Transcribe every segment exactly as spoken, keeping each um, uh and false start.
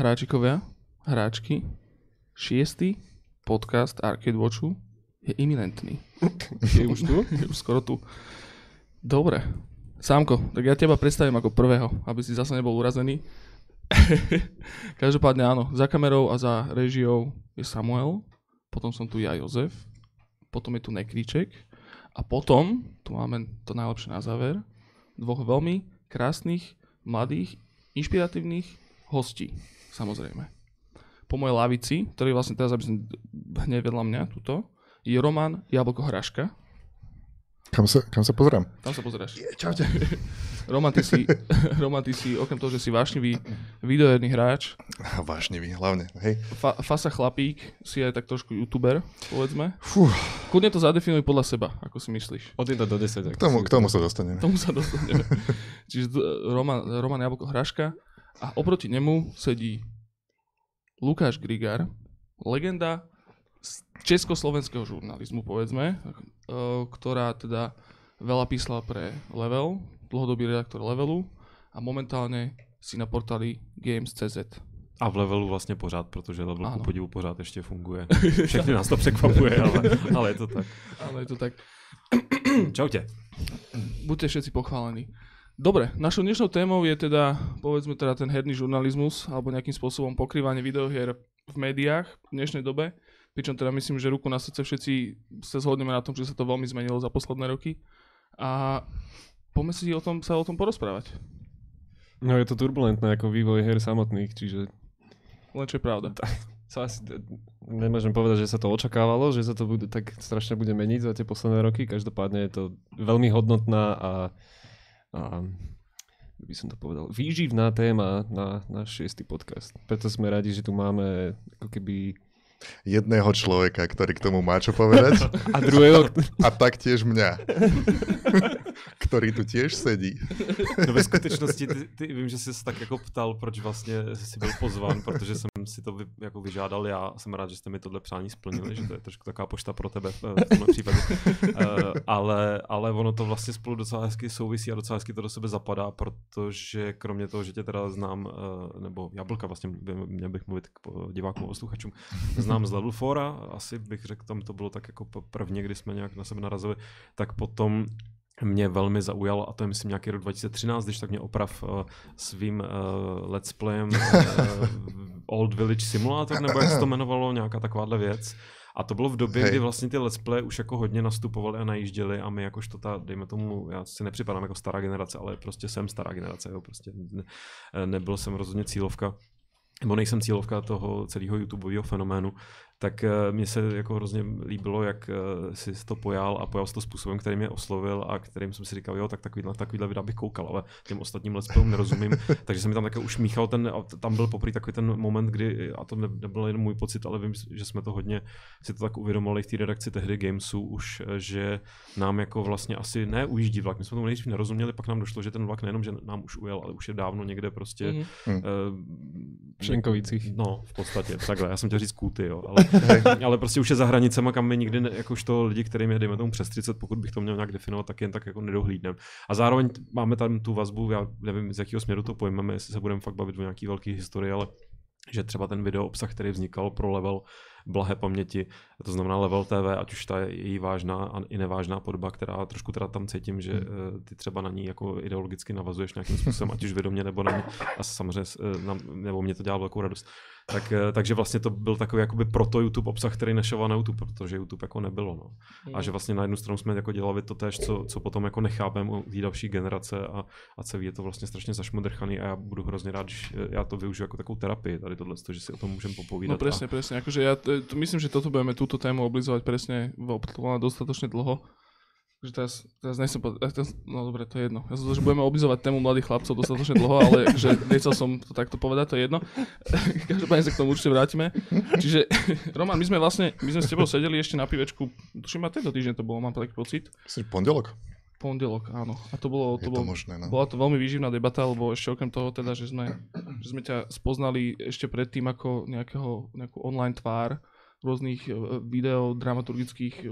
hráčikovia, hráčky, šiestý podcast Arcade Watchu je iminentný. Je už tu? Je už skoro tu. Dobre. Sámko, tak ja teba predstavím ako prvého, aby si zase nebol urazený. Každopádne áno, za kamerou a za režiou je Samuel, potom som tu ja Jozef, potom je tu Nekríček a potom, tu máme to najlepšie na záver, dvoch veľmi krásnych, mladých, inšpiratívnych hostí, samozrejme. Po mojej lavici, ktorý vlastne teraz, aby som hneď vedľa mňa, tuto, je Roman Jablko Hraška. Kam sa, kam sa pozerám? Tam sa pozeráš. Čaute. Roman, ty si, Roman, ty si okrem toho, že si vášnivý videoherný hráč. Vášnivý, hlavne, hej. Fa, Fasa chlapík, si aj tak trošku youtuber, povedzme. Fú. Kudne to zadefinuj podľa seba, ako si myslíš. Od jeden do desať. K tomu, k tomu sa dostaneme. K tomu sa dostaneme. Čiže Roman, Roman Jablko Hraška a oproti nemu sedí Lukáš Grigár, legenda z československého žurnalizmu, povedzme, ktorá teda veľa písala pre Level, dlhodobý redaktor Levelu a momentálne si na portáli Games tečka cé zet. A v Levelu vlastně pořád, protože Level ku podivu pořád ještě funguje. Všechny nás to překvapuje, ale, ale je to tak. Ale je to tak. Čaute. Buďte všetci pochválení. Dobre, našou dnešnou témou je teda, povedzme teda ten herný žurnalizmus alebo nejakým spôsobom pokrývanie videohier v médiách v dnešnej dobe. Pričom teda myslím, že ruku na srdce všetci sa zhodneme na tom, že sa to veľmi zmenilo za posledné roky. A poďme si o tom, sa o tom porozprávať. No je to turbulentné ako vývoj hier samotných, čiže... Len čo je pravda. Sa asi, nemôžem povedať, že sa to očakávalo, že sa to bude, tak strašne bude meniť za tie posledné roky. Každopádne je to veľmi hodnotná a, a by som to povedal, výživná téma na náš šiestý podcast. Preto sme radi, že tu máme ako keby... jedného človeka, ktorý k tomu má čo povedať. A druhého... A taktiež mňa. Ktorý tu tiež sedí. No ve skutečnosti, ty, ty vím, že jsi se tak jako ptal, proč vlastně jsi byl pozván, protože jsem si to vy, jako vyžádal. Já jsem rád, že jste mi tohle přání splnili, že to je trošku taková pošta pro tebe v tomhle případě. Uh, ale, ale ono to vlastně spolu docela hezky souvisí a docela hezky to do sebe zapadá, protože kromě toho, že tě teda znám, uh, nebo Jablka vlastně, měl bych mluvit k divákům a posluchačům, znám z Level čtyři, asi bych řekl, tam to bylo tak jako prvně, kdy jsme nějak na sebe narazili, tak potom mě velmi zaujalo, a to je myslím nějaký rok dva tisíce třináct, když tak mě oprav uh, svým uh, let's playem uh, Old Village Simulator, nebo jak se to jmenovalo, nějaká takováhle věc. A to bylo v době, hey. kdy vlastně ty let's play už jako hodně nastupovali a najížděli a my jakožto ta, dejme tomu, já si nepřipadám jako stará generace, ale prostě jsem stará generace, jo, prostě ne, nebyl jsem rozhodně cílovka, nebo nejsem cílovka toho celého YouTubeového fenoménu, tak uh, mně se jako hrozně líbilo, jak uh, si to pojal a pojal si to způsobem, který mě oslovil a kterým jsem si říkal, jo, tak takovýhle, takovýhle videa bych koukal, ale těm ostatním let's playům nerozumím, takže jsem mi tam také už míchal ten, tam byl poprvé takový ten moment, kdy, a to ne, nebyl jen můj pocit, ale vím, že jsme to hodně si to tak uvědomovali v té redakci tehdy Gamesu už, že nám jako vlastně asi ne ujíždí vlak, my jsme tomu nejdřív nerozuměli, pak nám došlo, že ten vlak nejenom, že nám už ujel, ale už je dávno někde prostě mm-hmm. uh, v Šenkovicích. No, v podstatě, takhle, já jsem chtěl říct Kůty, jo, ale ale prostě už je za hranicema, kam my nikdy, ne, jakožto lidi, kterým je, dejme tomu přes třicet, pokud bych to měl nějak definovat, tak jen tak jako nedohlídnem. A zároveň máme tam tu vazbu, já nevím, z jakého směru to pojmeme, jestli se budeme fakt bavit o nějaký velký historii, ale že třeba ten video obsah, který vznikal pro Level blahé paměti, to znamená Level T V, ať už ta její vážná a i nevážná podoba, která trošku teda tam cítím, že hmm. ty třeba na ní jako ideologicky navazuješ nějakým způsobem, ať už vědomě nebo na ní, a samozřejmě nebo mě to dělalo velkou radost. Tak, takže vlastně to byl takový jakoby proto YouTube obsah, který nešoval na YouTube, protože YouTube jako nebylo. No. Hmm. A že vlastně na jednu stranu jsme jako dělali to též, co, co potom jako nechápem u další generace a, a celý je to vlastně strašně zašmodrchaný a já budu hrozně rád, když já to využiju jako takovou terapii, tady tohle, že si o tom můžem popovídat. No presne, a... presne, akože ja t- t- myslím, že toto budeme túto tému oblizovať presne dostatočne dlho. Takže teraz, teraz nechcem povedať, no dobre, to je jedno. Ja som to, že budeme oblizovať tému mladých chlapcov dostatočne dlho, ale že nechcel som to takto povedať, to je jedno. Každopádne sa k tomu určite vrátime. Čiže, Roman, my sme vlastne, my sme s tebou sedeli ešte na pivečku, tuším, a tento týždeň to bolo, mám taký pocit. Myslím, pondelok? Pondelok, áno. A to bolo, to, bol, možné, no. bola to veľmi výživná debata, lebo ešte okrem toho teda, že sme, že sme ťa spoznali ešte predtým ako nejakého, nejakú online tvár rôznych video, dramaturgických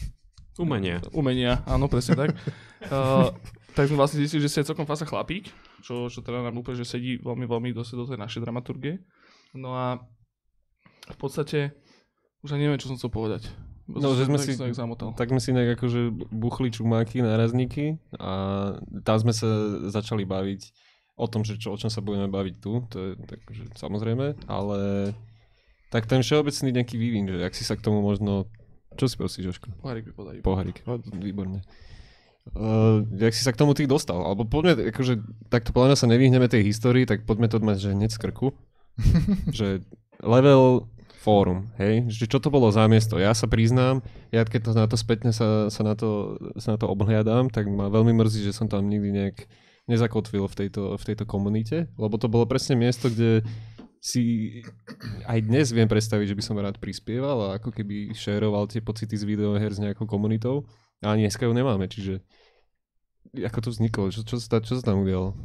umenia. Umenia, áno, presne tak. uh, tak sme vlastne zistili, že si je celkom fasa chlapík. čo, čo teda nám úplne, že sedí veľmi, veľmi dosť do tej našej dramaturgie. No a v podstate už ani neviem, čo som chcel povedať. No, že sme si, zamotal. tak sme si nejak akože buchli čumáky, nárazníky a tam sme sa začali baviť o tom, že čo, o čom sa budeme baviť tu, to je takže samozrejme, ale tak ten všeobecný nejaký vývin, že ak si sa k tomu možno, čo si prosíš, Jožko? Pohárik mi podaj. Pohárik, výborne. Uh, jak si sa k tomu tých dostal? Alebo poďme, akože takto podľa mňa sa nevyhneme tej histórii, tak poďme to mať, že hneď z krku. Že level fórum, hej? Že čo to bolo za miesto? Ja sa priznám, ja keď to na to spätne sa, sa, na to, sa na to obhliadam, tak ma veľmi mrzí, že som tam nikdy nejak nezakotvil v tejto, v tejto komunite, lebo to bolo presne miesto, kde si aj dnes viem predstaviť, že by som rád prispieval a ako keby šeroval tie pocity z videoher s nejakou komunitou. A dneska ju nemáme, čiže ako to vzniklo? Čo, čo, sa, čo sa tam udialo?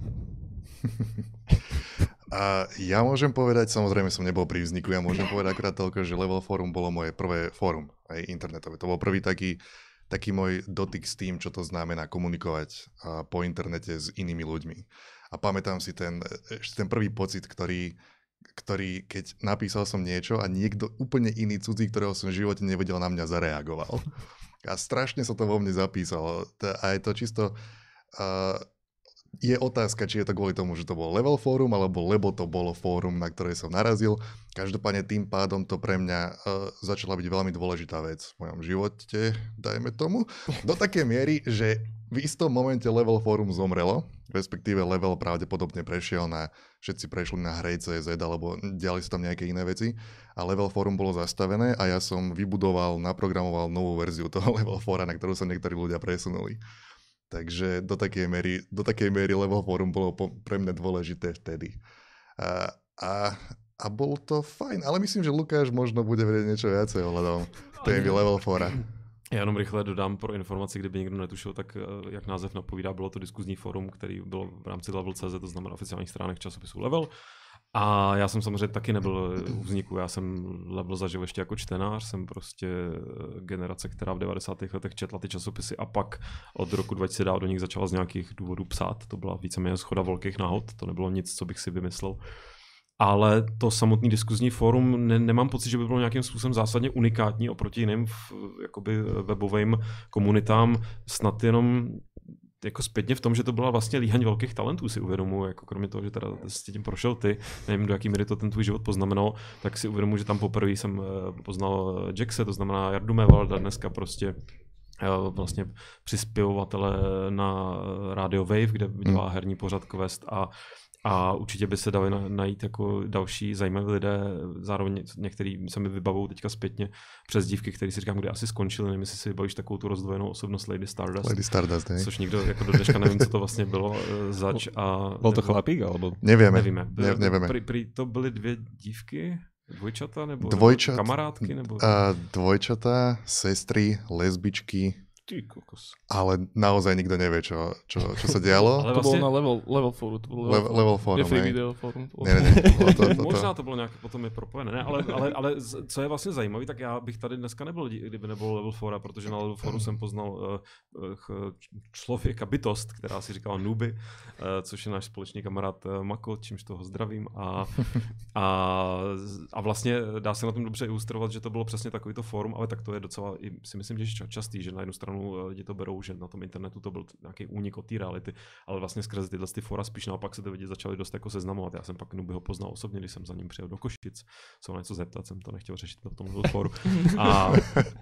A ja môžem povedať, samozrejme som nebol pri vzniku, ja môžem povedať akurát toľko, že Level Forum bolo moje prvé fórum, aj internetové. To bol prvý taký, taký môj dotyk s tým, čo to znamená komunikovať po internete s inými ľuďmi. A pamätám si ten, ten prvý pocit, ktorý, ktorý, keď napísal som niečo a niekto úplne iný cudzí, ktorého som v živote nevedel, na mňa zareagoval. A strašne sa to vo mne zapísalo. A je to čisto... Uh, je otázka, či je to kvôli tomu, že to bolo Level Forum, alebo lebo to bolo fórum, na ktoré som narazil. Každopádne tým pádom to pre mňa uh, začala byť veľmi dôležitá vec v mojom živote, dajme tomu. Do takej miery, že v istom momente Level Forum zomrelo, respektíve Level pravdepodobne prešiel na... Všetci prešli na hrej cé zet, alebo diali sa tam nejaké iné veci. A Level Forum bolo zastavené a ja som vybudoval, naprogramoval novú verziu toho Level Fora, na ktorú sa niektorí ľudia presunuli. Takže do takej miery, do takej miery Level Forum bolo po, pre mňa dôležité vtedy. A, a, a bol to fajn, ale myslím, že Lukáš možno bude vedieť niečo viacej ohľadom témy Level Fora. Já jenom rychle dodám pro informaci, kdyby někdo netušil, tak jak název napovídá, bylo to diskuzní forum, který bylo v rámci Level tečka cé zet, to znamená oficiálních stránek časopisu Level. A já jsem samozřejmě taky nebyl u vzniku, já jsem Level zažil ještě jako čtenář, jsem prostě generace, která v devadesátých letech četla ty časopisy a pak od roku dva tisíce do nich začala z nějakých důvodů psát. To byla víceméně schoda velkých náhod, to nebylo nic, co bych si vymyslel. Ale to samotný diskuzní fórum, ne, nemám pocit, že by bylo nějakým způsobem zásadně unikátní oproti jiným v, jakoby webovým komunitám, snad jenom jako zpětně v tom, že to byla vlastně líhaň velkých talentů, si uvědomuji, jako kromě toho, že teda si tím prošel ty, nevím, do jaký míry to ten tvůj život poznamenal, tak si uvědomuji, že tam poprvé jsem poznal Jaxe, to znamená Jardu Mévalda, dneska prostě vlastně přispěvovatele na Radio Wave, kde dělá herní pořad Quest a A určitě by se dali najít jako další zajímaví lidé, zároveň některý se mi vybavou teďka zpětně přes dívky, který si říkám, kde asi skončili, nevím, jestli si vybavíš takovou tu rozdvojenou osobnost Lady Stardust. Lady Stardust, ne? Což nikdo jako do dneška nevím, co to vlastně bylo zač. A byl to chlapík, alebo? Nevieme. Nevíme. Ne, nevieme. Pri, pri to byly dvě dívky, dvojčata nebo Dvojčat, kamarádky? Nebo... Uh, dvojčata, sestry, lesbičky. Ty kokos. Ale naozaj nikto nevie, čo, čo, čo sa dialo. Ale to vlastne... bolo na level, level forum. To bolo level, level forum, ne? Video forum. Ne, ne, ne. To, to, to, Možná to bylo nějak potom je propojené, ne? Ale, ale, ale co je vlastně zajímavé, tak já bych tady dneska nebyl, kdyby nebylo Level Fora, protože na Level Foru jsem poznal uh, uh, člověka, bytost, která si říkala Nuby, uh, což je náš společný kamarád uh, Mako, čímž toho zdravím. A, a, a vlastně dá se na tom dobře ilustrovat, že to bylo přesně takovýto fórum, ale tak to je docela, si myslím, že častý, že na jednu stranu lidi to berou, že na tom internetu to byl nějaký únik od té reality, ale vlastně skrze tyhle ty fora spíš naopak se ty lidi začali dost jako seznamovat. Já jsem pak Nuby ho poznal osobně, když jsem za ním přijel do Košic, se ho něco zeptat, jsem to nechtěl řešit na tom fóru. A,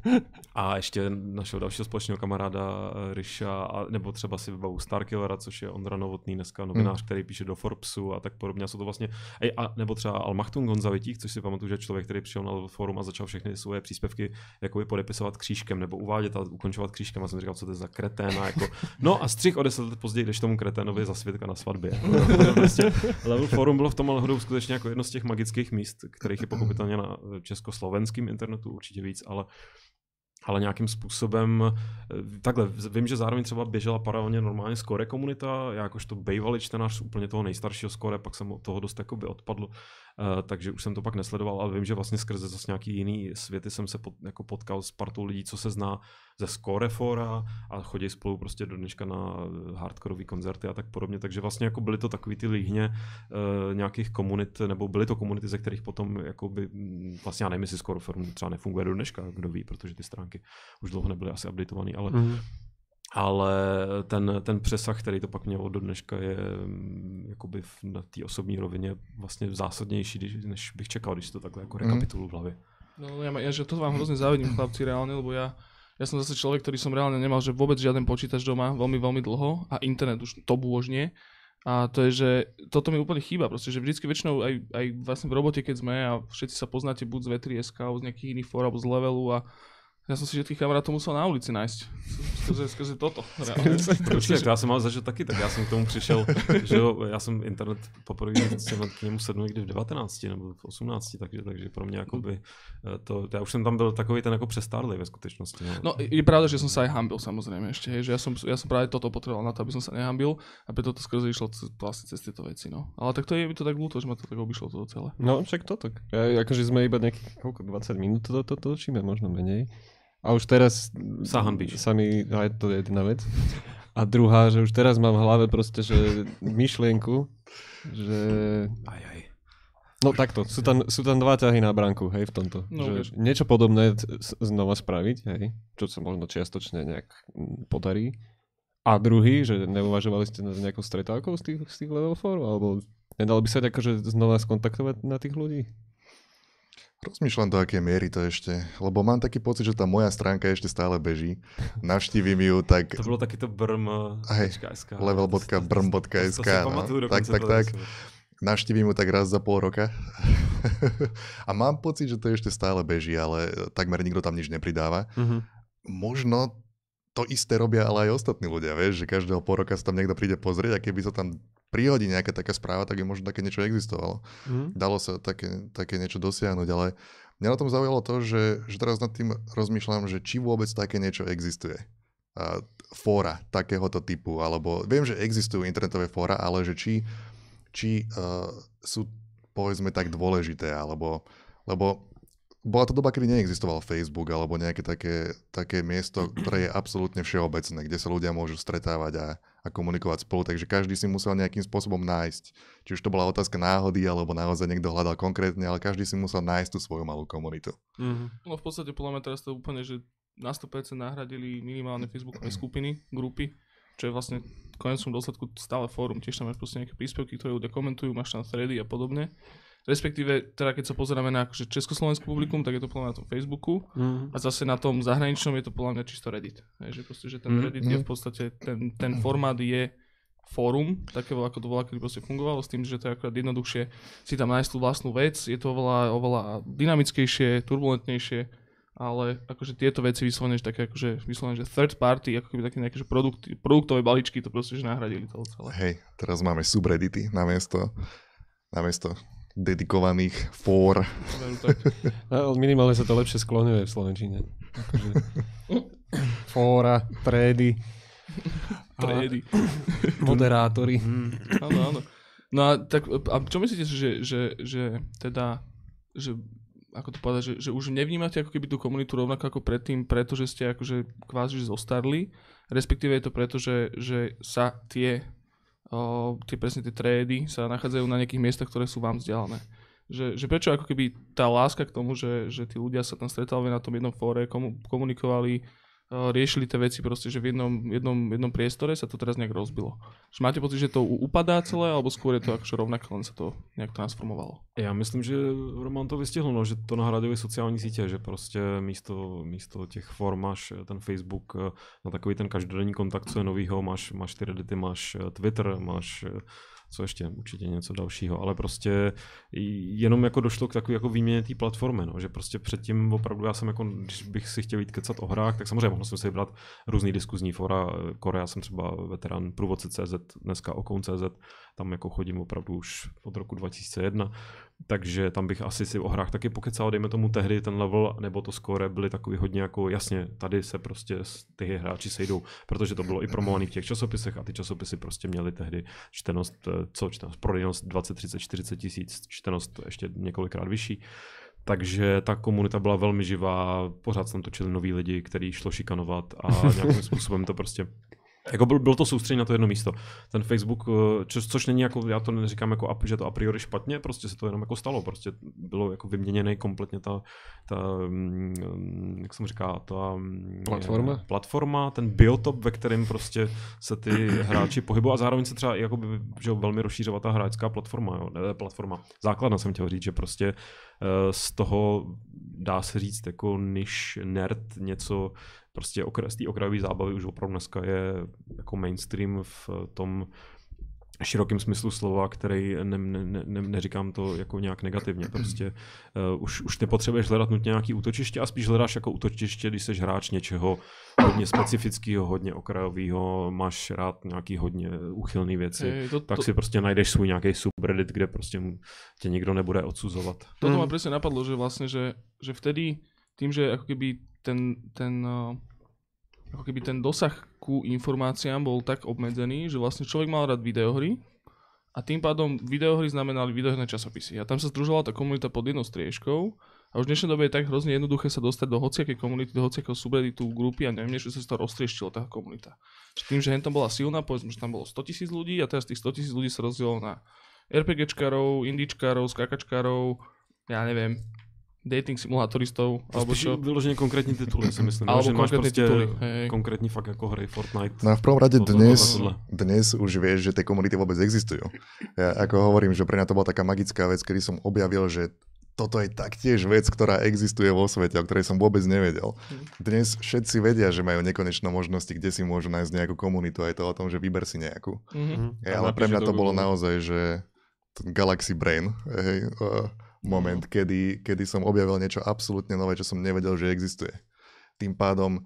a ještě našel dalšího společného kamaráda Ryša, a, nebo třeba si vybavu Starkillera, což je Ondra Novotný, dneska novinář, který píše do Forbesu a tak podobně. A jsou to vlastně, a, nebo třeba Almachtun Gonzavitík, což si pamatuju, že člověk, který přišel na fórum a začal všechny svoje příspěvky jakoby podepisovat křížkem nebo uvádět a ukončovat křížkem. A jsem říkal, co to je za kreténa. Jako... No a střih o deset let později jdeš tomu kreténovi za svědka na svatbě. Prostě Level Forum bylo v tomhle hodou skutečně jako jedno z těch magických míst, kterých je pochopitelně na československém internetu určitě víc, ale ale nějakým způsobem, takhle, vím, že zároveň třeba běžela paralelně normálně Skóre komunita, já jakožto bejvalý čtenář úplně toho nejstaršího Skóre, pak jsem od toho dost jakoby odpadl, uh, takže už jsem to pak nesledoval, ale vím, že vlastně skrze zase nějaký jiný světy jsem se pot, jako potkal s partou lidí, co se zná ze Skóre fóra a chodí spolu prostě do dneška na hardcoreový koncerty a tak podobně, takže vlastně jako byly to takový ty líhně uh, nějakých komunit, nebo byly to komunity, ze kterých potom jakoby, vlastně já nevím, jestli Skóre fórum třeba nefunguje do dneška, kdo ví, protože ty stránky už dlouho nebyly asi updateovaný, ale, mm. ale ten, ten přesah, který to pak mělo do dneška, je jakoby na té osobní rovině vlastně zásadnější, než bych čekal, když to takhle jako rekapituluju v hlavě. No ja, ja že to vám hrozne závidím, chlapci, reálne, lebo ja, ja som zase človek, ktorý som reálne nemal, že vôbec žiaden počítač doma, veľmi, veľmi dlho a internet už to už nie. A to je, že toto mi úplne chýba, proste, že vždycky väčšinou aj, aj vlastne v robote, keď sme a všetci sa poznáte buď z vé tri bodka es ká, alebo z nejakých iných fór, alebo z Levelu a ja som si všetkých kamarátov musel na ulici nájsť. Skrze, skrze toto. Počkej, já jsem mal zažil taky, tak já jsem k tomu přišel, že jo, já jsem internet poprvé jsem k němu sedl někdy v devatenácti nebo v osmnácti, takže, takže pro mě jakoby to, já už jsem tam byl takový ten jako přestárlý ve skutečnosti. No. no je pravda, že som sa aj hambil samozrejme ešte, hej, že ja som, ja som práve toto potreboval na to, aby som sa nehambil a preto to skrze išlo vlastne cez tieto veci, no. Ale tak to je mi to tak ľúto, že ma to tak obišlo toto celé. No však to tak. Ja, akože sme iba nejakých koľko, dvadsať minút to, to, to točíme, možno menej. A už teraz sa hanbíš. Sa mi, aj to je jedna vec. A druhá, že už teraz mám v hlave proste, že myšlienku, že... Aj, aj. No takto, sú tam, sú tam dva ťahy na bránku, hej, v tomto. No, že niečo podobné znova spraviť, hej, čo sa možno čiastočne nejak podarí. A druhý, že neuvažovali ste na nejakou stretávkou z tých, z tých level four, alebo nedalo by sa akože znova skontaktovať na tých ľudí? Rozmýšľam, do akej miery to ešte, lebo mám taký pocit, že tá moja stránka ešte stále beží. Navštívim ju, tak... To bolo takéto brm bodka es ká. level bodka brm bodka es ká, no. Tak, tak, tak. Navštívim ju tak raz za pol roka. A mám pocit, že to ešte stále beží, ale takmer nikto tam nič nepridáva. Uh-huh. Možno to isté robia ale aj ostatní ľudia, vieš, že každého pol roka sa tam niekto príde pozrieť a keby sa tam prihodí nejaká taká správa, tak by možno také niečo existovalo. Mm. Dalo sa také, také niečo dosiahnuť, ale mňa na tom zaujalo to, že, že teraz nad tým rozmýšľam, že či vôbec také niečo existuje. A fóra takéhoto typu, alebo viem, že existujú internetové fóra, ale že či, či uh, sú povedzme tak dôležité, alebo lebo bola to doba, kedy neexistoval Facebook alebo nejaké také, také miesto, ktoré je absolútne všeobecné, kde sa ľudia môžu stretávať a, a komunikovať spolu, takže každý si musel nejakým spôsobom nájsť. Či už to bola otázka náhody, alebo naozaj niekto hľadal konkrétne, ale každý si musel nájsť tú svoju malú komunitu. Mm-hmm. No v podstate podľa mňa teraz to úplne, že na sto percent nahradili minimálne Facebookové skupiny, grupy, čo je vlastne v konečnom dôsledku stále fórum. Tiež tam máš proste nejaké príspevky, ktoré ľudia komentujú, máš tam thready a podobne. Respektíve, teda keď sa pozeráme na akože československú publikum, tak je to podľa mňa na tom Facebooku mm. a zase na tom zahraničnom je to podľa mňa čisto Reddit. Je, že proste, že ten mm. Reddit je v podstate, ten, ten formát je fórum, také ako to bola, kedy proste fungovalo, s tým, že to je akorát jednoduchšie si tam nájsť tú vlastnú vec, je to oveľa, oveľa dynamickejšie, turbulentnejšie, ale akože tieto veci vyslovene, že také akože vyslovene, že third party, ako keby také nejaké že produkty, produktové balíčky to proste, že nahradili to celé. Hej, teraz máme subreddity namiesto, namiesto dedikovaných fór. No, minimálne sa to lepšie skloňuje v slovenčine. Akože... Fóra, trédy. Trédy. Moderátori. Áno, áno. No a tak, a čo myslíte, že, že, že teda, že ako to povedať, že, že už nevnímate ako keby tú komunitu rovnako ako predtým, pretože ste akože kvázi zostarli, respektíve je to preto, že, že sa tie O, tie presne tie trédy sa nachádzajú na nejakých miestach, ktoré sú vám vzdialené. Že, že prečo ako keby tá láska k tomu, že, že tí ľudia sa tam stretali na tom jednom fóre, komu, komunikovali, o, riešili tie veci proste, že v jednom, jednom, jednom priestore sa to teraz nejak rozbilo. Že máte pocit, že to upadá celé, alebo skôr je to akože rovnako, len sa to nejak transformovalo? Já myslím, že Roman to vystihl, no, že to nahradili sociální sítě, že prostě místo, místo těch form máš ten Facebook na takový ten každodenní kontakt, co je novýho, máš, máš ty Reddity, máš Twitter, máš co ještě, určitě něco dalšího, ale prostě jenom jako došlo k takové jako výměně té platformy, no, že prostě předtím opravdu já jsem jako, když bych si chtěl jít kecat o hrách, tak samozřejmě mohl jsem si vybrat různý diskuzní fora, Korea jsem třeba veterán průvodce tečka cé zet, dneska Okoun tečka cé zet, tam jako chodím opravdu už od roku dva tisíce jedna, takže tam bych asi si o hrách taky pokecal, dejme tomu tehdy ten level nebo to score byly takový hodně jako jasně, tady se prostě ty hráči sejdou, protože to bylo i promovaný v těch časopisech a ty časopisy prostě měly tehdy čtenost, co čtenost, prodejnost dvacet, třicet, čtyřicet tisíc, čtenost ještě několikrát vyšší. Takže ta komunita byla velmi živá, pořád tam točili noví lidi, který šlo šikanovat a nějakým způsobem to prostě jako byl, byl to soustředění na to jedno místo. Ten Facebook, čo, což není jako, já to neříkám jako, že to a priori špatně, prostě se to jenom jako stalo, prostě bylo jako vyměněný kompletně ta, ta jak jsem říká, ta platforma, je, platforma, ten biotop, ve kterém prostě se ty hráči pohybují a zároveň se třeba jako by, že velmi rozšířila ta hráčská platforma, jo, ne, platforma. Základna jsem chtěl říct, že prostě z toho dá se říct jako niž nerd něco prostě z té okrajové zábavy už opravdu dneska je jako mainstream v tom širokém smyslu slova, který ne, ne, ne, neříkám to jako nějak negativně. Prostě uh, už, už nepotřebuješ hledat nutně nějaký útočiště a spíš hledáš jako útočiště, když seš hráč něčeho hodně specifického, hodně okrajového, máš rád nějaký hodně úchylný věci, hey, to, to, tak si prostě najdeš svůj nějaký subreddit, kde prostě tě nikdo nebude odsuzovat. Toto hmm. ma presne napadlo, že vlastne, že, že vtedy tým, že ako keby ten, ten uh, ako keby ten dosah ku informáciám bol tak obmedzený, že vlastne človek mal rád videohry a tým pádom videohry znamenali videoherné časopisy. A tam sa združovala tá komunita pod jednou striežkou a už v dnešnej dobe je tak hrozne jednoduché sa dostať do hociakej komunity, do hociakého subredditu, grupy a neviem, niečo sa to roztrieštilo tá komunita. Tým, že hen tam bola silná, povedzme, že tam bolo stotisíc ľudí a teraz tých stotisíc ľudí sa rozdielilo na RPGčkarov, indičkarov, skakačkarov, ja neviem, dating simulátoristov, alebo čo. Vyloženě konkrétní tituly, si myslím. Alebo že máš prostě tituly, hej. konkrétní fakt jako hry Fortnite. No a v prvom rade dnes, dnes už vieš, že tie komunity vôbec existujú. Ja ako hovorím, že pre mňa to bola taká magická vec, kedy som objavil, že toto je taktiež vec, ktorá existuje vo svete, o ktorej som vôbec nevedel. Dnes všetci vedia, že majú nekonečno možnosti, kde si môžu nájsť nejakú komunitu, aj to o tom, že vyber si nejakú. Mm-hmm. Ja, ale pre mňa to bolo naozaj, že Galaxy Brain, hej, uh, moment, no. kedy, kedy som objavil niečo absolútne nové, čo som nevedel, že existuje. Tým pádom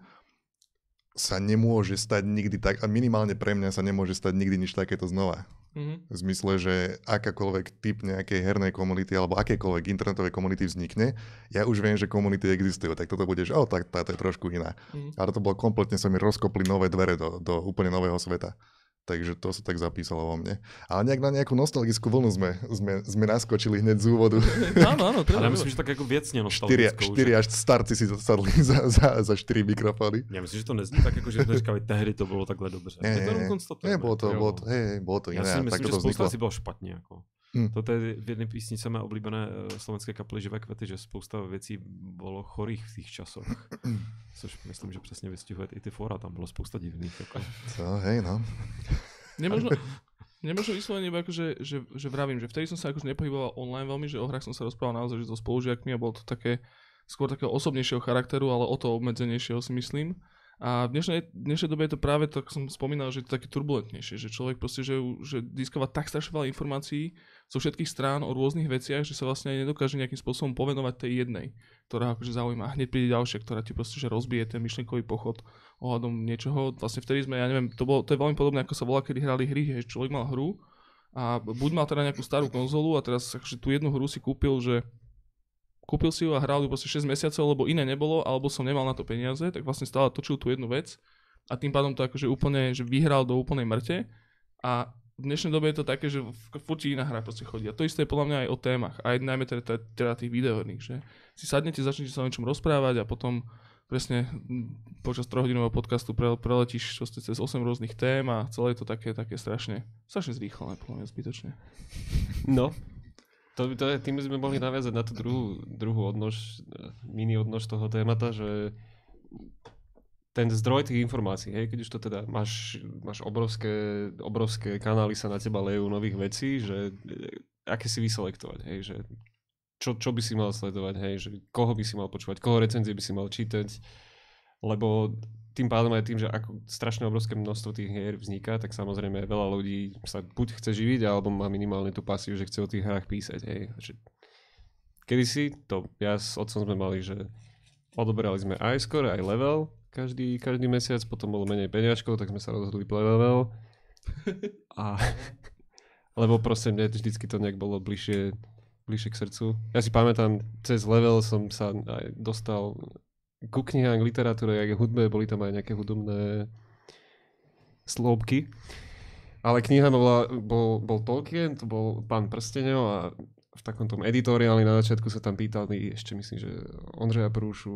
sa nemôže stať nikdy tak, a minimálne pre mňa sa nemôže stať nikdy nič takéto znova. Mm-hmm. V zmysle, že akákoľvek typ nejakej hernej komunity alebo akékoľvek internetovej komunity vznikne, ja už viem, že komunity existujú, tak toto bude, že oh, tak táto je trošku iná. Mm-hmm. Ale to bolo kompletne, sa mi rozkopli nové dvere do, do úplne nového sveta. Takže to sa tak zapísalo vo mne. Ale nejak na nejakú nostalgickú vlnu sme, sme, sme naskočili hneď z úvodu. Áno, áno. Ale ja myslím, že tak ako viecne nostalgickou. Štyri až starci si zasadli za, za, za štyri mikrofóny. Ja myslím, že to nezní tak, ako že sme říkali, tehdy to bolo takhle dobře. Nie, nie, nie, bolo to, bolo to, hej, bolo to iné. Ja si myslím, že spousta si bylo špatně. Jako. Hmm. Toto je v jedné písnice mé oblíbené slovenské kapely Živé kvety, že spousta věcí bylo chorých v těch časoch. Což myslím, že přesně vystihuje i ty fóra, tam bylo spousta divných. Jako. Co, hej, no. Nemožno, nemožno vyslovene iba akože, že, že vravím, že vtedy som sa akože nepohyboval online veľmi, že o hrách som sa rozprával naozaj že so spolužiakmi a bolo to také skôr takého osobnejšieho charakteru, ale o to obmedzenejšieho si myslím. A v dnešnej, dnešnej dobe je to práve to, ako som spomínal, že je to také turbulentnejšie, že človek proste, že, že získava tak strašne veľa informácií zo všetkých strán o rôznych veciach, že sa vlastne aj nedokáže nejakým spôsobom povenovať tej jednej, ktorá akože zaujíma. A hneď príde ďalšia, ktorá ti proste, že rozbije ten myšlienkový pochod ohľadom niečoho. Vlastne vtedy sme, ja neviem, to, bolo, to je veľmi podobné, ako sa volá, kedy hrali hry, že človek mal hru a buď mal teda nejakú starú konzolu a teraz akože tú jednu hru si kúpil, že kúpil si ju a hral ju proste šesť mesiacov, lebo iné nebolo, alebo som nemal na to peniaze, tak vlastne stále točil tú jednu vec a tým pádom to akože úplne, že vyhral do úplnej mŕte a v dnešnej dobe je to také, že furt iná hra proste chodí. A to isté je podľa mňa aj o témach, aj najmä teda, teda tých videoherných, že si sadnete, začnete sa o niečom rozprávať a potom presne počas trojhodinového podcastu pre, preletíš čo ste cez osem rôznych tém a celé je to také, také strašne, strašne zrýchlené, podľa mňa zbytočne. No. To, to je, tým sme mohli naviazať na tú druhú, druhú odnož, mini odnož toho témata, že ten zdroj tých informácií, hej, keď už to teda máš, máš obrovské, obrovské kanály sa na teba lejú nových vecí, že aké si vyselektovať, hej, že čo, čo by si mal sledovať, hej, že koho by si mal počúvať, koho recenzie by si mal čítať, lebo tým pádom aj tým, že ako strašne obrovské množstvo tých hier vzniká, tak samozrejme veľa ľudí sa buď chce živiť, alebo má minimálne tú pasiu, že chce o tých hrách písať. Hej. Kedysi to ja s otcom sme mali, že odoberali sme aj score, aj level každý, každý mesiac, potom bolo menej peniažkov, tak sme sa rozhodli pre level. A, lebo proste mne vždycky to nejak bolo bližšie, bližšie k srdcu. Ja si pamätám, cez level som sa aj dostal ku knihám, k literatúre, aj k hudbe, boli tam aj nejaké hudobné slóbky. Ale kniha bola, bol, bol Tolkien, to bol Pán prsteňov a v takom tom editoriáli na začiatku sa tam pýtali ešte myslím, že Ondřeja Prúšu,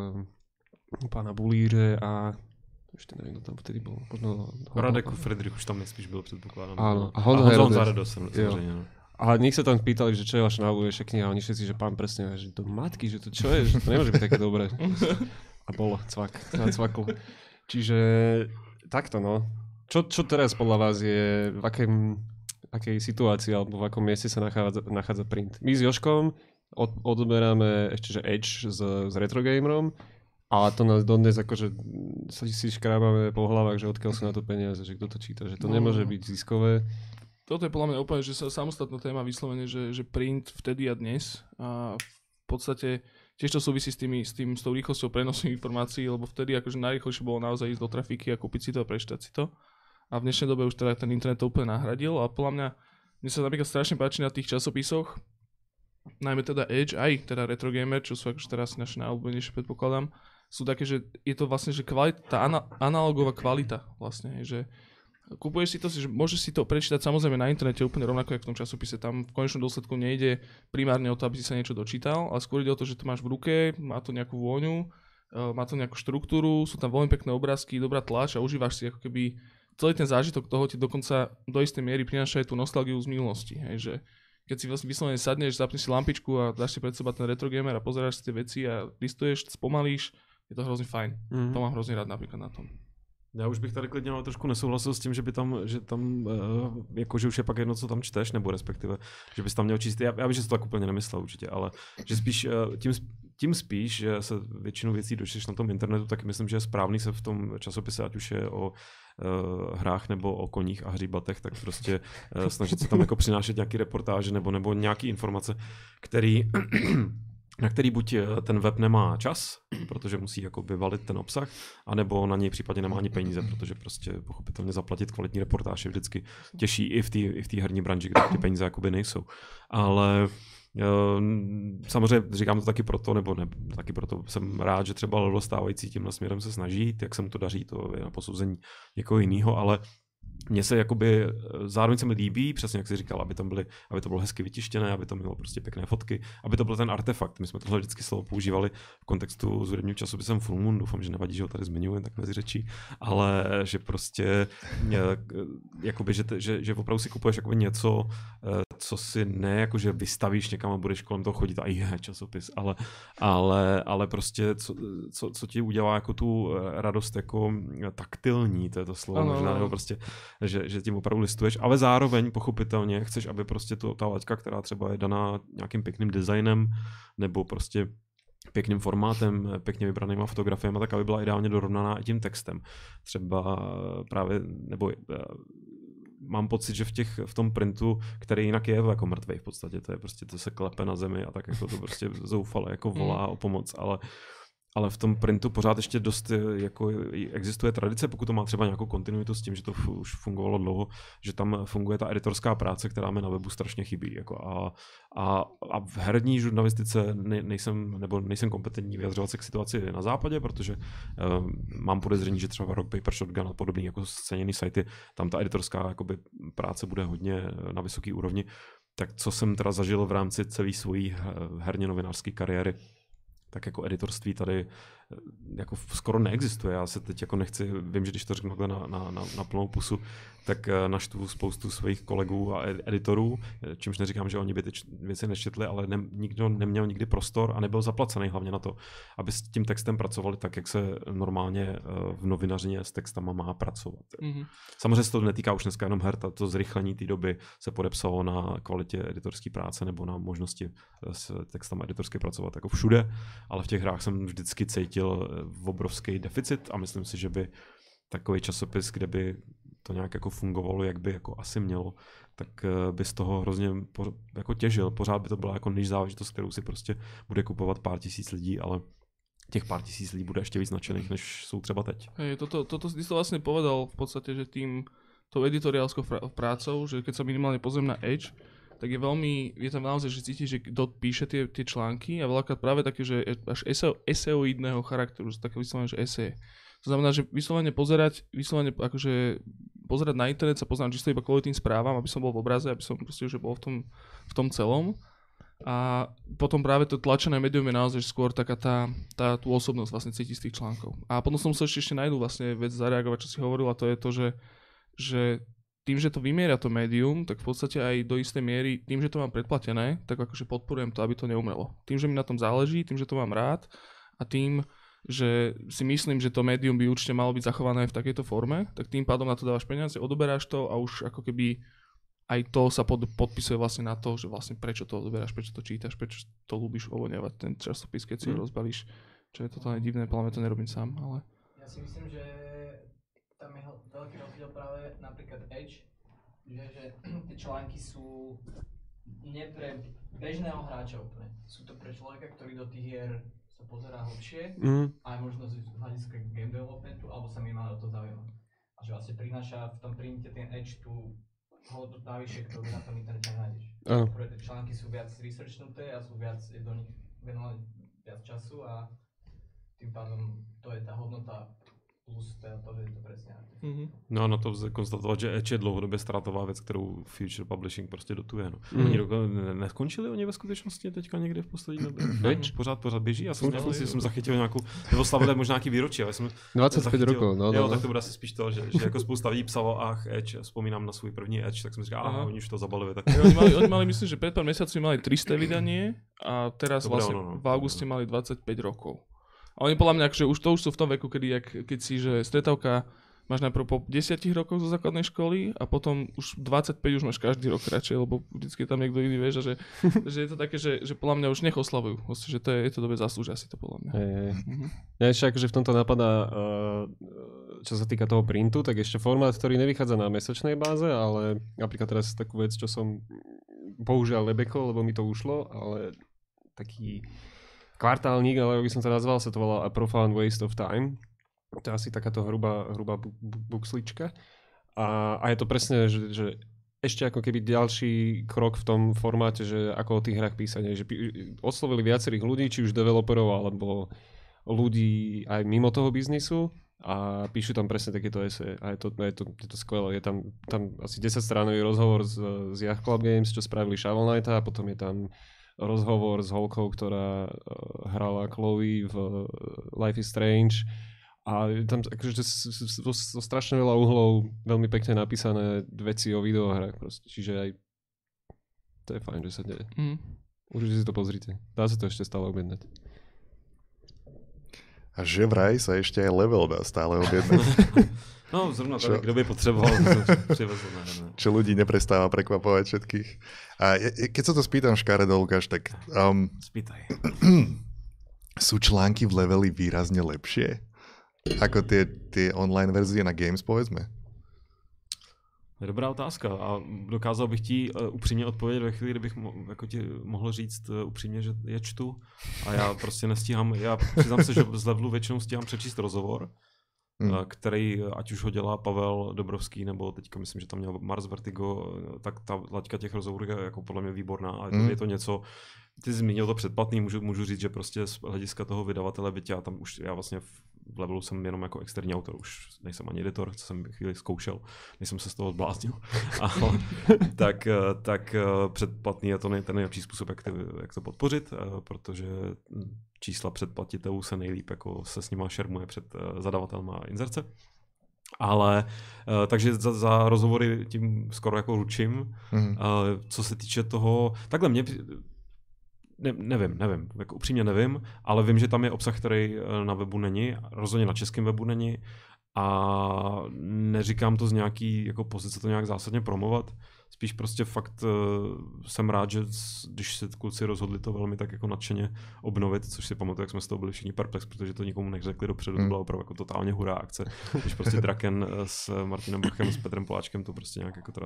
uh, pána Bulíře a ešte neviem, kto tam vtedy bol. Možno Radeku Friedrich už tam nejspíš byl, předpokládám. Áno. A Honza Rados, samozřejmě. No. A nech sa tam pýtali, že čo je vaša najobľúbenejšia kniha a oni všetci, že Pán prsteňov, že to matky, že to čo je, že to nemôže byť také dobré. A bolo, cvak, cvaklo. Čiže takto no. Čo, čo teraz podľa vás je, v akém, akej situácii alebo v akom mieste sa nachádza, nachádza print? My s Jožkom od, odberáme ešte, že Edge s, s retrogamerom. A to nás dodnes akože sa si škrábame po hlavách, že odkiaľ sú na to peniaze, že kto to číta, že to no, nemôže byť ziskové. Toto je podľa mňa úplne, že sa samostatná téma vyslovene, že, že print vtedy a dnes. A v podstate tiež to súvisí s, tými, s, tým, s tou rýchlosťou prenosu informácií, lebo vtedy akože najrýchlejšie bolo naozaj ísť do trafiky a kúpiť si to a prečítať si to. A v dnešnej dobe už teda ten internet to úplne nahradil a podľa mňa, mne sa napríklad strašne páči na tých časopisoch, najmä teda Edge, aj teda Retro Gamer, čo sú akože teraz naše najobľúbenejšie, predpokladám, sú také, že je to vlastne, že kvalita, tá ana, analogová kvalita vlastne, že kupuješ si to, že môžeš si to prečítať samozrejme na internete úplne rovnako, ako v tom časopise. Tam v konečnom dôsledku nejde primárne o to, aby si sa niečo dočítal, ale skôr ide o to, že to máš v ruke, má to nejakú vôňu, má to nejakú štruktúru, sú tam veľmi pekné obrázky, dobrá tlač a užívaš si ako keby celý ten zážitok toho ti dokonca do istej miery prináša aj tú nostalgiu z minulosti, hej, že keď si vlastne vyslovene sadneš, zapneš si lampičku a dáš si pred seba ten retro gamer a pozeráš si tie veci a listuješ, spomalíš, je to hrozně fajn. Mm. To mám hrozně rád například na tom. Já už bych tady klidně ale trošku nesouhlasil s tím, že by tam, že tam, uh, jako že už je pak jedno, co tam čteš, nebo respektive, že bys tam měl číst, já, já bych, že to tak úplně nemyslel určitě, ale že spíš uh, tím, tím spíš, že se většinu věcí dočteš na tom internetu, tak myslím, že je správný se v tom časopise, ať už je o uh, hrách nebo o koních a hříbatech, tak prostě uh, snažit se tam jako přinášet nějaký reportáže nebo, nebo nějaký informace, který na který buď ten web nemá čas, protože musí jako vyvalit ten obsah, anebo na něj případně nemá ani peníze, protože prostě pochopitelně zaplatit kvalitní reportáž je vždycky těžší i v té i v té herní branži, kde ty peníze jakoby nejsou. Ale samozřejmě říkám to taky proto, nebo ne, taky proto jsem rád, že třeba Lelo stávající tímhle směrem se snaží, jak se mu to daří, to je na posouzení někoho jiného, ale mně se jakoby, zároveň se mi líbí, přesně jak jsi říkal, aby tam byly, aby to bylo hezky vytištěné, aby to mělo prostě pěkné fotky, aby to byl ten artefakt. My jsme tohle vždycky slovo používali v kontextu s hudebním časopisem Full Moon, doufám, že nevadí, že ho tady zmiňuji tak mezi řečí, ale že prostě jakoby, že, že, že opravdu si kupuješ jakoby něco, co si ne jakože vystavíš někam a budeš kolem toho chodit a je časopis, ale, ale, ale prostě co, co, co ti udělá jako tu radost jako taktilní, to je to slovo, ano, možná, nebo prostě Že, že tím opravdu listuješ, ale zároveň pochopitelně chceš, aby prostě to, ta laťka, která třeba je daná nějakým pěkným designem nebo prostě pěkným formátem, pěkně vybranýma fotografiemi, tak aby byla ideálně dorovnaná i tím textem. Třeba právě, nebo mám pocit, že v, těch, v tom printu, který jinak je jako mrtvej v podstatě, to je prostě, to se klepe na zemi a tak jako to prostě zoufale jako volá o pomoc, ale ale v tom printu pořád ještě dost jako existuje tradice, pokud to má třeba nějakou kontinuitu s tím, že to už fungovalo dlouho, že tam funguje ta editorská práce, která mi na webu strašně chybí. Jako a, a, a v herní žurnalistice ne, nejsem, nebo nejsem kompetentní vyjadřovat se k situaci na západě, protože um, mám podezření, že třeba Rock Paper Shotgun a podobný jako sceněný sajty, tam ta editorská jakoby, práce bude hodně na vysoké úrovni. Tak co jsem teda zažil v rámci celé svojí herně novinářské kariéry, tak jako editorství tady jako skoro neexistuje. Já se teď jako nechci, vím, že když to řeknu na, na, na, na plnou pusu, tak naštvu spoustu svých kolegů a editorů, čímž neříkám, že oni by ty věci nečetli, ale ne, nikdo neměl nikdy prostor a nebyl zaplacený hlavně na to, aby s tím textem pracovali tak, jak se normálně v novinařině s textama má pracovat. Mm-hmm. Samozřejmě se to netýká už dneska jenom her, to zrychlení té doby se podepsalo na kvalitě editorské práce nebo na možnosti s textama editorsky pracovat jako všude, ale v těch hrách jsem vždycky cítil obrovský deficit a myslím si, že by takový časopis, kde by to nějak jako fungovalo, jak by jako asi mělo, tak by z toho hrozně jako těžil. Pořád by to byla jako niž záležitost, kterou si prostě bude kupovat pár tisíc lidí, ale těch pár tisíc lidí bude ještě víc nadšených, než jsou třeba teď. Hej, toto, toto si to vlastne povedal v podstate, že tým tou editoriálskou prácou, že keď sa minimálne pozriem na Edge, tak je veľmi, je tam naozaj, že cítiš, že kto píše tie, tie články a veľakrát práve také, že až eseo, eseoidného charakteru, že také vyslovene, že eseje. To znamená, že vyslovene pozerať, vyslovene akože pozerať na internet sa poznám čisto iba kvôli tým správam, aby som bol v obraze, aby som proste že bol v tom, v tom celom. A potom práve to tlačené médium je naozaj skôr taká tá, tá tú osobnosť vlastne cíti z tých článkov. A potom som sa ešte, ešte nájdu vlastne vec zareagovať, čo si hovoril, a to je to, že, že tým, že to vymieria to médium, tak v podstate aj do istej miery, tým, že to mám predplatené, tak akože podporujem to, aby to neumrelo. Tým, že mi na tom záleží, tým, že to mám rád a tým, že si myslím, že to médium by určite malo byť zachované v takejto forme, tak tým pádom na to dávaš peniaze, odoberáš to a už ako keby aj to sa pod, podpisuje vlastne na to, že vlastne prečo to odoberáš, prečo to čítaš, prečo to ľúbiš ovoňovať ten časopis, keď si ho mm. rozbalíš. Čo je totálne divné, podľa mňa to nerobím sám, ale... Ja si myslím, že tam je veľký rozdiel práve napríklad Edge, že, že tie články sú nie pre bežného hráča úplne. Sú to pre človeka, ktorý do tých hier sa pozerá hlbšie, mm. aj možno z hľadiska game developmentu, alebo sa minimálne o to zaujíma. A že vlastne prináša v tom printe ten Edge tú hodnotu navyše, ktorú na tom internete nájdeš. Uh. Prvé tie články sú viac researchnuté a sú viac, je do nich venované viac času a tým pádom to je tá hodnota plus teda to, že je to presne. Mm-hmm. No a na to lze konstatovat, že Edge je dlouhodobě ztrátová věc, kterou Future Publishing prostě dotuje. No. Mm. Oni doko- ne- neskončili oni ve skutečnosti teďka někde v poslední době? Edge? Pořád, pořád běží? Já jsem nějakou, si jsem zachytil nějakou, nebo slavili možná nějaký výročí, ale jsem dvacet pět rokov, no, jo, no. tak to bude asi spíš to, že, že jako spousta lidí psalo, ach, Edge, vzpomínám na svůj první Edge, tak jsem si říkal, aha, oni už to zabalili. Tak... oni, mali, oni mali, myslím, že pred pár mesiacmi mali tristo vydanie a teraz to vlastne ono, no. v auguste mali dvadsaťpäť rokov. A oni podľa mňa, že už to už sú v tom veku, kedy jak, keď si, že stretávka máš najprv po desiatich rokoch zo základnej školy a potom už dvadsaťpäť už máš každý rok radšej, lebo vždycky je tam niekto iný, vieš, a že, že je to také, že, že podľa mňa už nech oslavujú, že to je, je to dobe zaslúžia si to podľa mňa. Hey, hey. Mm-hmm. Ja ešte akože v tomto napadá, uh, čo sa týka toho printu, tak ešte formát, ktorý nevychádza na mesačnej báze, ale napríklad teraz takú vec, čo som použil lebeko, lebo mi to ušlo, ale taký kvartálnik, ale by som to nazval, sa to volá A Profound Waste of Time. To je asi takáto hrubá, hrubá bu- bu- bukslička. A, a je to presne, že, že ešte ako keby ďalší krok v tom formáte, že ako o tých hrách písať. Že pí- oslovili viacerých ľudí, či už developerov, alebo ľudí aj mimo toho biznisu a píšu tam presne takéto eseje. A je to, je to, je to skvelé. Je tam, tam asi desaťstránový rozhovor z, z Yacht Club Games, čo spravili Shovel Knighta, a potom je tam rozhovor s holkou, ktorá uh, hrala Chloe v uh, Life is Strange. A tam akože zo, zo strašne veľa uhlov veľmi pekne napísané veci o videohrách. Proste. Čiže aj to je fajn, že sa deje. Mm. Určite si to pozrite. Dá sa to ešte stále objednať. A že vraj sa ešte aj level dá stále objednať. No, zrovna tady, kdo by potřeboval přivezl. Čo ľudí neprestáva prekvapovať všetkých. A keď sa to spýtam škaredo, Lukáš, tak... Um, Spýtaj. Sú články v leveli výrazne lepšie? Ako tie, tie online verzie na Games, povedzme? Dobrá otázka a dokázal bych ti uh, upřímně odpovědět ve chvíli, kdybych mo- jako ti mohl říct uh, upřímně, že je čtu a já prostě nestíhám, já přiznám se, že z levelu většinou stíhám přečíst rozhovor, Hmm. který, ať už ho dělá Pavel Dobrovský, nebo teďka myslím, že tam měl Mars Vertigo, tak ta laťka těch rozhovorů je jako podle mě výborná. A je to, hmm. je to něco, ty jsi zmínil to předplatný, můžu, můžu říct, že prostě z hlediska toho vydavatele, byť já tam už, já vlastně v levelu jsem jenom jako externí autor, už nejsem ani editor, co jsem chvíli zkoušel, než jsem se z toho zbláznil. Ale, tak, tak předplatný je to nej, ten nejlepší způsob, jak, ty, jak to podpořit, protože čísla předplatitelů se nejlíp jako se s nima šermuje před zadavatelem a inzerce. Ale takže za, za rozhovory tím skoro jako ručím. Mm. Co se týče toho, takhle mě Ne, nevím, nevím, jako upřímně nevím, ale vím, že tam je obsah, který na webu není, rozhodně na českém webu není a neříkám to z nějaký jako pozice to nějak zásadně promovat, spíš prostě fakt uh, jsem rád, že když se kluci rozhodli to velmi tak jako nadšeně obnovit, což si pamatuju, jak jsme z toho byli všichni perplex, protože to nikomu neřekli dopředu, to byla opravdu jako totálně hurá akce, když prostě Draken s Martinem Bachem, s Petrem Poláčkem to prostě nějak jako teda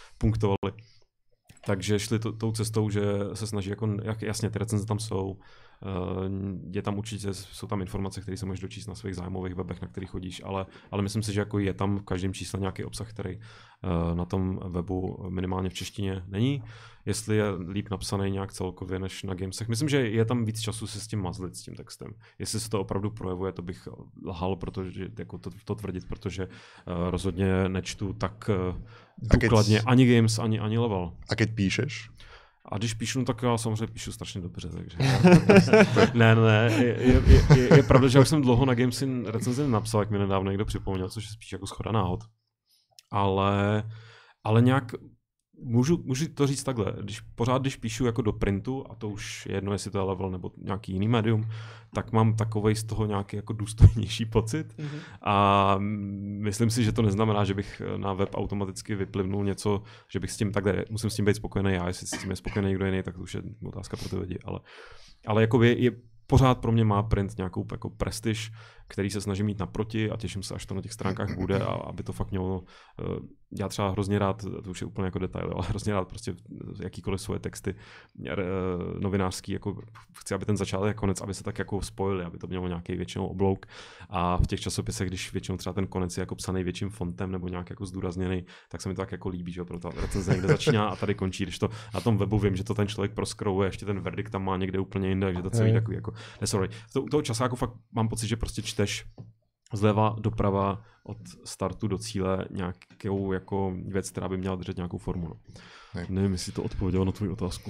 punktovali. Takže šli to, tou cestou, že se snaží, jako, jak, jasně, ty recenze tam jsou, je tam určitě, jsou tam informace, které se můžeš dočíst na svých zájmových webech, na kterých chodíš, ale, ale myslím si, že jako je tam v každém čísle nějaký obsah, který na tom webu minimálně v češtině není. Jestli je líp napsaný nějak celkově než na Gamesech. Myslím, že je tam víc času se s tím mazlit, s tím textem. Jestli se to opravdu projevuje, to bych lhal, protože jako to, to tvrdit, protože uh, rozhodně nečtu tak uh, důkladně ani Games, ani, ani Level. A keď píšeš? A když píšu, no tak já samozřejmě píšu strašně dobře, takže... ne, ne, ne, je, je, je, je pravda, že já už jsem dlouho na Gamesy recenzi napsal, jak mi nedávno někdo připomněl, což je spíš jako shoda náhod. Ale, ale nějak... Můžu, můžu to říct takhle, když pořád, když píšu jako do printu, a to už je jedno, jestli to je Level nebo nějaký jiný médium, tak mám takovej z toho nějaký jako důstojnější pocit. Mm-hmm. A myslím si, že to neznamená, že bych na web automaticky vyplivnul něco, že bych s tím takhle, musím s tím být spokojený já, jestli s tím je spokojený někdo jiný, tak to už je otázka pro ty lidi. Ale, ale jako je, je pořád pro mě má print nějakou jako prestiž, který se snažím mít naproti a těším se, až to na těch stránkách bude, a aby to fakt mělo, já třeba hrozně rád, to už je úplně jako detail, ale hrozně rád prostě jakýkoliv svoje texty novinářský, jako chci, aby ten začátek a konec, aby se tak jako spojili, aby to mělo nějaký většinou oblouk, a v těch časopisech, když většinou třeba ten konec je jako psaný větším fontem nebo nějak jako zdůrazněný, tak se mi to tak jako líbí, že proto ta recenze někde začíná a tady končí, když to na tom webu vím, že to ten člověk proskroluje, ještě ten verdikt tam má někde úplně jinde, takže to celý takový jako ne, sorry. To, u toho časáku fakt mám pocit, že prostě čteš zleva doprava od startu do cíle nějakou jako věc, která by měla držet nějakou formu. No. Ne. Nevím, jestli to odpovědělo na tvoji otázku.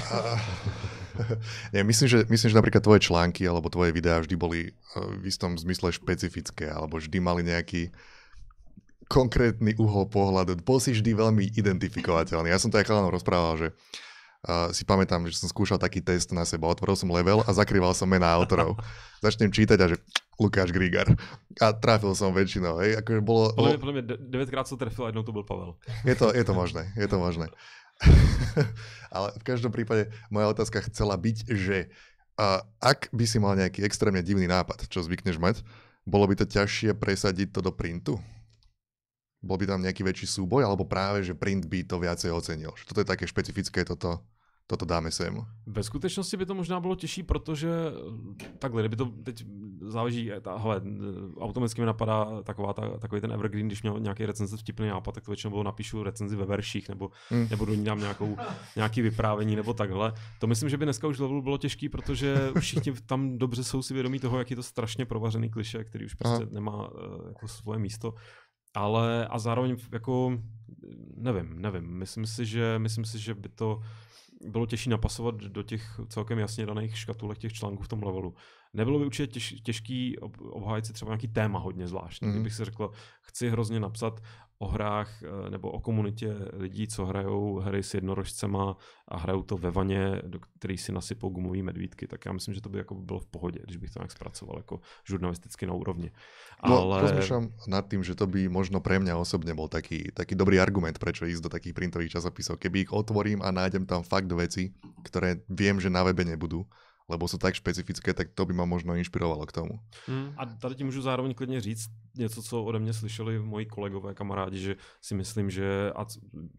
Nie, myslím, že, myslím, že napríklad tvoje články alebo tvoje videá vždy boli v istom zmysle špecifické, alebo vždy mali nejaký konkrétny uhol pohľadu. Bol si vždy veľmi identifikovateľný. Ja som to aj chalanom rozprával, že Uh, si pamätám, že som skúšal taký test na seba. Otvoril som Level a zakrýval som mená autorov. Začnem čítať a že Lukáš Grigar. A trafil som väčšinou. Hej. Akože bolo, podľa, podľa mňa deväťkrát som trefil a jednou to bol Pavel. Je to, je to možné, je to možné. Ale v každom prípade moja otázka chcela byť, že uh, ak by si mal nejaký extrémne divný nápad, čo zvykneš mať, bolo by to ťažšie presadiť to do printu? Bol by tam nejaký väčší súboj, alebo práve, že print by to viacej ocenil? Že toto je také špecifické, toto, toto dáme sem. Ve skutečnosti by to možná bylo těžší, protože takhle, kdyby to teď záleží, hele, automaticky mi napadá taková ta, takový ten evergreen, když měl nějaký recenze vtipný nápad, tak to většinou bylo napíšu recenzi ve verších, nebo, hmm. nebo do ní dám nějakou, nějaký vyprávění, nebo takhle. To myslím, že by dneska už Levelu bylo těžký, protože všichni tam dobře jsou si vědomí toho, jak je to strašně provařený klišé, který už prostě Aha. nemá jako svoje místo. Ale a zároveň jako nevím, nevím. Myslím si, že myslím si, že by to bylo těžší napasovat do těch celkem jasně daných škatulek těch článků v tom Levelu. Nebylo by určitě těž, těžký obhájit si třeba nějaký téma hodně zvláštní. Mm. Kdybych si řekl, chci hrozně napsat o hrách nebo o komunitě lidí, co hrajou hry s jednorožcema a hrajou to ve vaně, do který si nasypou gumový medvídky, tak já myslím, že to by jako bylo v pohodě, když bych to nějak zpracoval jako žurnalisticky na úrovni. No, ale... rozmýšľam nad tým, že to by možno pre mňa osobne bol taký, taký dobrý argument, prečo ísť do takých printových časopisov. Keby ich otvorím a nájdem tam fakt veci, ktoré viem, že na webe nebudú, lebo jsou tak špecifické, tak to by ma možno inšpirovalo k tomu. Hmm. A tady ti můžu zároveň klidně říct něco, co ode mě slyšeli moji kolegové, kamarádi, že si myslím, že a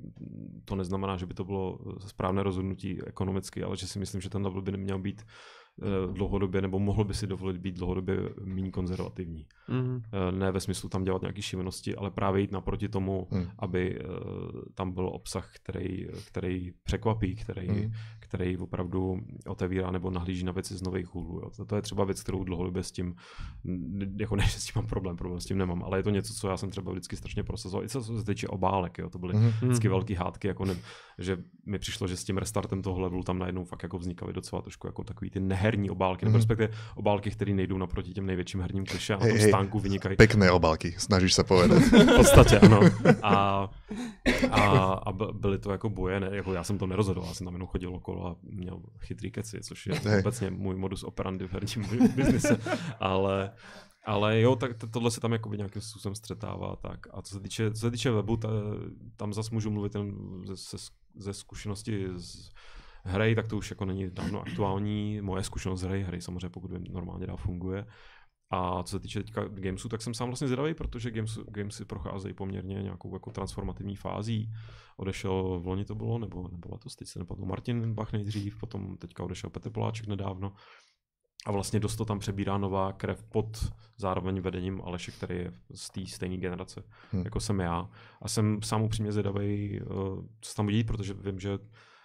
to neznamená, že by to bylo správné rozhodnutí ekonomicky, ale že si myslím, že ten level by neměl být dlouhodobě, nebo mohl by si dovolit být dlouhodobě méně konzervativní. Mm. Ne ve smyslu tam dělat nějaké šílenosti, ale právě jít naproti tomu, mm. aby tam byl obsah, který, který překvapí, který, mm. který opravdu otevírá nebo nahlíží na věci z nových úhlů. Jo. To je třeba věc, kterou dlouhodobě s tím, jako ne, že s tím mám problém, problém s tím nemám, ale je to něco, co já jsem třeba vždycky strašně prosazoval. I co se týče obálek, jo. To byly mm. vždycky velký hádky, jako ne, že mi přišlo, že s tím restartem toho levelu tam najednou fakt jako vznikaly docela trošku jako takový ty neherní obálky, mm. nebo respektive obálky, které nejdou naproti těm největším herním klišé a na tom hey, stánku vynikají. Pekné obálky, snažíš se povedat. V podstatě, ano. A, a, a byly to jako boje, ne, jako já jsem to nerozhodoval, já jsem tam jenom chodil okolo a měl chytrý keci, což je hey. obecně můj modus operandi v herním biznise, ale Ale jo, tak tohle se tam jakoby nějakým způsobem střetává. Tak. A co se týče, co se týče webu, ta, tam zase můžu mluvit jen ze, ze zkušenosti z hry, tak to už jako není dávno aktuální. Moje zkušenost z hry, hry samozřejmě pokud normálně dál funguje. A co se týče teďka Gamesu, tak jsem sám vlastně zvědavý, protože Games, Gamesy procházejí poměrně nějakou jako transformativní fází. Odešel v loni to bylo, nebo, nebo letos, teď se nepadlo Martin Bach nejdřív, potom teďka odešel Petr Poláček nedávno. a vlastně dost to tam přebírá nová krev pod zároveň vedením Aleše, který je z té stejné generace, hmm. jako jsem já. A jsem sám upřímně zvědavej, co se tam udělí, protože vím, že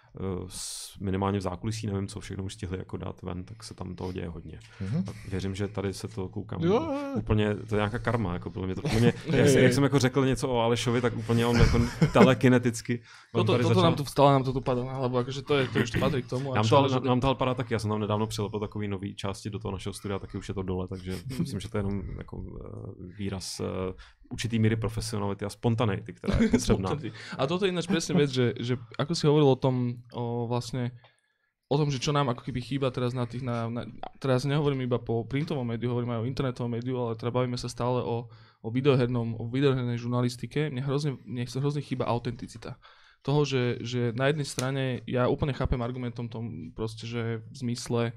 minimálně v zákulisí, nevím, co všechno už stihli jako dát ven, tak se tam toho děje hodně. Mm-hmm. A věřím, že tady se to koukám jo. úplně, to je nějaká karma, jako bylo mě to úplně, jak, jak jsem jako řekl něco o Alešovi, tak úplně on jako telekineticky. Toto, toto začal... nám tu vstalo, nám to tu padlo, alebo akože to je, to už patrí k tomu. Nám to ale, že... nám to ale padá taky, já jsem tam nedávno přilepil takový nový části do toho našeho studia, taky už je to dole, takže myslím, že to je jenom jako uh, výraz uh, určitý míry profesionality a spontaneity, která je potřebná. A toto je ináč presne vec, že, že ako si hovoril o tom, o vlastne, o tom, že čo nám ako keby chýba teraz na tých, na, na, teraz nehovorím iba po printovom médiu, hovorím aj o internetovom médiu, ale teda bavíme sa stále o, o videohernom, o videohernej žurnalistike. Mne hrozne, mne hrozne chýba autenticita. Toho, že, že na jednej strane ja úplne chápem argumentom tom proste, že v zmysle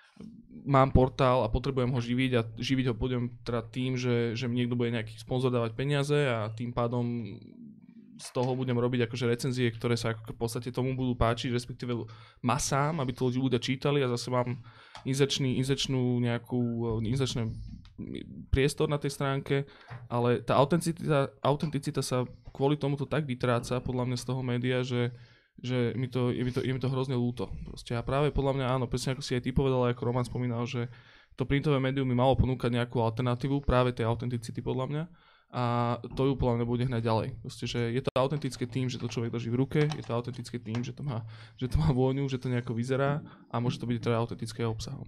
mám portál a potrebujem ho živiť a živiť ho budem teda tým, že, že mi niekto bude nejaký sponzor dávať peniaze a tým pádom z toho budem robiť akože recenzie, ktoré sa ako v podstate tomu budú páčiť, respektíve masám, aby to ľudia čítali a zase mám inzerčný, inzerčnú nejakú, inzerčný priestor na tej stránke, ale tá autenticita, autenticita sa kvôli tomuto tak vytráca podľa mňa z toho média, že že mi to, je, mi to, je mi to hrozne ľúto. Proste a práve podľa mňa áno, presne ako si aj ty povedal, ako Roman spomínal, že to printové médium mi malo ponúkať nejakú alternatívu práve tej autenticity podľa mňa a to ju podľa mňa bude hnať ďalej. Proste, že je to autentické tým, že to človek drží v ruke, je to autentické tým, že to má, že to má vôňu, že to nejako vyzerá a môže to byť teda autentické obsahom.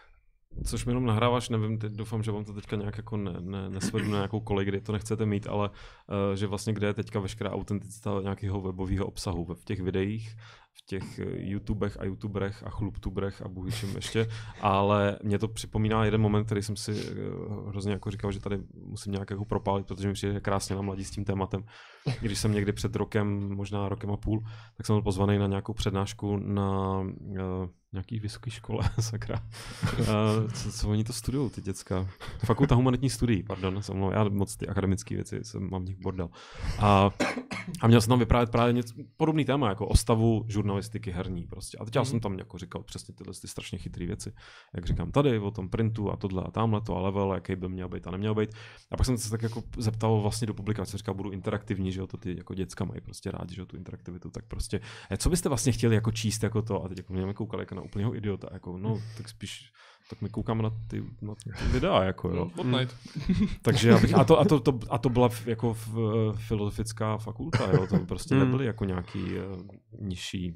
Což mi jenom nahráváš, nevím, teď doufám, že vám to teďka nějak jako ne, ne, nesvedu na nějakou kolej, kdy to nechcete mít, ale uh, že vlastně kde je teďka veškerá autenticita nějakého webového obsahu v těch videích, v těch YouTubech a YouTuberech a chluptuberech a bůh čím ještě, ale mě to připomíná jeden moment, který jsem si uh, hrozně jako říkal, že tady musím nějak jako propálit, protože mi přijde krásně namladí s tím tématem. Když jsem někdy před rokem, možná rokem a půl, tak jsem byl pozvaný na nějakou přednášku na uh, nějaký vysoké škole, sakra. Uh, co, co oni to studují, ty děcka? Fakulta humanitních studií, pardon, jsem mluvil, já moc ty akademické věci, jsem, mám v nich bordel. A, a měl jsem tam vyprávět právě něco, podobný téma, jako o stavu žurnalistiky herní prostě. A teď já jsem tam jako říkal přesně tyhle ty strašně chytré věci, jak říkám tady, o tom printu a tohle a tamhle to a level, jaký by měl být a neměl být. A pak jsem se tak jako zeptal vlastně do publikace, říkal, budu interaktivní, že jo, to ty jako děcka mají prostě rádi, že jo, tu interaktivitu, tak prostě, co byste vlastně chtěli jako číst jako to a teď jako mě koukali jako na úplného idiota, jako no, tak spíš, tak my koukáme na ty, na ty videa, jako jo. Fortnite. Takže já bych, a to, a to, to, a to byla jako v, filozofická fakulta, jo, to prostě mm. nebyly jako nějaký uh, nižší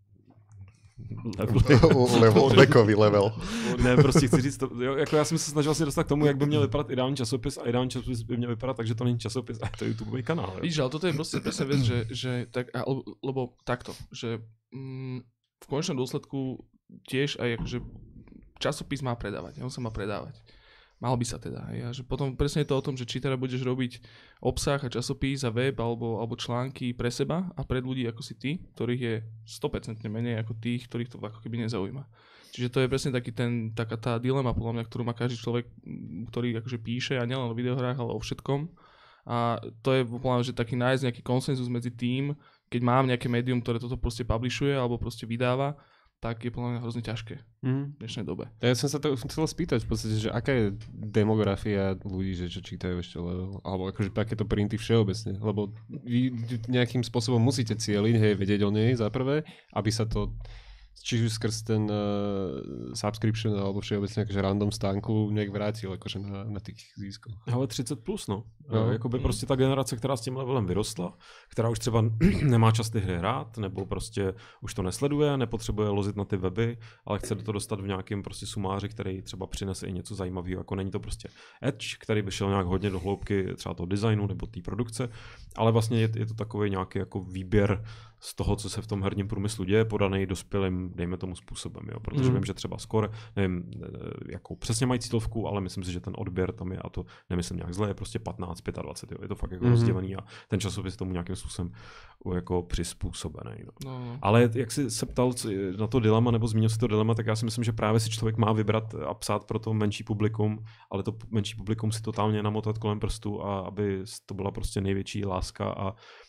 level, vekový level. Ne, prostě chci říct, to, jo, jako já jsem se snažil vlastně dostat k tomu, jak by měl vypadat ideální časopis a ideální časopis by měl vypadat, takže to není časopis, ale to je YouTubeový kanál. Víš, ale toto je prostě presne vec, že, že tak, lebo, lebo takto, že mm, v konečnom dôsledku tiež aj akože časopis má predávať, on sa má predávať. Mal by sa teda. A že potom presne je to o tom, že či teda budeš robiť obsah a časopis a web alebo, alebo články pre seba a pred ľudí ako si ty, ktorých je sto percent menej ako tých, ktorých to ako keby nezaujíma. Čiže to je presne taký ten, taká tá dilema, podľa mňa, ktorú má každý človek, ktorý akože píše a nielen o videohrách, ale o všetkom. A to je podľa mňa, že taký nájsť nejaký konsenzus medzi tým, keď mám nejaké médium, ktoré toto proste publishuje alebo proste vydáva, tak je podľa mňa hrozne ťažké mm. v dnešnej dobe. Ja som sa to chcel spýtať v podstate, že aká je demografia ľudí, že čo čítajú ešte level, alebo akože takéto printy všeobecne, lebo vy nejakým spôsobom musíte cieliť, hej, vedieť o nej za prvé, aby sa to či už skrz ten uh, subscription alebo všeobecne akože random stánku nejak vrátil akože na, na tých získoch. Ale třicet plus, no. no. Jakoby mm. prostě ta generace, která s tím levelem vyrostla, která už třeba nemá čas ty hry hrát, nebo prostě už to nesleduje, nepotřebuje lozit na ty weby, ale chce do toho dostat v nějakém prostě sumáři, který třeba přinese i něco zajímavého, jako není to prostě Edge, který by šel nějak hodně do hloubky třeba toho designu nebo té produkce, ale vlastně je, je to takový nějaký jako výběr z toho, co se v tom herním průmyslu děje, podaný dospělým, dejme tomu způsobem, jo, protože mm. vím, že třeba Score, nevím, jakou přesně mají cílovku, ale myslím si, že ten odběr tam je, a to nemyslím nějak zle, je prostě patnáct, dvacet pět, jo, je to fakt jako mm. rozdělený a ten časopis tomu nějakým způsobem jako přizpůsobený. No. No. Ale jak jsi se ptal na to dilema, nebo zmínil si to dilema, tak já si myslím, že právě si člověk má vybrat a psát pro to menší publikum, ale to menší publikum si totálně namotat kolem prstu a aby to byla prostě největší láska a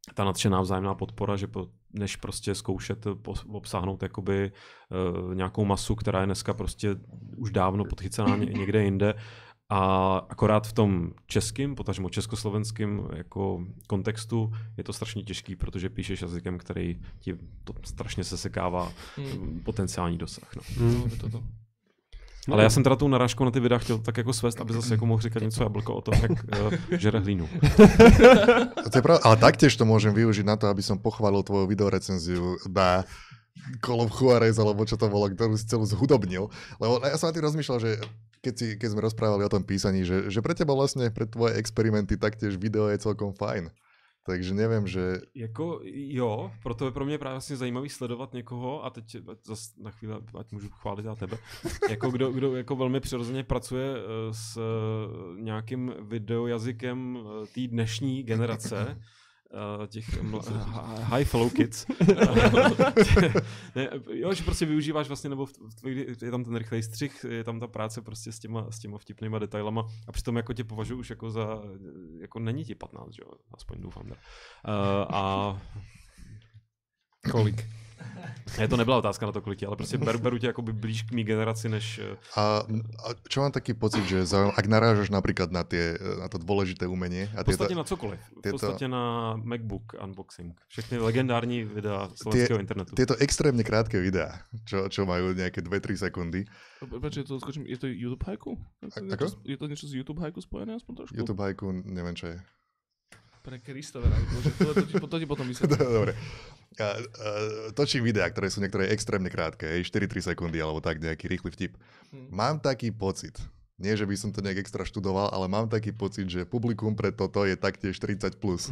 ta nadšená vzájemná podpora, že po, než prostě zkoušet obsáhnout jakoby uh, nějakou masu, která je dneska prostě už dávno podchycená ně, někde jinde. A akorát v tom českým, potažmo československým jako kontextu je to strašně těžký, protože píšeš jazykem, který ti to strašně sesekává hmm. potenciální dosah. No. Hmm. Ale já jsem teda tou narážkou na ty videa chtěl tak jako svést, aby zase jako mohl říkat něco jablko o tom, jak uh, žere hlínu. To je pravda, ale taktiež to môžem využiť na to, aby som pochválil tvoju videorecenziu na Call of Juarez, alebo čo to bolo, ktorú si celú zhudobnil. Lebo ja som na tým rozmýšľal, že keď, si, keď sme rozprávali o tom písaní, že, že pre teba vlastne, pre tvoje experimenty taktiež video je celkom fajn. Takže nevím, že... Jako jo, proto je pro mě právě vlastně zajímavý sledovat někoho, a teď zase na chvíli, ať můžu chválit já tebe, jako kdo, kdo jako velmi přirozeně pracuje s nějakým videojazykem té dnešní generace, těch mla- high flow kids. ne, jo, že prostě využíváš vlastně, nebo v, v, je tam ten rychlej střih, je tam ta práce prostě s těma, s těma vtipnýma detailama a přitom jako tě považuji už jako za, jako není ti patnáct, že jo, aspoň doufám. Uh, a kolik? Je to nebyla otázka na to, kolik je, ale prostě beru, beru tě jakoby blíž k mý generaci, než... A, a čo mám taký pocit, že zaujímavé, ak narážaš napríklad na, tie, na to dôležité umenie... A v podstatě tieto, na cokoliv. V tieto, podstatě na MacBook unboxing. Všechny legendární videa slovenského internetu. Tieto extrémne krátke videá, čo, čo majú nejaké dve tri sekundy. Prečo je to, skočím, je to YouTube hajku? Ako? Je to niečo z YouTube hajku spojené aspoň trošku? YouTube hajku, neviem čo je. Pre Kristova, to, to, to, to ti potom vysvetlím. Dobre. A, a, točím videá, ktoré sú niektoré extrémne krátke, štyri tri sekundy, alebo tak nejaký rýchly vtip. Hmm. Mám taký pocit, nie že by som to nejak extra študoval, ale mám taký pocit, že publikum pre toto je taktiež tridsať plus.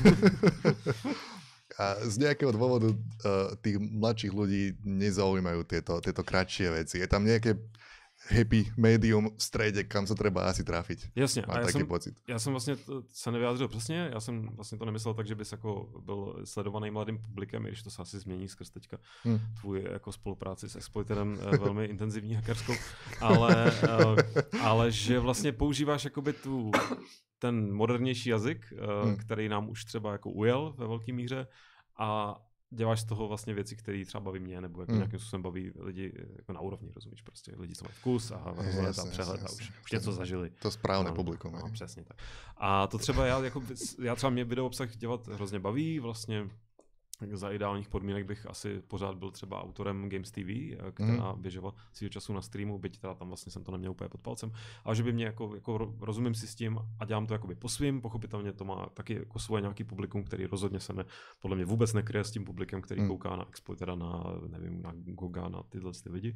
A z nejakého dôvodu uh, tých mladších ľudí nezaujímajú tieto, tieto kratšie veci. Je tam nejaké happy medium v strede, kam se třeba asi trafiť. Jasně. Mám a já taký jsem, pocit. Já jsem vlastně to, se nevyjádřil přesně, já jsem vlastně to nemyslel tak, že bys jako byl sledovaný mladým publikem, i když to se asi změní skrz teďka hmm. tvůj jako spolupráci s Exploiterem velmi intenzivní hackerskou, ale, ale že vlastně používáš jakoby tu, ten modernější jazyk, hmm. který nám už třeba jako ujel ve velké míře a děláš z toho vlastně věci, které třeba baví mě, nebo jako mm. nějakým způsobem baví lidi jako na úrovni, rozumíš, prostě lidi, co mají vkus a rozhled a přehled a už, už něco zažili. To správné no, publikum. No, přesně tak. A to třeba já, jako, já třeba mě video obsah dělat hrozně baví, vlastně za ideálních podmínek bych asi pořád byl třeba autorem Games T V, která mm. běžela svýho času na streamu, byť teda tam vlastně jsem to neměl úplně pod palcem, ale že by mě jako, jako rozumím si s tím a dělám to jakoby po svým, pochopitelně to má taky jako svoje nějaký publikum, který rozhodně se ne, podle mě vůbec nekryje s tím publikem, který mm. kouká na Exploitera, na, nevím, na Goga, na tyhle ty lidi.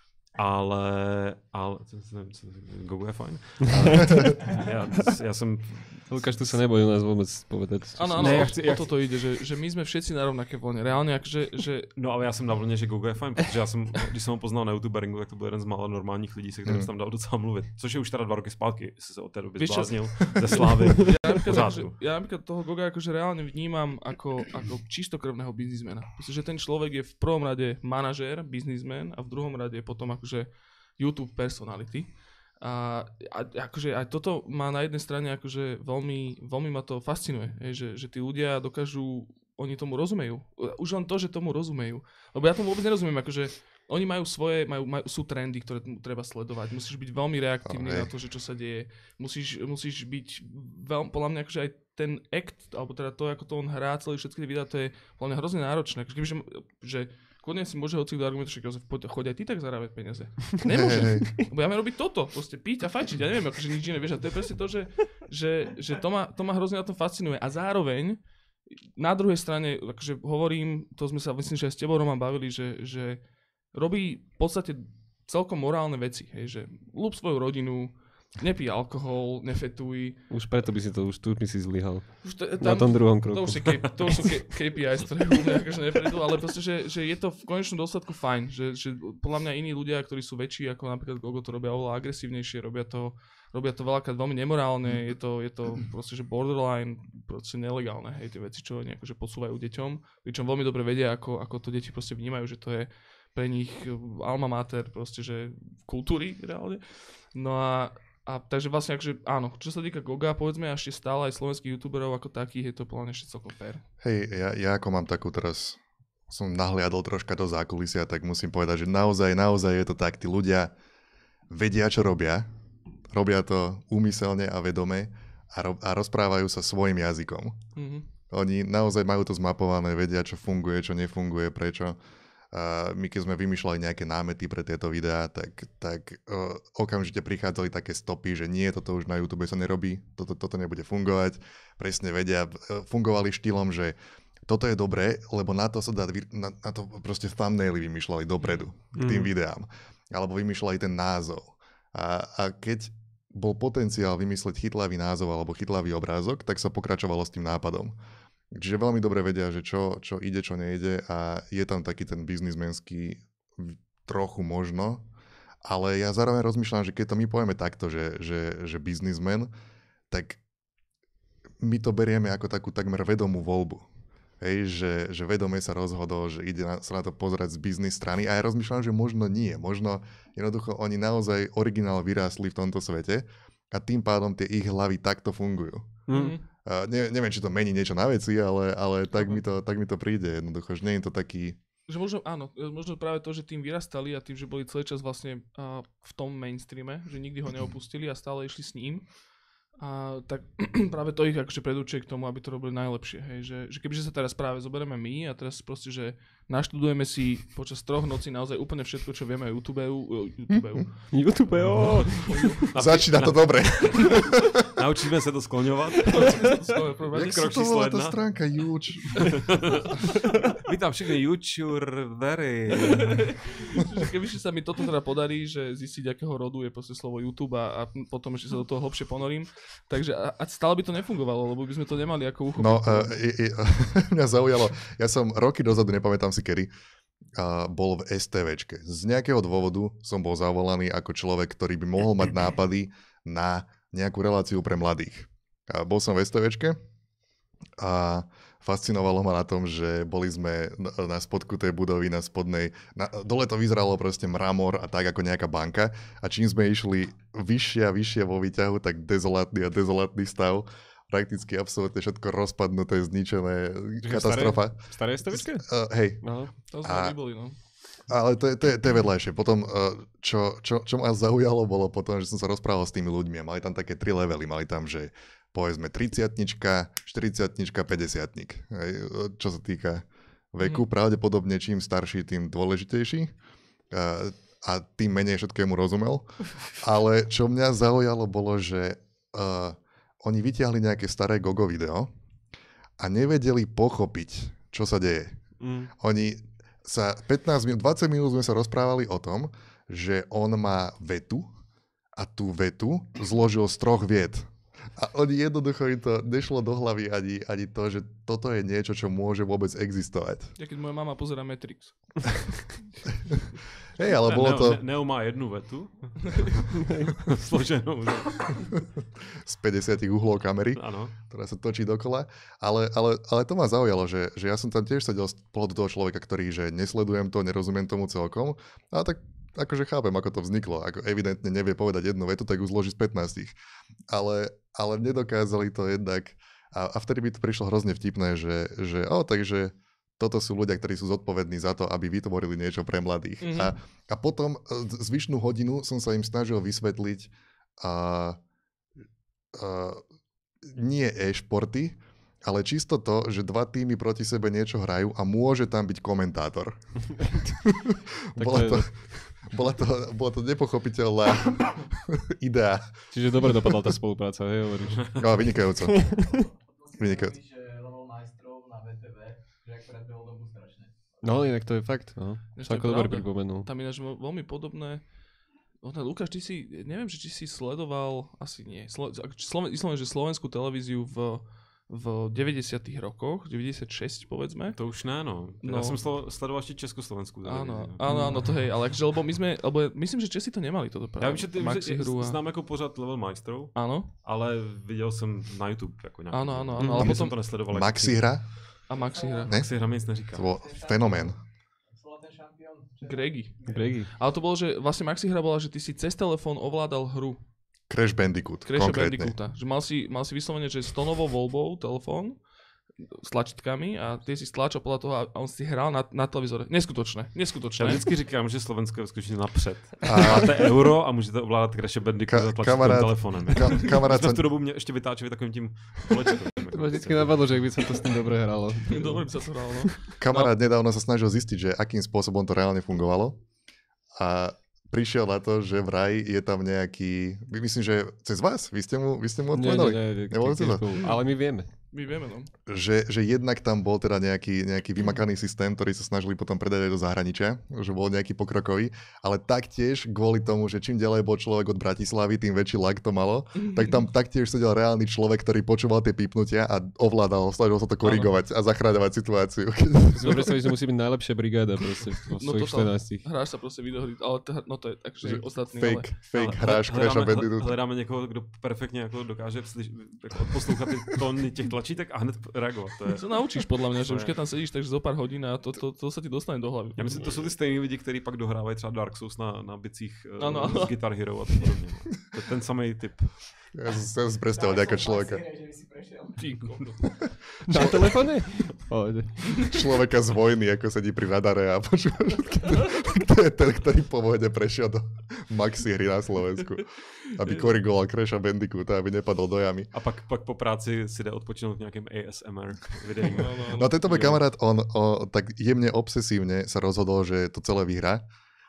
Ale, ale, Gogo je fajn. ja, ja som... Lukáš, tu sa nebojí nás vôbec povedať. Áno, áno, o, o toto ide, že, že my sme všetci na rovnaké vlne. Reálne, akože... Že... No ale já jsem na vlně, že Gogo je fajn, protože já jsem, když jsem ho poznal na YouTuberingu, tak to byl jeden z mála normálních lidí, se kterým mm. jsem tam dal docela mluvit. Což je už teda dva roky zpátky, jestli se od té doby zbláznil ze slávy. Ja napríklad, že, ja napríklad toho Goga akože reálne vnímam ako, ako čistokrvného biznismena. Pretože ten človek je v prvom rade manažér, biznismen a v druhom rade potom akože YouTube personality. A, a akože aj toto má na jednej strane akože veľmi, veľmi ma to fascinuje, je, že, že tí ľudia dokážu, oni tomu rozumejú. Už len to, že tomu rozumejú. Lebo ja tomu vôbec nerozumiem, akože oni majú svoje, majú, majú, sú trendy, ktoré treba sledovať. Musíš byť veľmi reaktívny oh, na to, že čo sa deje. Musíš, musíš byť veľmi, podľa mňa akože aj ten act, alebo teda to, ako to on hrá, celý všetky videá, to je podľa mňa hrozne náročné. Akože, že, že kľudne si môže hocikto argumentovať, že Jozef, poď, choď aj ty tak zarábať peniaze. Nemôžem, lebo ja mám robiť toto, proste piť a fajčiť, ja neviem, akože nič iné, vieš, a to je presne to, že, že, že to, ma, to ma hrozne na tom fascinuje. A zároveň, na druhej strane, akože hovorím, to sme sa, myslím, že aj s tebou, Roman, bavili, že, že robí v podstate celkom morálne veci, hej, že ľúb svoju rodinu, nepí alkohol, nefetuj. Už preto by si to, už tu by si zlyhal. Už to, tam, na tom druhom kroku. To už, K, to už sú K, KPIs, ktoré úplne akože neprejdú, ale proste, že, že je to v konečnom dôsledku fajn, že, že podľa mňa iní ľudia, ktorí sú väčší, ako napríklad Gogo, to robia oveľa agresívnejšie, robia to, robia to veľakrát veľmi nemorálne, je to, je to proste, že borderline, proste nelegálne, hej, tie veci, čo oni akože podsúvajú deťom, pričom veľmi dobre vedia, ako, ako to deti proste vnímajú, že to je pre nich alma mater, proste, že kultúry reálne. No a A takže vlastne, akže, áno, čo sa týka Goga, povedzme, ešte stále aj slovenských youtuberov ako takých, je to plne ešte celkom fair. Hej, ja, ja ako mám takú teraz, som nahliadol troška do zákulisia, tak musím povedať, že naozaj, naozaj je to tak, tí ľudia vedia, čo robia, robia to úmyselne a vedome a, ro- a rozprávajú sa svojim jazykom. Mm-hmm. Oni naozaj majú to zmapované, vedia, čo funguje, čo nefunguje, prečo. Uh, my keď sme vymýšľali nejaké námety pre tieto videá, tak, tak uh, okamžite prichádzali také stopy, že nie, toto už na YouTube sa nerobí, toto, toto nebude fungovať. Presne vedia, uh, fungovali štýlom, že toto je dobré, lebo na to sa dá, na, na to proste thumbnaily vymýšľali dopredu k tým mm. videám. Alebo vymýšľali ten názov. A, a keď bol potenciál vymysleť chytlavý názov alebo chytlavý obrázok, tak sa pokračovalo s tým nápadom. Čiže veľmi dobre vedia, že čo, čo ide, čo nejde a je tam taký ten biznismenský trochu možno, ale ja zároveň rozmýšľam, že keď to my povieme takto, že, že, že biznismen, tak my to berieme ako takú takmer vedomú voľbu. Hej, že, že vedome sa rozhodol, že ide na, sa na to pozerať z biznis strany a ja rozmýšľam, že možno nie. Možno jednoducho oni naozaj originál vyrástli v tomto svete a tým pádom tie ich hlavy takto fungujú. Mm. Uh, ne, neviem, či to mení niečo na veci, ale, ale tak, mi to, tak mi to príde jednoducho, že nie je to taký... Že možno, áno, možno práve to, že tým vyrastali a tým, že boli celý čas vlastne uh, v tom mainstreame, že nikdy ho neopustili a stále išli s ním, a tak práve to ich akože predurčuje k tomu, aby to robili najlepšie. Hej? Že, že kebyže sa teraz práve zoberieme my a teraz proste, že naštudujeme si počas troch nocí naozaj úplne všetko, čo vieme o YouTube. YouTube. YouTube, jo. Začína to dobre. Naučíme sa to skloňovať. Jak sa to volá tá stránka Juč? Vítam všechny YouTubery. Kebyže sa mi toto teda podarí, že zistiť, akého rodu je proste slovo YouTube a, a potom ešte sa do toho hlbšie ponorím, takže a, a stále by to nefungovalo, lebo by sme to nemali ako uchopiť. No, uh, i, i, mňa zaujalo, ja som roky dozadu, nepamätám si kedy, uh, bol v STVčke. Z nejakého dôvodu som bol zavolaný ako človek, ktorý by mohol mať nápady na nejakú reláciu pre mladých. Uh, bol som v STVčke a fascinovalo ma na tom, že boli sme na spodku tej budovy, na spodnej, na, dole to vyzeralo proste mramor a tak ako nejaká banka a čím sme išli vyššie a vyššie vo výťahu, tak dezolátny a dezolátny stav, prakticky absolútne všetko rozpadnuté, zničené, že katastrofa. Staré STVčke? Uh, hej. No, to sme a, neboli, no. Ale to je, to, je, to je vedľajšie. Potom, čo, čo, čo ma zaujalo, bolo potom, že som sa rozprával s tými ľuďmi a mali tam také tri levely. Mali tam, že povedzme tridsiatnička, štyridsiatnička, päťdesiatnik. Čo sa týka veku, mm. pravdepodobne čím starší, tým dôležitejší. A, a tým menej všetkému rozumel. Ale čo mňa zaujalo, bolo, že uh, oni vytiahli nejaké staré Gogo video a nevedeli pochopiť, čo sa deje. Mm. Oni sa pätnásť minút, dvadsať minút sme sa rozprávali o tom, že on má vetu a tú vetu zložil z troch viet. A oni jednoducho im to nešlo do hlavy ani, ani to, že toto je niečo, čo môže vôbec existovať. Ja keď moja mama pozerá Matrix. Hej, ale bolo to... Ne, Neo má jednu vetu. Složenou. Z päťdesiat uhlov kamery, ano. Ktorá sa točí dokola. Ale, ale, ale to ma zaujalo, že, že ja som tam tiež sedel z pohľadu toho človeka, ktorý, že nesledujem to, nerozumiem tomu celkom. A tak akože chápem, ako to vzniklo. Ako evidentne nevie povedať jednu vetu, tak ju zloží z pätnástich. Ale, ale nedokázali to jednak. A, a vtedy by to prišlo hrozne vtipné, že, že o, takže toto sú ľudia, ktorí sú zodpovední za to, aby vytvorili niečo pre mladých. Mm-hmm. A, a potom zvyšnú hodinu som sa im snažil vysvetliť a, a, nie e-športy, ale čisto to, že dva týmy proti sebe niečo hrajú a môže tam byť komentátor. bola, to, bola, to, bola to nepochopiteľná idea. Čiže dobre dopadla tá spolupráca, hej, hovoríš? No, vynikajúco. Vynikajúco. No, inak to je fakt. No. To ako dobre pripomenul. Tam ináč veľmi podobné. Lukáš, ty si, neviem, či si sledoval, asi nie, Sloven, že slovenskú televíziu v, v deväťdesiatych rokoch, deväťdesiatšesť povedzme. To už ne, no. no. Ja som slo- sledoval ešte československú televíziu. Áno, áno, áno, to hej, ale akže, lebo my sme, lebo myslím, že Česi to nemali toto práve. Ja viem, že ty že, a... znám ako pořád Level majstrov. Áno. Ale videl som na YouTube ako nejaký. Áno, áno, áno. Ale potom som to nesledoval. Maxi hra? A Maxi hra. Ne? Maxi hra mi nic neříká. To bol fenomén. Gregi. Gregi. Ale to bolo, že vlastne Maxi hra bola, že ty si cez telefón ovládal hru. Crash Bandicoot, Crash konkrétne. Bandicoota. Že mal si, mal si vyslovene, že s tónovou voľbou telefón s tlačítkami a ty si stlačil podľa toho a on si hral na, na televízore. Neskutočné, Já neskutočné. vždycky říkám, že Slovensko je skutečně napřed. A Máte euro a můžete ovládat Crash Bandicoot Ka- za tlačítkovým kamarát- telefonem. ka- kamarát Jsme sa... v tu dobu mě ještě vytáčeli takovým tím kolečkem. To ma vždycky napadlo, že ak by sa to s tým dobre hralo. Dobre by sa to hralo, no. Kamarát nedávno sa snažil zistiť, že akým spôsobom to reálne fungovalo. A prišiel na to, že vraj je tam nejaký... Myslím, že cez vás? Vy ste mu, vy ste mu Nie, nie, odpovedali? nie, Nebolo tiež to? bol. Ale my vieme. My vieme, no. Že, že jednak tam bol teda nejaký, nejaký vymakaný systém, ktorý sa snažili potom predať aj do zahraničia, že bol nejaký pokrokový, ale taktiež kvôli tomu, že čím ďalej bol človek od Bratislavy, tým väčší lag to malo, tak tam taktiež sedel reálny človek, ktorý počúval tie pípnutia a ovládal, snažil sa to korigovať a zachráňovať situáciu. Si predstaviť, že musí byť najlepšia brigáda proste vo No svojich toto. štrnástich. Hráš sa proste videohry, ale t- no to je takže Že ostatní, fake, ale... fake Ale hráč hledáme- Crasha Bandicoot. Hledáme někoho, kdo perfektně jako dokáže slyš, jako poslouchat ty tóny těch tlačítek a hned reagovat. To je, To naučíš podľa mňa, že To už je- keď tam sedíš, takže zo pár hodín a to, to, to sa ti dostane do hlavy. já myslím, to jsou ty stejní lidi, kteří pak dohrávají třeba Dark Souls na, na bicích uh, Ano, ano. z Guitar Hero a tak podobně. No. To je ten samý typ. Ja som sa si predstavil nejakého človeka. Že by si prešiel. Ty kokos. Na telefóne? Pohode. Človeka z vojny, ako sedí pri radare a počúva všetky. To je ten, ktorý po vojne prešiel do maxi hry na Slovensku. Aby korigoval Crasha Bandicoota, aby nepadol do jamy. A pak, pak po práci si jde odpočinout v nějakém A S M R videí. No, no, No a tento môj kamarát, on o, tak jemne obsesívne sa rozhodol, že to celé vyhrá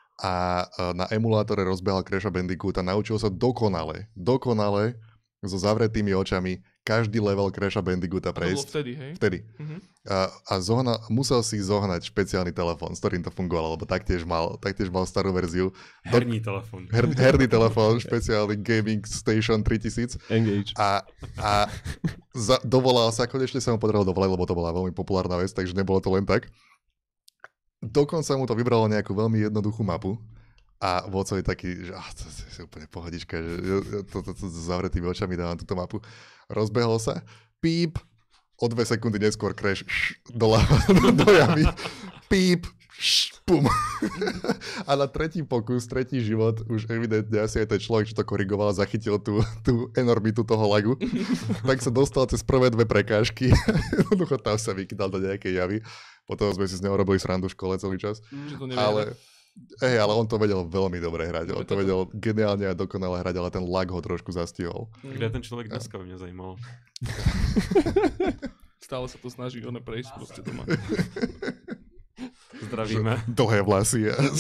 a e, na emulátore rozbehal Crasha Bandicoota, naučil sa dokonale, dokonale so zavretými očami každý level Crasha Bandicoota to bolo prejsť. vtedy, hej? Vtedy. Mhm. A, a zohna, musel si zohnať špeciálny telefón, s ktorým to fungovalo, lebo taktiež mal, taktiež mal starú verziu. Herní telefon. Her, herný telefón, špeciálny Gaming Station tritisíc. Engage. A, a za, dovolal sa, konečne sa mu podarilo dovolať, lebo to bola veľmi populárna vec, takže nebolo to len tak. Dokonca mu to vybralo nejakú veľmi jednoduchú mapu a bol celý taký, že ah, to, to je úplne pohodička, že ja, ja to, to, to, to zavretými očami dávam túto mapu. Rozbehol sa, píp, o dve sekundy neskôr crash, š, do, do jamy, píp, š, pum. A na tretí pokus, tretí život, už evidentne asi aj ten človek, čo to korigoval, zachytil tú, tú enormitu toho lagu, tak sa dostal cez prvé dve prekážky. Jednoducho tam sa vykydal do nejakej javy. Potom sme si z neho robili srandu v škole celý čas. Že to nevie. Ale, hej, ale on to vedel veľmi dobre hrať. On to Toto- vedel geniálne a dokonale hrať, ale ten lag ho trošku zastihol. Kde je ten člověk dneska, by mě zajímalo. Stále sa to snaží ono prejsť proste doma. Zdravíme. Dlhé vlasy. A...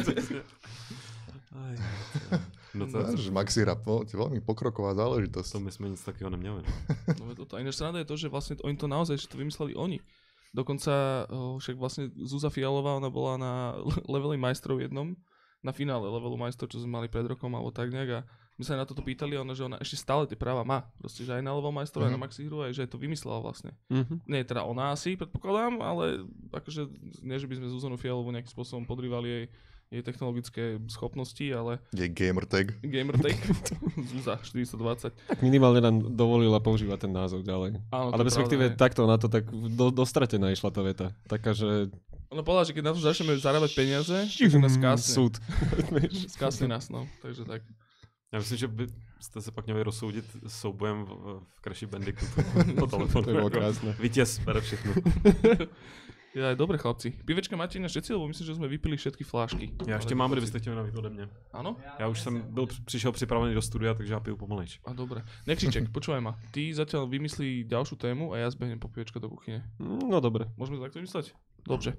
Aj, no to, No, že Maxi Rap, no, veľmi pokroková záležitosť. to my jsme nic takového neměli. No je toto. A ináč sranda je to, že vlastne oni to naozaj, že to vymysleli oni. Dokonca oh, však vlastne Zuzá Fialová, ona bola na leveli majstrov jednom, na finále levelu majstrov, čo sme mali pred rokom alebo tak nejak a my sa aj na toto pýtali a ona, že ona ešte stále tie práva má. Proste, že aj na level majstrov, mm-hmm. aj na Maxi Hru, aj že aj to vymyslela vlastne. Mhm. Nie teda ona asi, predpokladám, ale akože nie, že by sme Zuzanu Fialovú nejakým spôsobom podrývali jej, jej technologické schopnosti, ale Je gamer tag. Gamertech, Zuza štyridsaťdvadsať. Tak minimálne nám dovolila používať ten názov ďalej. Áno, to Ale je respektíve pravda, hej. takto na to, tak do, dostratená išla tá veta. Taká, že... Ona povedala, že keď na to začneme zarábať peniaze, takže nás skásne. Súd. Skásne nás, no. Takže tak. Já myslím, že byste se pak měli rozsoudit soubojem v, v Crashi Bandicootu po telefonu. To je bolo Jako krásne. Vítěz bere všechno. Ja, aj dobre chlapci. Pivečka máte na všetci, lebo myslím, že sme vypili všetky flášky. Já ještě mám, kdybyste chtěli navít ode mě. Áno? Já už jsem byl přišel připravený do studia, takže já piju pomalejš. A dobre. Nekřiček, počúvaj ma. Ty zatiaľ vymyslí ďalšiu tému a ja zbehnem po pivečka do kuchyne. No dobre. Môžeme to takto vymysleť? Dobře.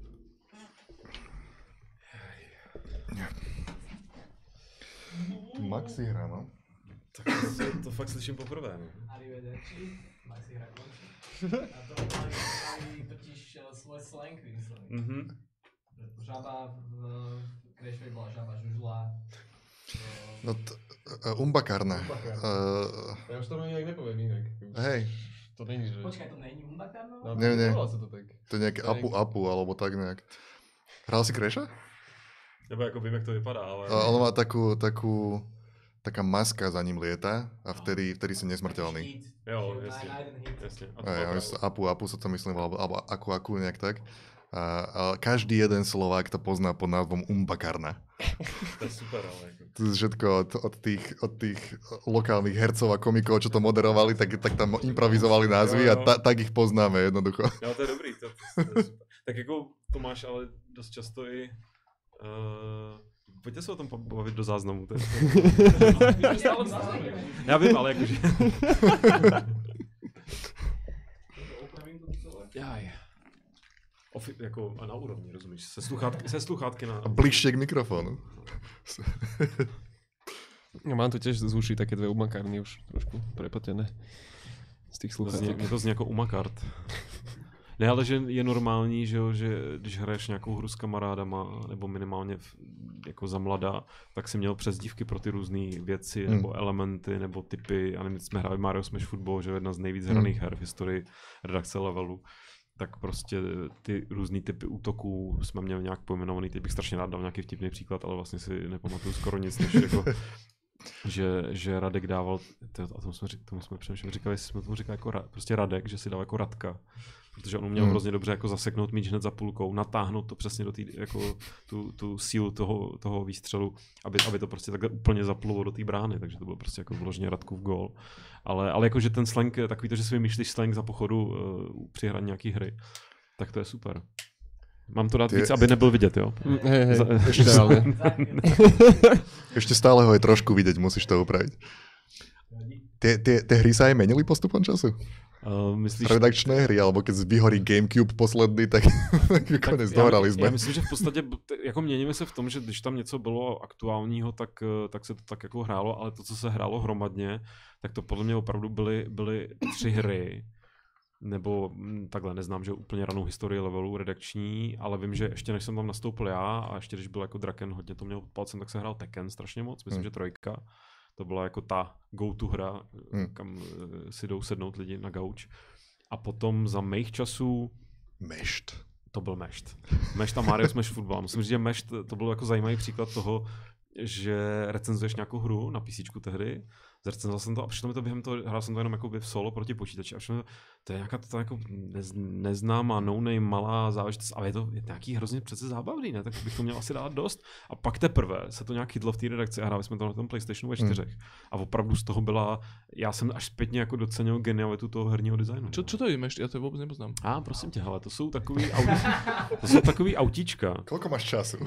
Maxi hra, no. Tak to, to fakt slyším poprvé. No. Arrivederci, Maxi hra končí. A to mali, mali totiž eh, svoj slang vymyslený. Mhm. Žaba v Crashovi bola žaba žužla. No t- uh, umbakarna. Uh, Ja už to nejak nepoviem inak. hej, To není, že... Počkaj, to není Umbakarno? Nie, nie. Volá sa to tak. to je nejaké apu apu, alebo tak nejak. Hral si Crasha? Nebo jako vím, jak to vypadá, ale... Uh, on má takú, takú, taká maska za ním lieta a vtedy, vtedy si nesmrteľný. Jo, Že jasne. na- na jeden hit. Jasne. A to Hej, má oni pravdu. sa- apu apu sa to myslím, alebo, alebo aku aku nejak tak. A, a každý jeden Slovák to pozná pod názvom Umbakarna. To je super, ale jako. To je všetko od, od, tých, od tých lokálnych hercov a komikov, čo to moderovali, tak, tak tam improvizovali názvy Jo, a jo. ta, tak ich poznáme jednoducho. Jo, to je dobrý, to, to, to je super. Tak jako to máš ale dost často i... Uh, pojďte se o tom pobavit do záznamu. To je, to je... Já vím, ale jakože... Jaj. Ofi- jako a na úrovni, rozumíš? Se sluchátky, se sluchátky na... A bližšie k mikrofónu. Ja mám tu tiež z uší také dve umakárny už trošku prepotené z tých To zní, sluchátek. mě to zní jako umakart. Ne, ale že je normální, že, jo, že když hraješ nějakou hru s kamarádama, nebo minimálně v, jako za mladá, tak si měl přezdívky pro ty různé věci, Hmm. nebo elementy, nebo typy. A nevím, jsme hráli Mario Smash Football, že je jedna z nejvíc hraných her v historii redakce Levelu. Tak prostě ty různý typy útoků jsme měli nějak pojmenovaný. Teď bych strašně rád dal nějaký vtipný příklad, ale vlastně si nepamatuju skoro nic, než jako, že, že Radek dával, to, a tomu jsme, tomu jsme přemýšleli, říkali, jestli jsme tomu říkali jako ra, prostě Radek, že si dal jako Radka. Protože on uměl Hmm. hrozně dobře jako zaseknout míč hned za půlkou, natáhnout to přesně do té, jako tu, tu sílu toho, toho výstřelu, aby, aby to prostě takhle úplně zaplulo do té brány, takže to bylo prostě jako vložně Radkův gól. Ale, ale jakože ten slang, takový to, že si vymýšlíš slang za pochodu uh, při hraní nějaký hry, tak to je super. Mám to dát Ty- víc, aby nebyl vidět, jo? Hej, hej, Za- ešte ale. Ešte stále ho je trošku vidieť, musíš to upraviť. Tie, tie, tie hry sa aj menili postupom času? Uh, myslíš, Redakčné hry, alebo keď vyhorí GameCube posledný, tak, tak konec dohrali já, sme. já myslím, že v podstatě b- t- jako měníme se v tom, že když tam něco bylo aktuálního, tak, eh, tak se to tak jako hrálo, ale to, co se hrálo hromadně, tak to podle mě opravdu byly, byly tři hry. Nebo hm, takhle, neznám, že úplně ranou historii Levelu redakční, ale vím, že ještě než jsem tam nastoupil já a ještě když byl jako Draken, hodně to měl pod palcem, tak se hrál Tekken strašně moc, myslím, Hmm. že trojka. To byla jako ta go-to hra, Hmm. kam eh, si jdou sednout lidi na gauč. A potom za mých časů Mešt. to byl Mešt. Mešt a Mario Smash Football. Musím říct, že Mešt to byl jako zajímavý příklad toho, že recenzuješ nějakou hru na PCčku tehdy, zrecenzoval jsem to a přišlo mi to během toho, hrál jsem to jenom jako v solo proti počítači a přišlo mi to, to je nějaká to jako nez, neznámá, no-name, malá záležitost, ale je to je nějaký hrozně přece zábavný, ne? Tak bych to měl asi dát dost. A pak teprve se to nějak chytlo v té redakci a hráli jsme to na tom PlayStationu ve čtyřech. A opravdu z toho byla, já jsem až zpětně jako docenil genialitu toho herního designu. Čo, čo to je Mešt? Ja to vôbec nepoznám. A prosím tě, hele, to jsou takový, aut... to jsou takový autíčka. Koľko máš času?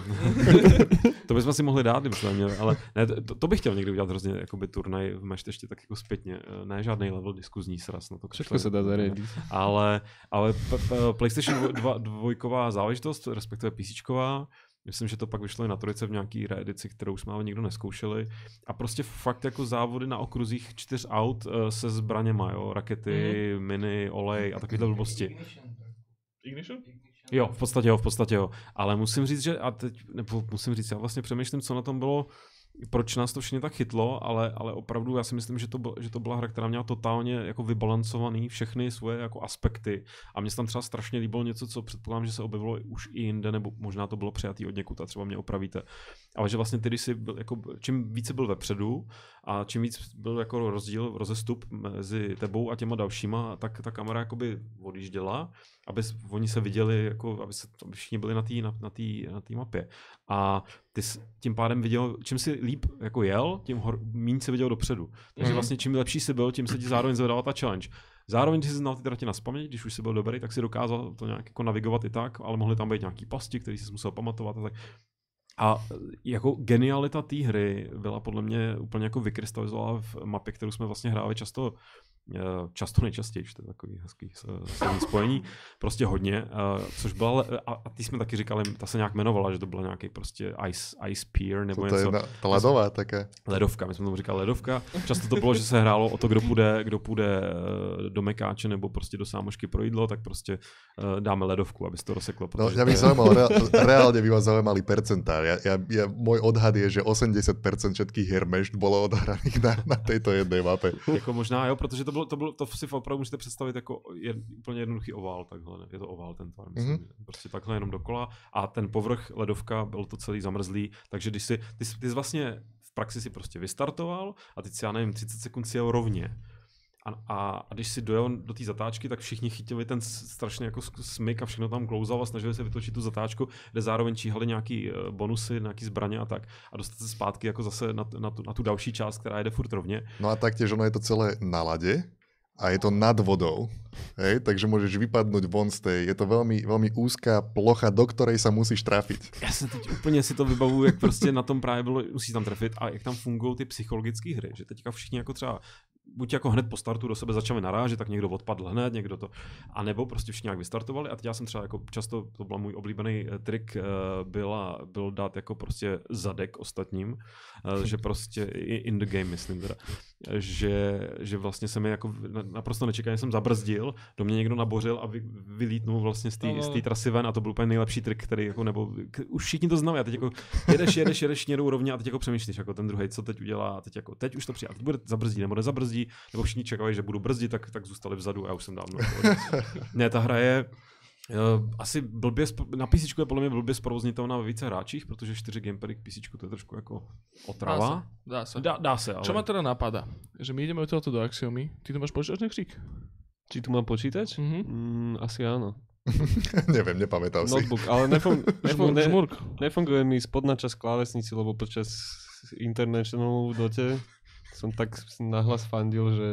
To bychom si mohli dát, kdybychom měli, ale ne, to, to bych chtěl někdy udělat hrozně jakoby turnaj v Mešt ještě tak jako zpětně. Ne žádný level diskuzní sraz na to. Všetko sa dá zariadiť. Ale, ale p- p- PlayStation dva, dvojková záležitost, respektive PCčková, myslím, že to pak vyšlo i na trojce v nějaký reedici, kterou jsme ale nikdo neskoušeli. A prostě fakt jako závody na okruzích čtyř aut uh, se zbraněma, jo, rakety, mm. miny, olej a takovéhle blbosti. Ignition? Jo, v podstatě jo, v podstatě jo. Ale musím říct, že, a teď, nebo musím říct, já vlastně přemýšlím, co na tom bylo, proč nás to všichni tak chytlo, ale, ale opravdu já si myslím, že to, byl, že to byla hra, která měla totálně jako vybalancovaný všechny svoje jako aspekty a mně se tam třeba strašně líbilo něco, co předpokládám, že se objevilo už i jinde, nebo možná to bylo přijatý od někud a třeba mě opravíte. Ale že vlastně ty, když jsi byl, jako, čím více byl vepředu a čím víc byl jako rozdíl, rozestup mezi tebou a těma dalšíma, tak ta kamera jakoby odjížděla, aby oni se viděli, jako, aby, se, aby všichni byli na té na, na na mapě. A ty jsi tím pádem viděl, čím si líp jako jel, tím hor, míň si viděl dopředu. Takže vlastně čím lepší si byl, tím se ti zároveň zvedala ta challenge. Zároveň, když jsi znal ty trati na spaměť, když už jsi byl dobrý, tak si dokázal to nějak jako navigovat i tak, ale mohly tam být nějaký pasti, které jsi musel pamatovat a tak. A jako genialita té hry byla podle mě úplně jako vykrystalizovala v mapě, kterou jsme vlastně hráli často, často nejčastěji, to je takový hezký slovní spojení, prostě hodně, což byla, a ty jsme taky říkali, ta se nějak jmenovala, že to byla nějaký prostě ice, ice pier, nebo to něco. To je ta ledová také. Ledovka, my jsme tomu říkali ledovka. Často to bylo, že se hrálo o to, kdo půjde, kdo půjde do mekáče nebo prostě do sámošky pro jídlo, tak prostě dáme ledovku, aby se to rozseklo. No, mňa by zaujímalo, reálne by ma zaujímali percentá. Ja, ja, ja, môj odhad je, že osemdesiat percent všetkých hier Mešt bolo odhraných na, na tejto jednej mape. Jako možná jo, protože to bylo, to bylo, to si opravdu můžete představit jako jed, úplně jednoduchý ovál takhle, je to ovál ten tvar, myslím, mm-hmm. prostě takhle jenom dokola a ten povrch ledovka byl to celý zamrzlý, takže když si, ty, ty jsi vlastně v praxi si prostě vystartoval a teď si, já nevím, třicet sekund si jel rovně. A, a, a když si dojel do té zatáčky, tak všichni chytili ten strašně jako smyk a všechno tam klouzalo a snažili se vytočit tu zatáčku, kde zároveň číhali nějaký bonusy, nějaký zbraně a tak a dostat se zpátky jako zase na, na, tu, na tu další část, která jede furt rovně. No a taktiež ono je to celé na lade a je to nad vodou, hej? Takže môžeš vypadnúť von z tej, je to veľmi, veľmi úzká plocha, do ktorej sa musíš trafiť. Já se teď úplně si to vybavuju, jak prostě na tom právě bylo, musí tam trefit a jak tam fungují ty psychologické hry, že teďka všichni jako třeba buď jako hned po startu do sebe začali narážet, tak někdo odpadl hned, někdo to, a nebo prostě všichni nějak vystartovali a teď já jsem třeba jako často, to byl můj oblíbený trik, byla, byl dát jako prostě zadek ostatním, že prostě in the game myslím teda, že, že vlastně se mi jako naprosto nečekaně jsem zabrzdil, do mě někdo nabořil a vy, vylítnul vlastně z té no. trasy ven a to byl úplně nejlepší trik, který jako, nebo už všichni to znali a teď jako jedeš, jedeš, jedeš, jedou rovně a teď jako přemýšlíš, jako ten druhý, co teď udělá a teď jako, teď už to přijde a teď bude zabrzdí nebo nezabrzdí, nebo všichni čekali, že budu brzdit, tak, tak zůstali vzadu a já už jsem dávno. Ne, ta hra je uh, asi blbě, na písíčku je podle mě blbě zprovoznitelná ve více hráčích, protože čtyři gamepady k písíčku to je trošku jako otrava. Dá sa. Dá, dá se, ale... Čo ma teda napadá, že my ideme od tohoto do Axiomy, ty to máš počítač křík? Či tu mám počítať? Mhm. Mm, asi áno. Neviem, nepamätám si. Notebook, ale nefung- nefung- ne- Žmurk. nefunguje mi spodná časť klávesnici, lebo počas Internationalu v Dote som tak nahlas fandil, že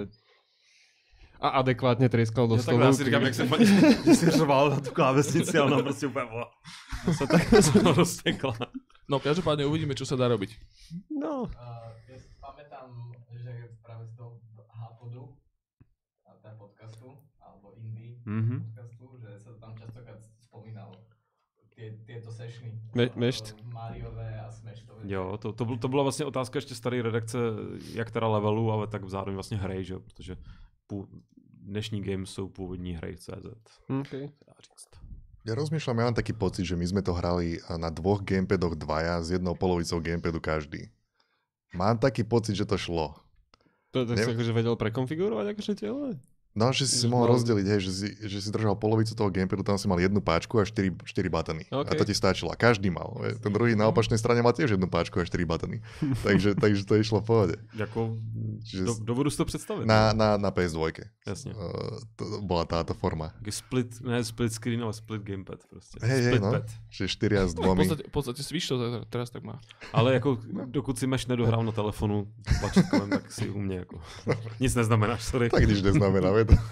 a adekvátne trieskal do ja stolu. Ja si říkám, jak se paní si řval na tu klávesnici a ona prostě úplně bola. sa tak roztekla. No každopádne uvidíme, čo sa dá robiť. No. Uh, ja si pamätám, že práve z toho Hápodu, teda podcastu, alebo Indie mm-hmm. podcastu, že sa tam častokrát spomínalo tie, tieto sešny. Me- mešt. Mariové a smeštové. Jo, to, to, to byla vlastně otázka ještě staré redakce, jak teda levelu, ale tak zároveň vlastně hry, že? Protože pů, dnešní games jsou původní hry C Z. Okay. Ja rozmýšľam, ja mám taký pocit, že my sme to hrali na dvoch gamepadoch dvaja s jednou polovicou gamepadu každý. Mám taký pocit, že to šlo. To, to si Ne- akože vedel prekonfigurovať akože telo? No, že si si Že mohol mal- rozdeliť, hej, že si, že si držal polovicu toho gamepadu, tam si mal jednu páčku a štyri, štyri batony. OK. A to ti stačilo. A každý mal. hej. Ten druhý na opačnej strane mal tiež jednu páčku a štyri batony. takže, takže to išlo v pohode. Jako, Čiže do, dovedu si to představit. Na, na, na P S dva. Jasně. Uh, to bola táto forma. Taky split, ne split screen, ale split gamepad prostě. Hej, hej, split no. pad. Čiže štyria s V dvomi. podstate, v podstate Switch to te- teraz tak má. Ale jako dokud si Meš nedohrál na telefonu tlačítkovém, tak si u mě jako nic neznamenáš, sorry. Tak nič neznamená, vie to.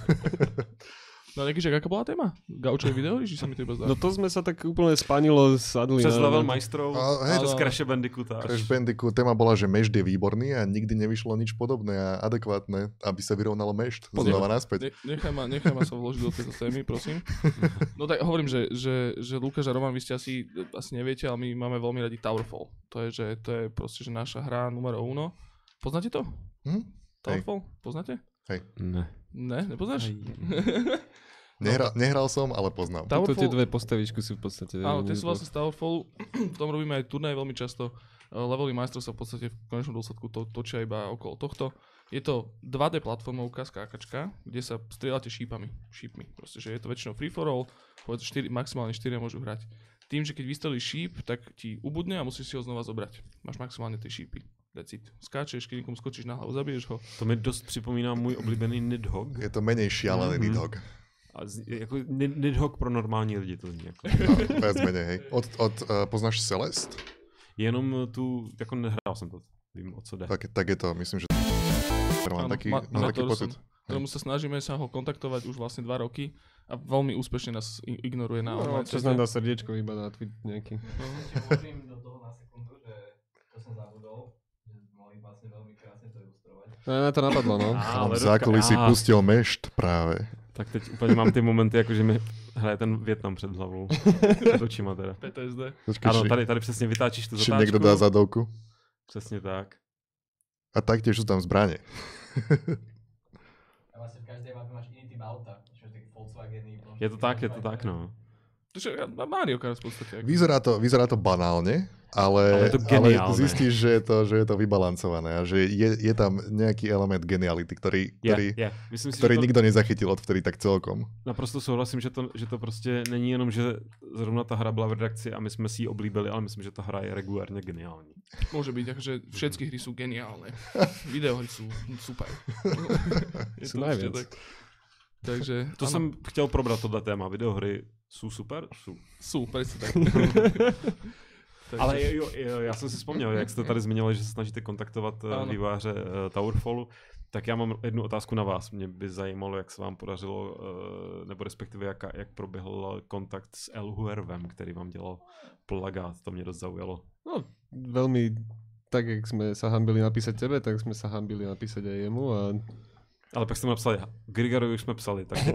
No nejaký, že aká bola téma? Gaučové video, či sa mi to iba zdá? No to sme sa tak úplne spanilo, sadli Přes na... level na- majstrov, A, hej, přes to- Crash Bandicoota. až- Crash Bandicoot, téma bola, že Mešt je výborný a nikdy nevyšlo nič podobné a adekvátne, aby sa vyrovnalo Mešt. Pozri. Znova naspäť. Ne, nechaj, ma, nechaj ma sa vložiť do tejto témy, prosím. No tak hovorím, že, že, že Lukáš a Roman, vy ste asi, asi neviete, ale my máme veľmi radi Towerfall. To je, že, to je proste, že naša hra numero uno. Poznáte to? Hm? Towerfall? Poznáte? Ne. Ne, nepoznáš? Nehral, nehral som, ale poznám. Tá- Tieto tie dve postavičky sú v podstate... Áno, tie sú vlastne z Towerfallu. V tom robíme aj turnaje veľmi často. Levely majstrov sa v podstate v konečnom dôsledku to, točia iba okolo tohto. Je to dva dé platformovka, skákačka, kde sa strieľate šípami, šípmi. Proste, že je to väčšinou free for all, povedzme štyri, maximálne štyria môžu hrať. Tým, že keď vystrelíš šíp, tak ti ubudne a musíš si ho znova zobrať. Máš maximálne tie šípy. That's it. Skáčeš, keď niekomu skočíš na hlavu, zabiješ ho. To mi dost připomíná můj oblíbený Nidhogg. Je to menej šialený Mhm. Nidhogg. A z, jako Nid- Nidhogg pro normální lidi to zní jako. No, viac menej, hej. Od, od, uh, poznáš Celest? Jenom tu, jako nehrál jsem to, vím o co jde. Tak, tak je to, myslím, že... Mám Áno, taký, ma- mám taký Mator pocit. som, ktorému sa snažíme sa ho kontaktovať už vlastne dva roky a veľmi úspešne nás i- ignoruje na No, online čas čete. nám dá srdiečko iba na tweet nejaký. Ešte hovorím do toho na sekundu, že to som zabudol, že sme mohli vlastne veľmi krásne to ilustrovať. No, na to napadlo, no. Á, Tam v Ledovka, zákulisí á. pustil Mešt práve. Tak teď úplně mám ty momenty, jako že mi hraje ten Vietnam před hlavou. Před očima teda. P T S D. Počkej, Ano, či- tady, tady přesně vytáčíš tu či zatáčku. niekto dá zadovku. Přesně tak. A taktiež sú tam zbrane. A vlastne v každej mape máš iný typ auta. Čiže taký Volkswageny. Je to tak, je to tak, no. Takže Mario Kart v podstate. Ako... Vyzerá to, vyzerá to banálne, ale, Ale je to ale geniálne. zistíš, že je to, že je to vybalancované a že je, je tam nejaký element geniality, ktorý, ktorý, Je, je. Myslím si, ktorý že to, nikto nezachytil odvtedy tak celkom. naprosto souhlasím, že to, že to prostě není jenom, že zrovna ta hra byla v redakci a my jsme si ji oblíbili, ale myslím, že ta hra je regulárně geniální. Môže byť, akože všetky hry sú geniálne. Videohry sú super. Je Sú to najviac. určite tak. Takže, To áno, jsem chtěl probrat tohle téma. Videohry jsou super? Jsou. sú, presne tak. Takže, Ale jo, jo, já jsem si vzpomněl, jak jste tady zmiňovali, že se snažíte kontaktovat eh, Ano. vývojáře uh, Towerfallu, tak já mám jednu otázku na vás. Mě by zajímalo, jak se vám podařilo, uh, nebo respektive jak, jak proběhl kontakt s Elhuervem, který vám dělal plagát. To mě dost zaujalo. No, veľmi, tak jak sme sa hambili napísať tebe, tak sme sa hambili napísať aj jemu a Ale pak jste mi napsali, Grigorovi už jsme psali, tak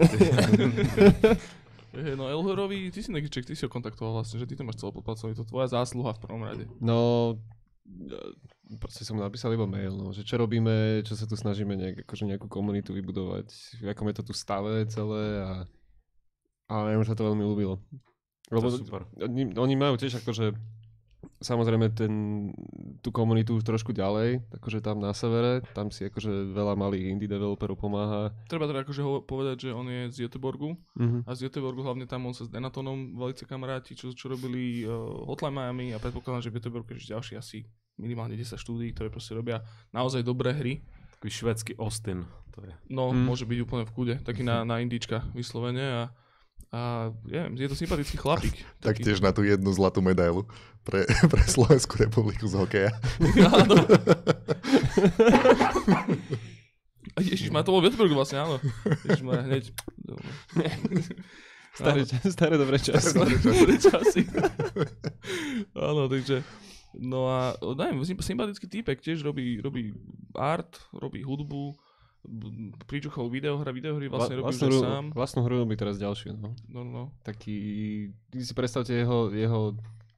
Hej, no Elhorovi, ty si Nekriček, ty si ho kontaktoval vlastne, že ty to máš celopodplacený, to je tvoja zásluha v prvom rade. no, e, proste som mu napísal iba mail, no, že čo robíme, čo sa tu snažíme nejak, akože nejakú komunitu vybudovať, v akom je to tu stave celé a, a jemu sa to veľmi ľúbilo. to Lebo je super. oni, oni majú tiež akože samozrejme ten, tú komunitu už trošku ďalej, akože tam na severe, tam si akože veľa malých indie developerov pomáha. Treba teda akože ho povedať, že on je z Göteborgu Mhm. a z Göteborgu hlavne tam on sa s Denatonom velice kamaráti, čo, čo robili uh, Hotline Miami a predpokladám, že v Göteborgu ešte ďalší asi minimálne desať štúdií, ktoré proste robia naozaj dobré hry. Takový švédsky Austin. To je. No, Mm. môže byť úplne v kúde, taký na, na indička vyslovene a, a je, je to sympatický chlapík. Tak tiež na tú jednu zlatú medailu pre, pre Slovenskú republiku z hokeja. Áno. A Ježiš, má to bol v Göteborgu vlastne, áno. Ježiš, má hneď. Staré, staré dobré časy. Dobré časy. Áno, takže... No a neviem, sympatický týpek tiež robí, robí art, robí hudbu, b- pričuchol videohra, videohry vlastne robí vlastnú, už aj hru, sám. vlastnú hru robí teraz ďalšiu, no. No, no. Taký, vy si predstavte jeho, jeho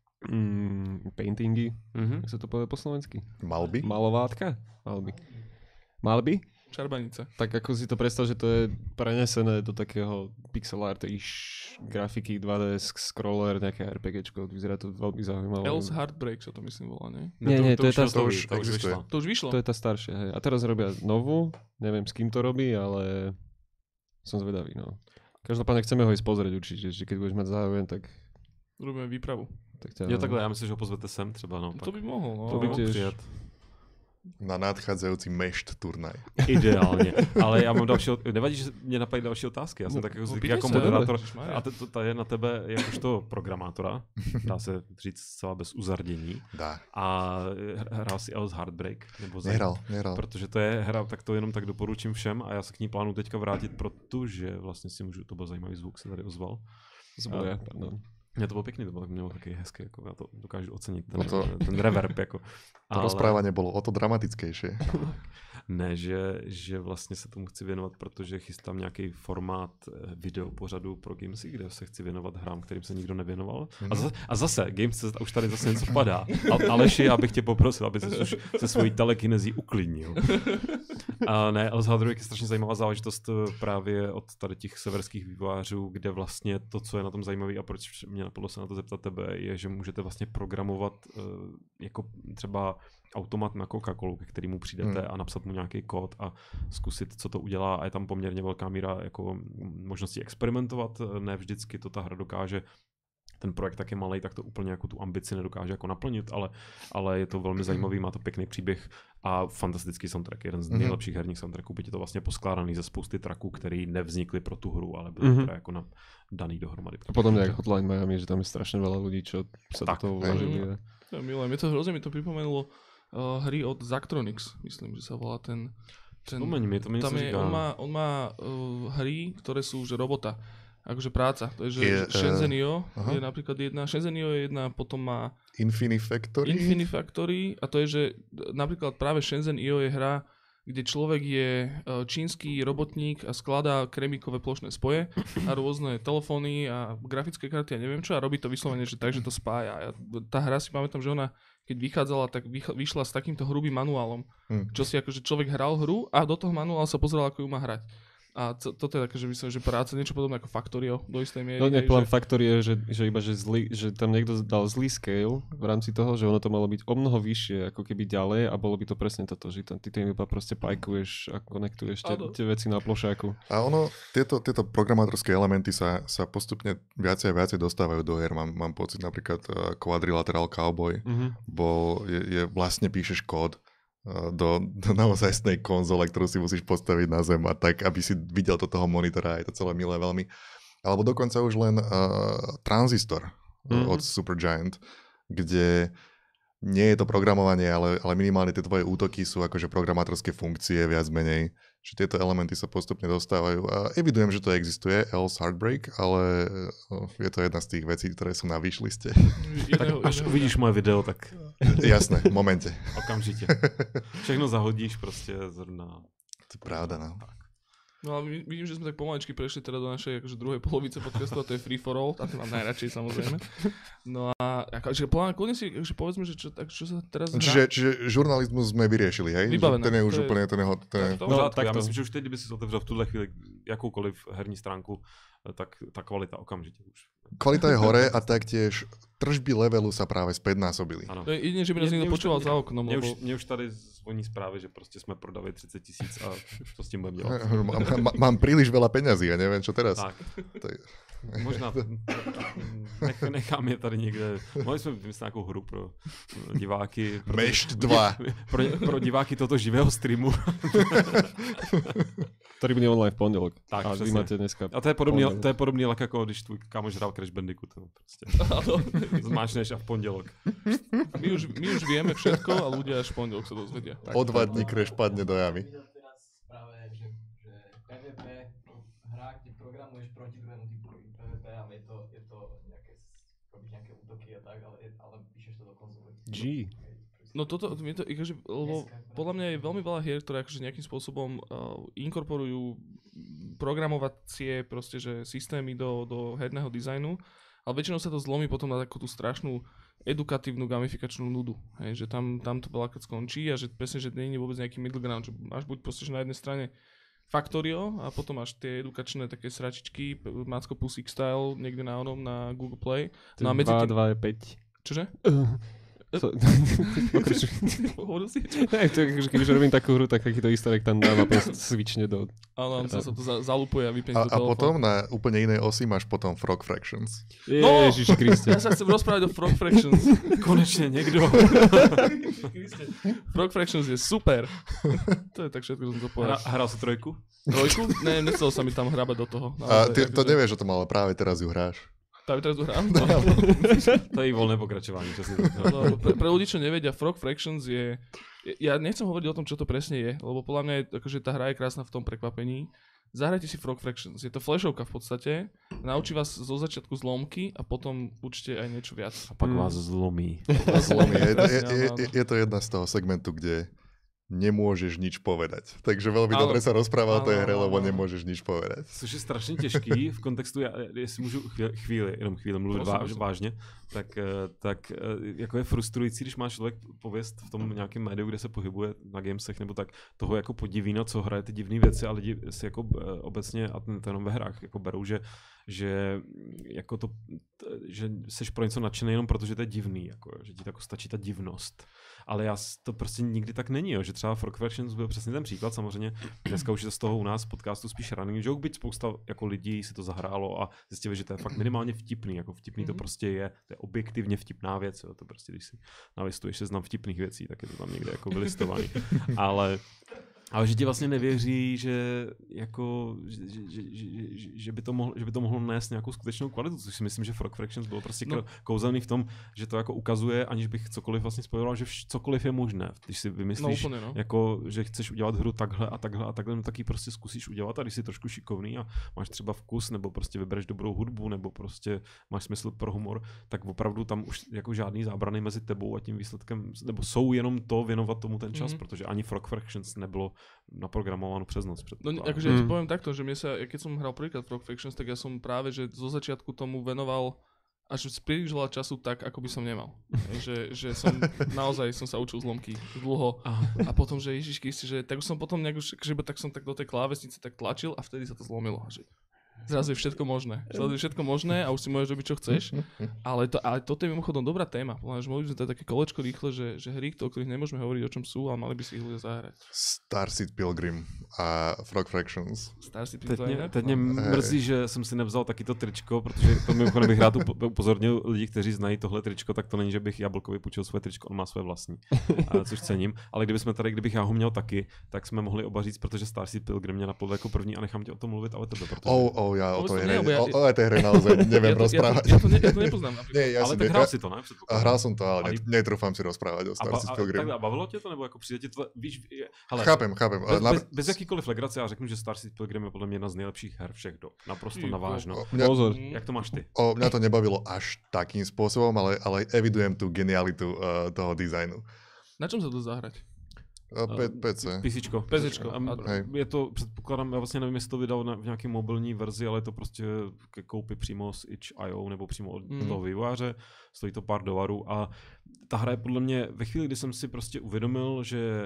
mm, paintingy, Mhm. jak sa to povie po slovensky? Malby? Malovátka? Malby. Malby? Čarbanica. Tak ako si to predstav, že to je prenesené do takého pixel art iš grafiky dva dé scroller, nejaké RPGčko, vyzerá to veľmi zaujímavé. Else Heartbreak sa to myslím volá, nie? Nie, nie, to je tá- to to už, už to už existuje. vyšla. To už vyšlo. To je tá staršia, hej. A teraz robia novú, neviem s kým to robí, ale som zvedavý, no. Každopádne chceme ho ísť pozrieť určite, že keď budeš mať záujem, tak, Robíme výpravu. tak ťa... Jo, takhle, já myslím, že ho pozvete sem třeba, no. To by mohol, no. To by no, tiež. přijet. Na nadchádzajúci mešt turnaj. Ideálně. Ale já mám další, ot- nevadí, že mě napadají další otázky. Já jsem No, tak jako, no, zvyklý pýtaj jako se, moderátor. Ježišmarja. A to, to, to je na tebe jakožto programátora, dá se říct zcela bez uzardění. Dá. A hrál si Else Heartbreak? Nebo za- Nehral, nehral. Protože to je hra, tak to jenom tak doporučím všem a já se k ní plánu teďka vrátit, protože vlastně si můžu, to byl zajímavý zvuk, se tady ozval. Zbol ja, pardon. Mně to bylo pěkný, to bylo, mělo taky hezké, jako já to dokážu ocenit, ten, No to- ten reverb, jako. To rozprávanie bolo o to dramatickejšie. Ne, že, že vlastně se tomu chci věnovat, protože chystám nějaký formát eh, video pořadu pro Gamesy, kde se chci věnovat hrám, kterým se nikdo nevěnoval. A, zase, a zase, Games, už tady zase něco padá. A, Aleši, já bych tě poprosil, aby se už se svojí telekinezí uklidnil. A ne, Else Heartbreak je strašně zajímavá záležitost eh, právě od tady těch severských vývojářů, kde vlastně to, co je na tom zajímavé a proč mě napadlo se na to zeptat tebe, je, že můžete vlastně programovat eh, jako třeba automat na Coca-Colu, ke kterému přijdete Hmm. a napsat mu nějaký kód a zkusit, co to udělá. A je tam poměrně velká míra jako možností experimentovat. Ne vždycky to ta hra dokáže. Ten projekt tak je malej, tak to úplně jako tu ambici nedokáže jako naplnit, ale, ale je to velmi zajímavý, má to pěkný příběh a fantastický soundtrack. Jeden z Mhm. nejlepších herních soundtracků, byť je to vlastně poskládaný ze spousty tracků, který nevznikly pro tu hru, ale byly Mhm. teda jako na, daný dohromady. A potom jak Hotline Miami, že tam je strašne veľa ľudí, čo sa Tak, do toho hej. uvažili. a- To je milé. Mne to hrozne mi to pripomenulo uh, hry od Zachtronics, myslím, že sa volá ten... ten Spomeň mi, to mi tam něco je, říká. on má, on má uh, hry, ktoré sú že robota. Akože práca. To je, že Je, je, eh, Shenzhen io aha. je napríklad jedna, Shenzhen io je jedna, potom má Infinifactory? Infinifactory a to je, že napríklad práve Shenzhen io je hra, kde človek je uh, čínsky robotník a skladá kremíkové plošné spoje a rôzne telefóny a grafické karty a neviem čo a robí to vyslovene, že tak, že to spája. Ja, tá hra si pamätám, že ona keď vychádzala, tak vych- vyšla s takýmto hrubým manuálom, Hm. čo si akože človek hral hru a do toho manuálu sa pozeral, ako ju má hrať. A to, toto je také, že myslím, že práca niečo podobné ako Factorio do istej miery. No hej, neplán že... faktor je, že, že iba, že, zlý, že tam niekto dal zlý scale v rámci toho, že ono to malo byť o mnoho vyššie, ako keby ďalej a bolo by to presne toto, že tam, ty tým iba proste pajkuješ a konektuješ tie, tie veci na plošáku. A ono, tieto, tieto programátorské elementy sa, sa postupne viacej a viacej dostávajú do her. Mám, mám pocit napríklad uh, Quadrilateral Cowboy, uh-huh. bol, je, je vlastne píšeš kód do, do naozajstnej konzole, ktorú si musíš postaviť na zem a tak, aby si videl do toho monitora, je to celé milé veľmi. Alebo dokonca už len uh, Transistor mm-hmm. od Supergiant, kde nie je to programovanie, ale, ale minimálne tie tvoje útoky sú akože programátorské funkcie viac menej, že tieto elementy sa postupne dostávajú a evidujem, že to existuje, Else Heartbreak, ale uh, je to jedna z tých vecí, ktoré sú na wishliste. Tak až uvidíš moje video, tak... Jasné, v momente. Okamžite. Všechno zahodíš proste zrovna. To je pravda, no. No ale vidím, že sme tak pomaličky prešli teda do našej akože druhej polovice podcastu a to je Free for All, a to mám najradšej samozrejme. No a akože kľudne si akože povedzme, že čo, tak, čo sa teraz hrá. Čiže, čiže žurnalizmus sme vyriešili, hej? Vybavené. Ten je už to úplne, ten je hot. Ten je... No, tak ja to. myslím, že už teď, kdyby si otevřel v tuhle chvíli jakoukoliv herní stránku, tak tá kvalita okamžite už. Kvalita je hore a taktiež tržby levelu sa práve spätnásobili. To je jedine, že by nás niekto počúval za oknom. Mne lebo... už, mne už tady zvoní správy, že proste sme prodali tridsať tisíc a čo s tým budem delať. Mám, mám príliš veľa peňazí a neviem, čo teraz. Tak. To je... Možná nech, nechám je tady niekde. Mohli sme vymyslet nejakú hru pro diváky. Pro, Mešt dva. Pro, pro diváky tohoto živého streamu. Ktorý bude online v pondelok. Tak, a vy máte dneska. A to je podobný, to je podobný lak, ako když tvůj kámoš hral Crash Bandicoot. Proste. Zmáčneš a v pondelok. My už, my už vieme všetko a ľudia až v pondelok sa dozvedia. O dva dní Crash padne do jamy. Videl teraz práve, že, že pé vé pé hra, kde programuješ proti druhému typu pé vé pé, ale je to, je to nejaké, robíš nejaké útoky a tak, ale, ale píšeš to do konzoly. G. No toto, mi to, akože, lebo podľa mňa je veľmi veľa hier, ktoré akože nejakým spôsobom uh, inkorporujú programovacie proste, že systémy do, do herného dizajnu, ale väčšinou sa to zlomí potom na takú tú strašnú edukatívnu gamifikačnú nudu, hej, že tam, tam to veľakrát skončí a že presne, že nie je vôbec nejaký middle ground, že máš buď proste, že na jednej strane Factorio a potom máš tie edukačné také sračičky, Macko Pusík style, niekde na onom, na Google Play. No a medzi dva, tým... dva, päť. Čože? So, Hovoril si? Ne, to je, keď robím takú hru, tak takýto easter egg tam dáva svične do... Áno, sa to za, zalupuje a vypne A, do a potom na úplne inej osi máš potom Frog Fractions. No! Ježiš Kriste. Ja sa chcem rozprávať o Frog Fractions. Konečne niekto. Frog Fractions je super. To je tak všetko, som to povedal. Hra, hral si trojku? Trojku? Ne, nechcel sa mi tam hrabať do toho. A Naozaj, ty akože- to nevieš o tom, ale práve teraz ju hráš. Práve teraz tu hrám? To je voľné pokračovanie, čo si to... No, pre, pre ľudí, čo nevedia, Frog Fractions je... Ja nechcem hovoriť o tom, čo to presne je, lebo podľa mňa je, akože tá hra je krásna v tom prekvapení. Zahrajte si Frog Fractions, je to flashovka v podstate, naučí vás zo začiatku zlomky a potom určite aj niečo viac. A pak vás zlomí. Zlomí. Je, je, je, je, Áno, áno. je to jedna z toho segmentu, kde nemôžeš nič povedať. Takže veľmi Áno. dobre sa rozpráva o tej Áno, hre, áno, lebo áno. nemôžeš nič povedať. Což je strašně těžký v kontextu, já, jestli můžu chvíli, chvíli jenom chvíli mluvit Prosím, váž, prosím. vážně, tak, eh, tak eh, jako je frustrující, když má člověk pověst v tom nějakém médiu, kde se pohybuje na gamesech nebo tak, toho jako podivína, co hraje ty divné věci a lidi si jako eh, obecně, a to jenom ve hrách, jako berou, že, že jako to, t- že seš pro něco nadšený jenom protože to je divný, jako, že ti tako stačí ta divnost. Ale já s- to prostě nikdy tak není, jo, že třeba Frog Fractions byl přesně ten příklad, samozřejmě dneska už je to z toho u nás v podcastu spíš running joke, byť spousta jako lidí si to zahrálo a zjistili, že to je fakt minimálně vtipný, jako vtipný to Mhm. prostě je, to je objektivně vtipná věc, jo, to prostě když si nalistuješ seznam vtipných věcí, tak je to tam někde jako vylistovaný, ale ale že ti vlastně nevěří, že, jako, že, že, že, že, že, by to mohlo, že by to mohlo nést nějakou skutečnou kvalitu, což si myslím, že Frog Fractions bylo prostě No. no. kouzelný v tom, že to jako ukazuje, aniž bych cokoliv vlastně spojoval, že vš- cokoliv je možné. Když si No vymyslíš, úplne, no. jako, že chceš udělat hru takhle a takhle a takhle, no tak ji prostě zkusíš udělat a když jsi trošku šikovný a máš třeba vkus, nebo prostě vybereš dobrou hudbu, nebo prostě máš smysl pro humor, tak opravdu tam už jako žádný zábrany mezi tebou a tím výsledkem, nebo jsou jenom to věnovat tomu ten čas, Mhm. protože ani Frog Fractions nebylo naprogramováno přes noc. No, předpokládám. akože ja ti Mm. poviem takto, že mne sa, keď som hral prvýkrát Frog Fractions, tak ja som práve, že zo začiatku tomu venoval až príliš veľa času tak, ako by som nemal. že, že som naozaj som sa učil zlomky dlho a potom, že Ježiš Kristi, že tak už som potom nejak už, že tak som tak do tej klávesnice tak tlačil a vtedy sa to zlomilo. Že zrazu je všetko možné. Zrazu je všetko možné a už si môžeš robiť, čo chceš. Ale, to, ale toto je mimochodom dobrá téma. Že mohli by sme to také kolečko rýchle, že, že hry, o ktorých nemôžeme hovoriť, o čom sú, ale mali by si ich ľudia zahrať. Starseed Pilgrim a Frog Fractions. Starseed Teď Pilgrim. mě, teď mě mrzí, že jsem si nevzal taky to tričko, protože to mimochodem bych rád upozornil lidi, kteří znají tohle tričko, tak to není, že bych Jablkovi půjčil svoje tričko, on má své vlastní, a, což cením. Ale kdybychom tady, kdybych já ho měl taky, tak jsme mohli oba říct, protože Starseed Pilgrim mě napadlo jako první a nechám tě o tom mluvit, ale tebe, protože... Oh, oh, ja o to je ja, o, o tej hre naozaj neviem ja to, rozprávať. Ja to, ja to, ne, ja to nepoznám napríklad. Nie, ja ale si tak ne, hrál ja, si to, ne? A hral som to, ale A- ne, netrúfam si rozprávať o A, ba, Starseed a, Pilgrim. takhle, a bavilo tě to, nebo jako přijde ti to, víš, je- hele, Chápem, chápem. bez, Na, bez, bez jakýkoliv legrace já řeknu, že Starseed Pilgrim je podle mě jedna z nejlepších her všech dob. Naprosto Ty navážno. o, mňa, Pozor. Jak to máš ty? o, mňa to nebavilo až takým spôsobom, ale, ale evidujem tú genialitu uh, toho dizajnu. Na čom sa to zahrať? Uh, P- PC. PCčko. PCčko. A, Hej. je to, předpokládám, já vlastně nevím, jestli to vydal na, v nějaké mobilní verzi, ale je to prostě ke koupi přímo z itch tečka io nebo přímo od Mhm. toho vývojáře. Stojí to pár dolarů a ta hra je podle mě, ve chvíli, kdy jsem si prostě uvědomil, že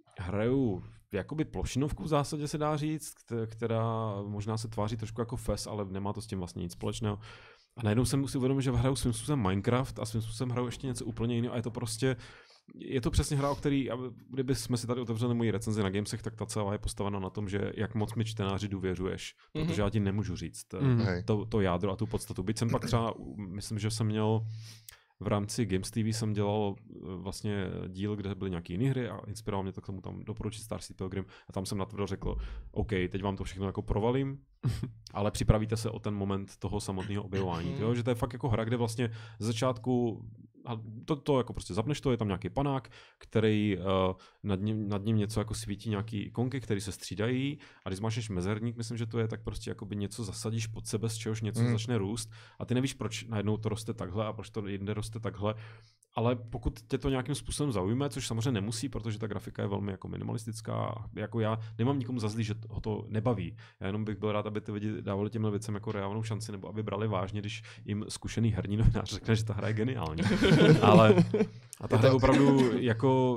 hraju jakoby plošinovku v zásadě se dá říct, kt- která možná se tváří trošku jako F E S, ale nemá to s tím vlastně nic společného. A najednou jsem si uvědomil, že hraju svým způsobem Minecraft a svým způsobem hraju ještě něco úplně jiného a je to prostě je to přesně hra, o který, kdyby jsme si tady otevřeli moji recenzi na Gamesech, tak ta celá je postavena na tom, že jak moc mi čtenáři důvěřuješ, Mhm. protože já ti nemůžu říct Mhm. Hej. to, to jádro a tu podstatu. Byť jsem pak třeba, myslím, že jsem měl v rámci Games T V jsem dělal eh, vlastně díl, kde byly nějaké jiné hry a inspiroval mě to k tomu tam doporučit Starseed Pilgrim a tam jsem natvrdo řekl, OK, teď vám to všechno jako provalím, ale připravíte se o ten moment toho samotného objevování. Jo? Že to je fakt jako hra, kde vlastně z začátku a to, to jako prostě zapneš to, je tam nějaký panák, který uh, nad, ním, nad ním něco jako svítí nějaký ikonky, které se střídají a když zmášneš mezerník, myslím, že to je, tak prostě jakoby něco zasadíš pod sebe, z čehož něco Mm. začne růst a ty nevíš, proč najednou to roste takhle a proč to jinde roste takhle. Ale pokud tě to nějakým způsobem zaujme, což samozřejmě nemusí, protože ta grafika je velmi jako minimalistická, jako já nemám nikomu za zlý, že ho to nebaví. Já jenom bych byl rád, aby ty lidi dávali těmhle věcem jako reálnou šanci, nebo aby brali vážně, když jim zkušený herní novinář řekne, že ta hra je geniální. Ale a ta hra je opravdu jako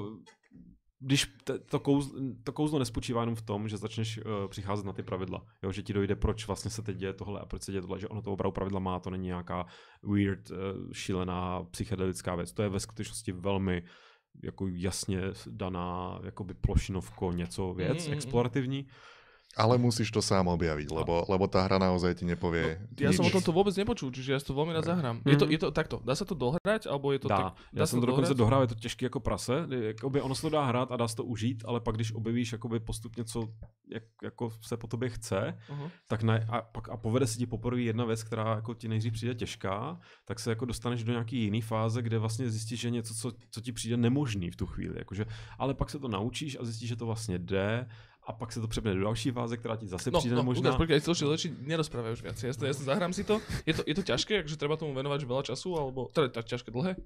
když t- to, kouzlo, to kouzlo nespočívá jenom v tom, že začneš uh, přicházet na ty pravidla, jo, že ti dojde, proč vlastně se teď děje tohle a proč se děje tohle, že ono to opravdu pravidla má, to není nějaká weird, uh, šílená psychedelická věc, to je ve skutečnosti velmi jako jasně daná jakoby plošinovko něco věc, Mm, mm, mm. explorativní. Ale musíš to sám objaviť, lebo, lebo tá hra naozaj ti nepovie Ja nič. som o tomto vôbec nepočul, čiže ja si to veľmi rád zahrám. Je to, je to takto, dá sa to dohrať, alebo je to Dá. tak... Já jsem sa to dokonce dohrať? dohrál, je to těžký jako prase. Jakoby ono se to dá hrát a dá se to užít, ale pak když objevíš jakoby postupně, co jak, jako se po tobě chce, Aha. tak ne, a, pak, a povede se ti poprvé jedna věc, která jako ti nejdřív přijde těžká, tak se jako dostaneš do nějaký jiný fáze, kde vlastně zjistíš, že něco, co, co ti přijde nemožný v tu chvíli. Jakože, ale pak se to naučíš a zjistíš, že to vlastně jde. A pak se to přepne do další fáze, která ti zase No, přijde no, možná. Ukáž, pokiaľ si to lepší, nerozprávaj už viac. Jasne, jasne, zahrám si to. Je to, je to ťažké, že treba tomu venovať veľa času, alebo teda tak ťažké, dlhé?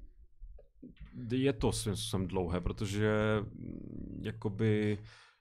Je to svým způsobem dlouhé, protože mm, jakoby...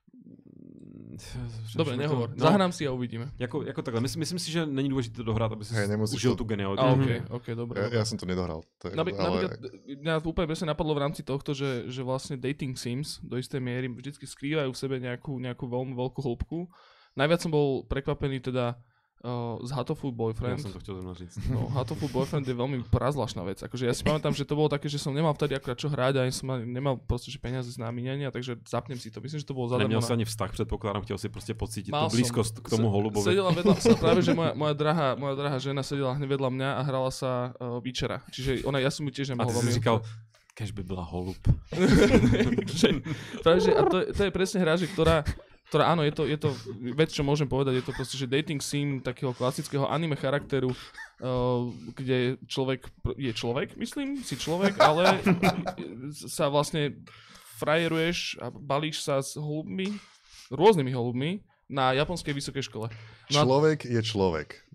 Dobre, Řešíme nehovor. to- Zahrám si a uvidíme. Jako, jako takhle, myslím, myslím si, že není důležité to dohrát, aby si Hej, nemusíš užil to- tu genialitu. A Mhm. ok, ok, dobre. Ja, ja som to nedohral. To je, Napri- ale, Napríklad, mňa úplne presne napadlo v rámci tohto, že, že vlastne dating sims do istej miery vždycky skrývajú v sebe nejakú, nejakú veľmi veľkú hĺbku. Najviac som bol prekvapený teda uh, z Hatoful Já Boyfriend. jsem to chtěl zrovna říct. No, Hatoful Boyfriend je veľmi prazvláštna vec. Akože ja si pamätám, že to bolo také, že som nemal vtedy akurát čo hrať a ani som mal- nemal proste že peniaze z námínenia, takže zapnem si to. Myslím, že to bolo zadarmo. Neměl na- jsi ani vztah, předpokládám, chtěl si prostě pocítit Mal tu blízkost som. k tomu Se- holubovi. Sedela vedľa, sa, práve, že moja, moja, drahá, moja drahá žena sedela hneď vedľa mňa a hrala sa uh, Witchera. Čiže ona, ja som mu tiež A nemohol ty veľmi jsi říkal, kež by byla holub. že, práve, že, a to, je- to je presne hra, že ktorá, ktorá áno, je to, je to vec, čo môžem povedať, je to proste, že dating sim takého klasického anime charakteru, uh, kde človek, je človek, myslím, si človek, ale sa vlastne frajeruješ a balíš sa s holubmi, rôznymi holubmi na japonskej vysokej škole. No a- človek je človek.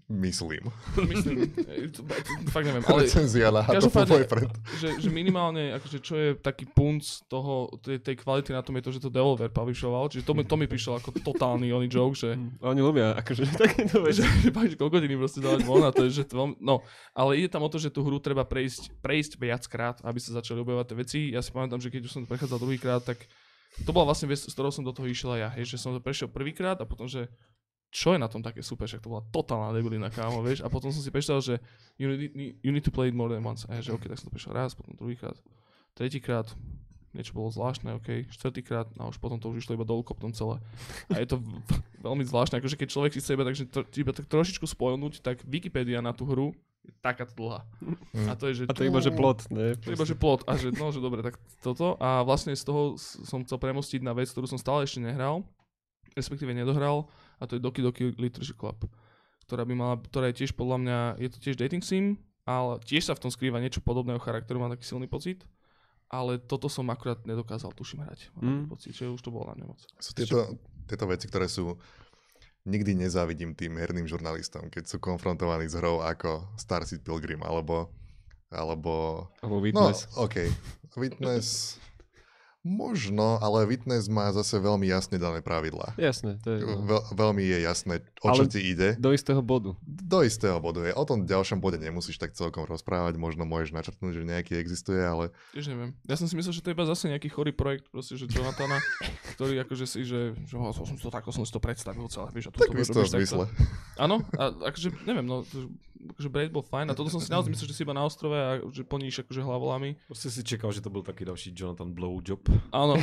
Myslím. Myslím, e, to, to, to fakt neviem, ale Recenzia na Hatoful každopádne, Boyfriend. že, že minimálne, akože čo je taký punc toho, tej, tej kvality na tom je to, že to Devolver publishoval, čiže to mi, to mi prišlo ako totálny oný joke, že, Oni ľubia, akože takéto že, veci. že, že koľko hodín proste dávať von a to je, že to veľmi, no, ale ide tam o to, že tú hru treba prejsť, prejsť viackrát, aby sa začali objavovať tie veci. Ja si pamätám, že keď už som to prechádzal druhýkrát, tak to bola vlastne vec, s ktorou som do toho išiel aj ja, hej, že som to prešiel prvýkrát a potom, že čo je na tom také super, však to bola totálna debilina, kámo, vieš, a potom som si prečítal, že you need, you need to play it more than once, a ja, že ok, tak som to prešiel raz, potom druhýkrát, tretíkrát, niečo bolo zvláštne, ok, štvrtýkrát, a už potom to už išlo iba dolu kopnom celé. A je to v, veľmi zvláštne, akože keď človek si chce iba, takže to, iba tak trošičku spoilnúť, tak Wikipédia na tú hru je takáto dlhá. Mm. A to je, že... A to je iba, že plot, ne? To je iba, že plot, a že no, že dobre, tak toto. A vlastne z toho som chcel premostiť na vec, ktorú som stále ešte nehral, respektíve nedohral, a to je Doki Doki Literature Club, ktorá by mala, ktorá je tiež podľa mňa, je to tiež dating sim, ale tiež sa v tom skrýva niečo podobného charakteru, mám taký silný pocit, ale toto som akurát nedokázal, tuším, hrať. Mám Mm. taký pocit, že už to bolo na mňa moc. Sú tieto, tieto veci, ktoré sú... Nikdy nezávidím tým herným žurnalistom, keď sú konfrontovaní s hrou ako Starseed Pilgrim, alebo... Alebo... Alebo No, Witness. OK. Witness... Možno, ale Witness má zase veľmi jasne dané pravidlá. Jasné, to je... No. Veľ, veľmi je jasné, o čo Ale- ti ide. Do istého bodu. Do istého bodu je. O tom ďalšom bode nemusíš tak celkom rozprávať, možno môžeš načrtnúť, že nejaký existuje, ale Tiež neviem. Ja som si myslel, že to je iba zase nejaký chorý projekt, proste, že Jonathana, ktorý akože si, že, že oh, som si to tak, som si to predstavil celé, vieš, a tu tak to v istom robíš takto. zmysle. Áno, a akože, neviem, no, to- akože Braid bol fajn a toto som si naozaj myslel, že si iba na ostrove a že plníš akože hlavolami. Proste si čekal, že to byl taký další Jonathan Blowjob. Áno.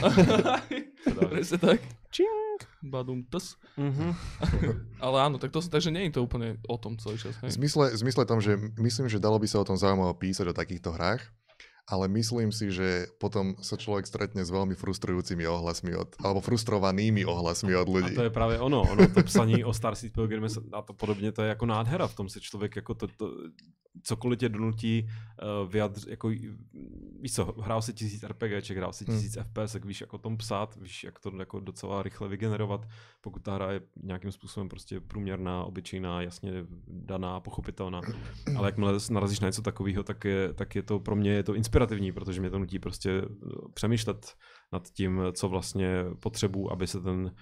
Presne tak. Čing. Badum ts. Mhm. Ale áno, tak to takže nie je to úplne o tom celý čas. V Hej? zmysle, v zmysle tom, že myslím, že dalo by sa o tom zaujímavo písať o takýchto hrách, ale myslím si, že potom sa človek stretne s veľmi frustrujúcimi ohlasmi od, alebo frustrovanými ohlasmi od A ľudí. to je právě ono, ono to psaní o Starseed Pilgrim a to podobně, to je jako nádhera, v tom se člověk jako to, to cokoliv tě donutí uh, vyjadř, jako, víš co, hrál si tisíc RPGček, hrál si tisíc hmm. F P S, tak víš, jak o tom psát, víš, jak to jako docela rychle vygenerovat, pokud ta hra je nějakým způsobem prostě průměrná, obyčejná, jasně daná, pochopitelná, ale jakmile narazíš na něco takového, tak je, tak je to pro mě je to inspirativní, protože mě to nutí prostě přemýšlet nad tím, co vlastně potřebuji, aby se ten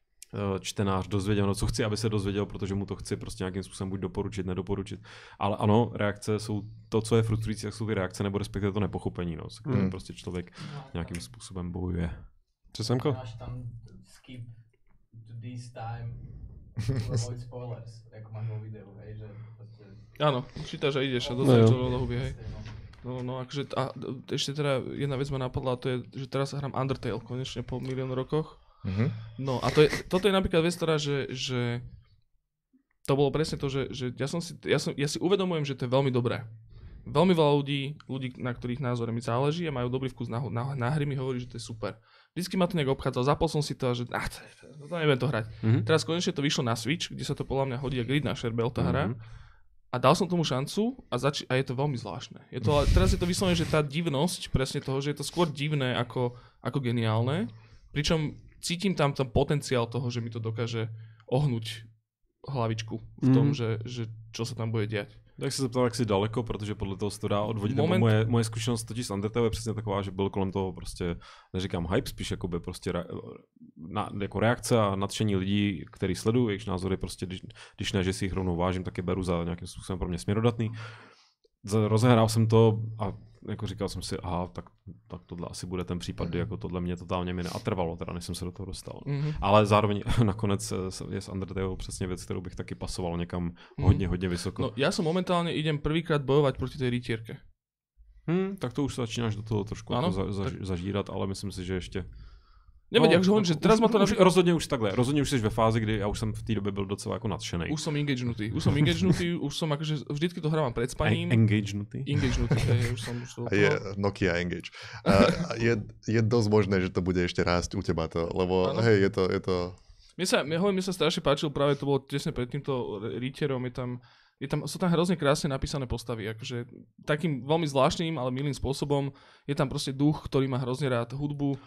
čtenář dozvěděl, no co chci, aby se dozvěděl, protože mu to chci prostě nějakým způsobem buď doporučit, nedoporučit. Ale ano, reakce jsou to, co je frustrující, jak jsou ty reakce, nebo respektive to nepochopení, no, s kterým Hmm. prostě člověk nějakým způsobem bojuje. Čo, Semko? Máš tam skip to this time to avoid spoilers, ako máš vo videu, hej, že proste... Áno, čítaš a ideš a No dostaneš jo. to do huby, hej. No, no, akože, a ešte teda jedna vec ma napadla, to je, že teraz sa hrám Undertale konečne po milión rokoch. Mhm. No a to je, toto je napríklad vec, ktorá, že, že to bolo presne to, že, že ja, som si, ja, som, ja si uvedomujem, že to je veľmi dobré. Veľmi veľa ľudí, ľudí, na ktorých názore mi záleží a majú dobrý vkus na, na, na hry, mi hovorí, že to je super. Vždycky ma to nejak obchádzal, zapol som si to a že ah, to, to, to neviem to hrať. Mhm. Teraz konečne to vyšlo na Switch, kde sa to podľa mňa hodí jak Grid na Sherbel, tá hra. Mhm. A dal som tomu šancu a, zači- a je to veľmi zvláštne. Je to, ale teraz je to vyslovene, že tá divnosť presne toho, že je to skôr divné ako, ako geniálne. Pričom cítim tam ten potenciál toho, že mi to dokáže ohnúť hlavičku v tom, Mm. že, že čo sa tam bude diať. Tak se zeptal, jak jsi daleko, protože podle toho se to dá odvodit. Moment. Moment... Moje, moje zkušenost totiž s Undertale je přesně taková, že byl kolem toho prostě, neříkám hype, spíš jakoby prostě re, na, jako reakce a nadšení lidí, který sledují, jejichž názory prostě, když, když ne, že si jich rovnou vážím, tak je beru za nějakým způsobem pro mě směrodatný. Z- Rozehrál jsem to a jako říkal jsem si, aha, tak, tak tohle asi bude ten případ, kdy jako tohle mě totálně mi neatrvalo, teda než jsem se do toho dostal. Mm-hmm. Ale zároveň nakonec je s Undertale přesně věc, kterou bych taky pasoval někam hodně, hodně vysoko. No ja som momentálne idem prvýkrát bojovať proti tej rytierke. Hmm, tak to už začínáš do toho trošku Ano, jako za, za, tak- zažírat, ale myslím si, že ještě... Nevadí, akože hovorím, že teraz ma to už, napríklad... rozhodně už takhle, rozhodně už jsi ve fázi, kdy já už jsem v té době byl docela jako nadšenej. Už som engagenutý. Už som engagenutý, už som akože vždycky to hrávam pred spaním. En- engagenutý. Engagenutý, hej, už som už to... A je Nokia Engage. A je, je dosť možné, že to bude ešte rásť u teba to, lebo Áno. hej, je to, je to... Mne sa, mne, hovorím, mne sa strašne páčilo, práve to bolo tesne pred týmto rytierom, je tam, je tam, sú tam hrozne krásne napísané postavy, akože takým veľmi zvláštnym, ale milým spôsobom. Je tam proste duch, ktorý má hrozne rád hudbu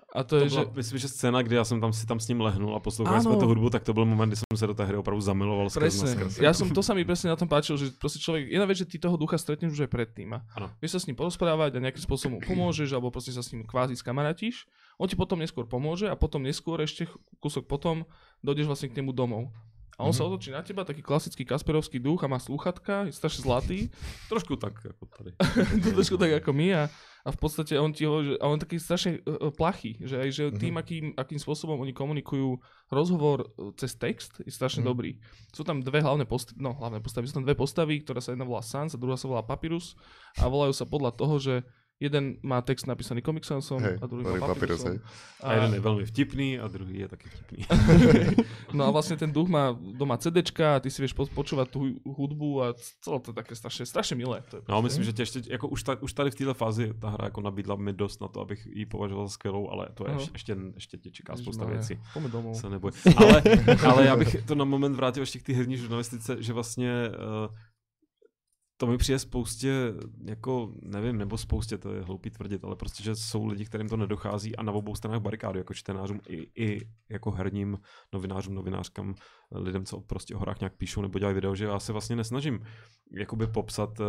A to, to je, byla, že... myslím, že scéna, kdy já jsem tam si tam s ním lehnul a poslouchali jsme tu hudbu, tak to byl moment, kdy jsem se do té hry opravdu zamiloval skrz na skrz. Ja som, to sa mi presne na tom páčilo, že proste človek, jedna vec, že ty toho ducha stretneš už aj predtým a ano. vieš sa s ním porozprávať a nejakým spôsobom pomôžeš, alebo proste sa s ním kvázi skamarátiš, on ti potom neskôr pomôže a potom neskôr ešte kúsok potom dojdeš vlastne k nemu domov. A on mm-hmm. sa otočí na teba, taký klasický kasperovský duch a má slúchatka, je strašne zlatý. Trošku tak ako tady. Trošku tak ako my a, a v podstate on ti hovorí, že a on taký strašne uh, plachý, že aj že tým, akým, akým spôsobom oni komunikujú rozhovor cez text, je strašne mm-hmm. dobrý. Sú tam dve hlavné postavy, no hlavné postavy, sú tam dve postavy, ktorá sa jedna volá Sans a druhá sa volá Papyrus a volajú sa podľa toho, že jeden má text napísaný Comic Sansom hey, a druhý má Papyrusom. A jeden je veľmi vtipný a druhý je taký vtipný. No a vlastne ten duch má doma CDčka a ty si vieš počúvať tú hudbu a celé to je také strašne, strašne milé. To je no myslím, že tě ještě, jako už, ta, už tady v této fázi ta hra jako nabídla mi dost na to, abych ji považoval za skvělou, ale to je ještě, ještě, ještě tě čeká spousta věcí. Pojďme domů. Se neboj. Ale, ale já bych to na moment vrátil ještě k té herní žurnalistice, že vlastně uh, to mi přijde spoustě, jako nevím, nebo spoustě, to je hloupý tvrdit, ale prostě, že jsou lidi, kterým to nedochází a na obou stranách barikádu, jako čtenářům i, i jako herním novinářům, novinářkám, lidem, co prostě o hrách nějak píšou nebo dělají video, že já se vlastně nesnažím jakoby popsat,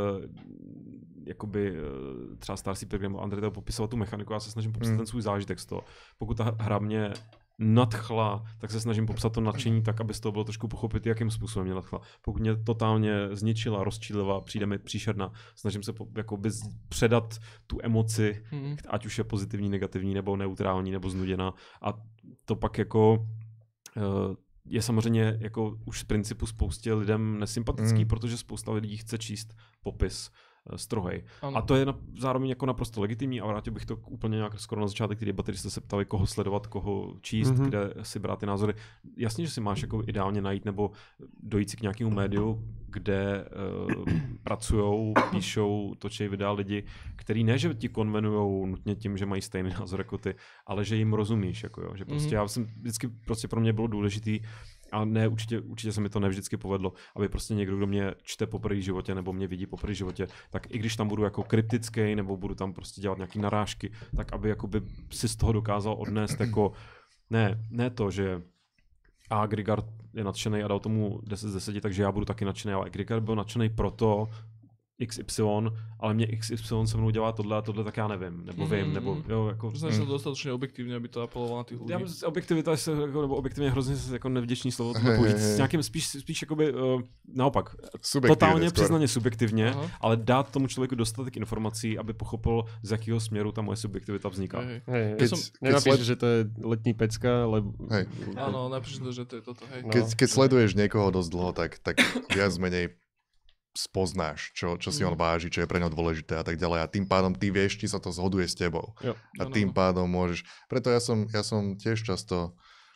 jakoby třeba Star Sea Pilgrim Andrej to popisovat tu mechaniku, já se snažím popsat mm. ten svůj zážitek z toho. Pokud ta hra mě nadchla, tak se snažím popsat to nadšení tak, aby z toho bylo trošku pochopit, jakým způsobem mě nadchla. Pokud mě totálně zničila, rozčílila, přijde mi příšerná, snažím se po, jakoby předat tu emoci, mm. ať už je pozitivní, negativní, nebo neutrální, nebo znuděná. A to pak jako uh, je samozřejmě jako už z principu spoustě lidem nesympatický, mm. protože spousta lidí chce číst popis strohej. Ano. A to je na, zároveň jako naprosto legitimní a vrátil bych to k úplně nějak skoro na začátek té debaty, když jste se ptali, koho sledovat, koho číst, mm-hmm. kde si brát ty názory. Jasně, že si máš jako ideálně najít nebo dojít si k nějakému médiu, kde uh, pracujou, píšou, točí videa lidi, který ne, že ti konvenujou nutně tím, že mají stejný názor jako ty, ale že jim rozumíš. Jako jo. Že prostě mm-hmm. já jsem vždycky prostě pro mě bylo důležitý a ne, určitě, určitě se mi to nevždycky povedlo, aby prostě někdo, kdo mě čte poprvé v životě nebo mě vidí poprvé v životě, tak i když tam budu jako kryptický nebo budu tam prostě dělat nějaký narážky, tak aby jakoby si z toho dokázal odnést jako, ne, ne to, že a Grigard je nadšený a dal tomu deset z deseti, takže já budu taky nadšený, ale Grigard byl nadšený proto, iks ypsilon, ale mě iks ypsilon se mnou dělá tohle a tohle, tak já nevím, nebo vím, mm, nebo jo, jako... Znaš to dostatečně objektivně, aby to apelovalo na ty lidí. Já objektivita, jako, nebo objektivně hrozně jako nevděčný slovo, to použít s nějakým spíš, spíš jakoby, uh, naopak, totálně skoro. Přiznaně subjektivně, aha. ale dát tomu člověku dostatek informací, aby pochopil, z jakého směru ta moje subjektivita vzniká. Hej, hej, keď, som, nenapíš, sled... že to je letní pecka, lebo... Hej. Áno, napíš to, že to je toto, hej. Keď, keď sleduješ niekoho dosť dlho, tak, tak viac menej spoznáš, čo, čo si on váži, čo je pre ňo dôležité a tak ďalej. A tým pádom ty vieš, či sa to zhoduje s tebou. Jo. A tým pádom môžeš... Preto ja som, ja som tiež často...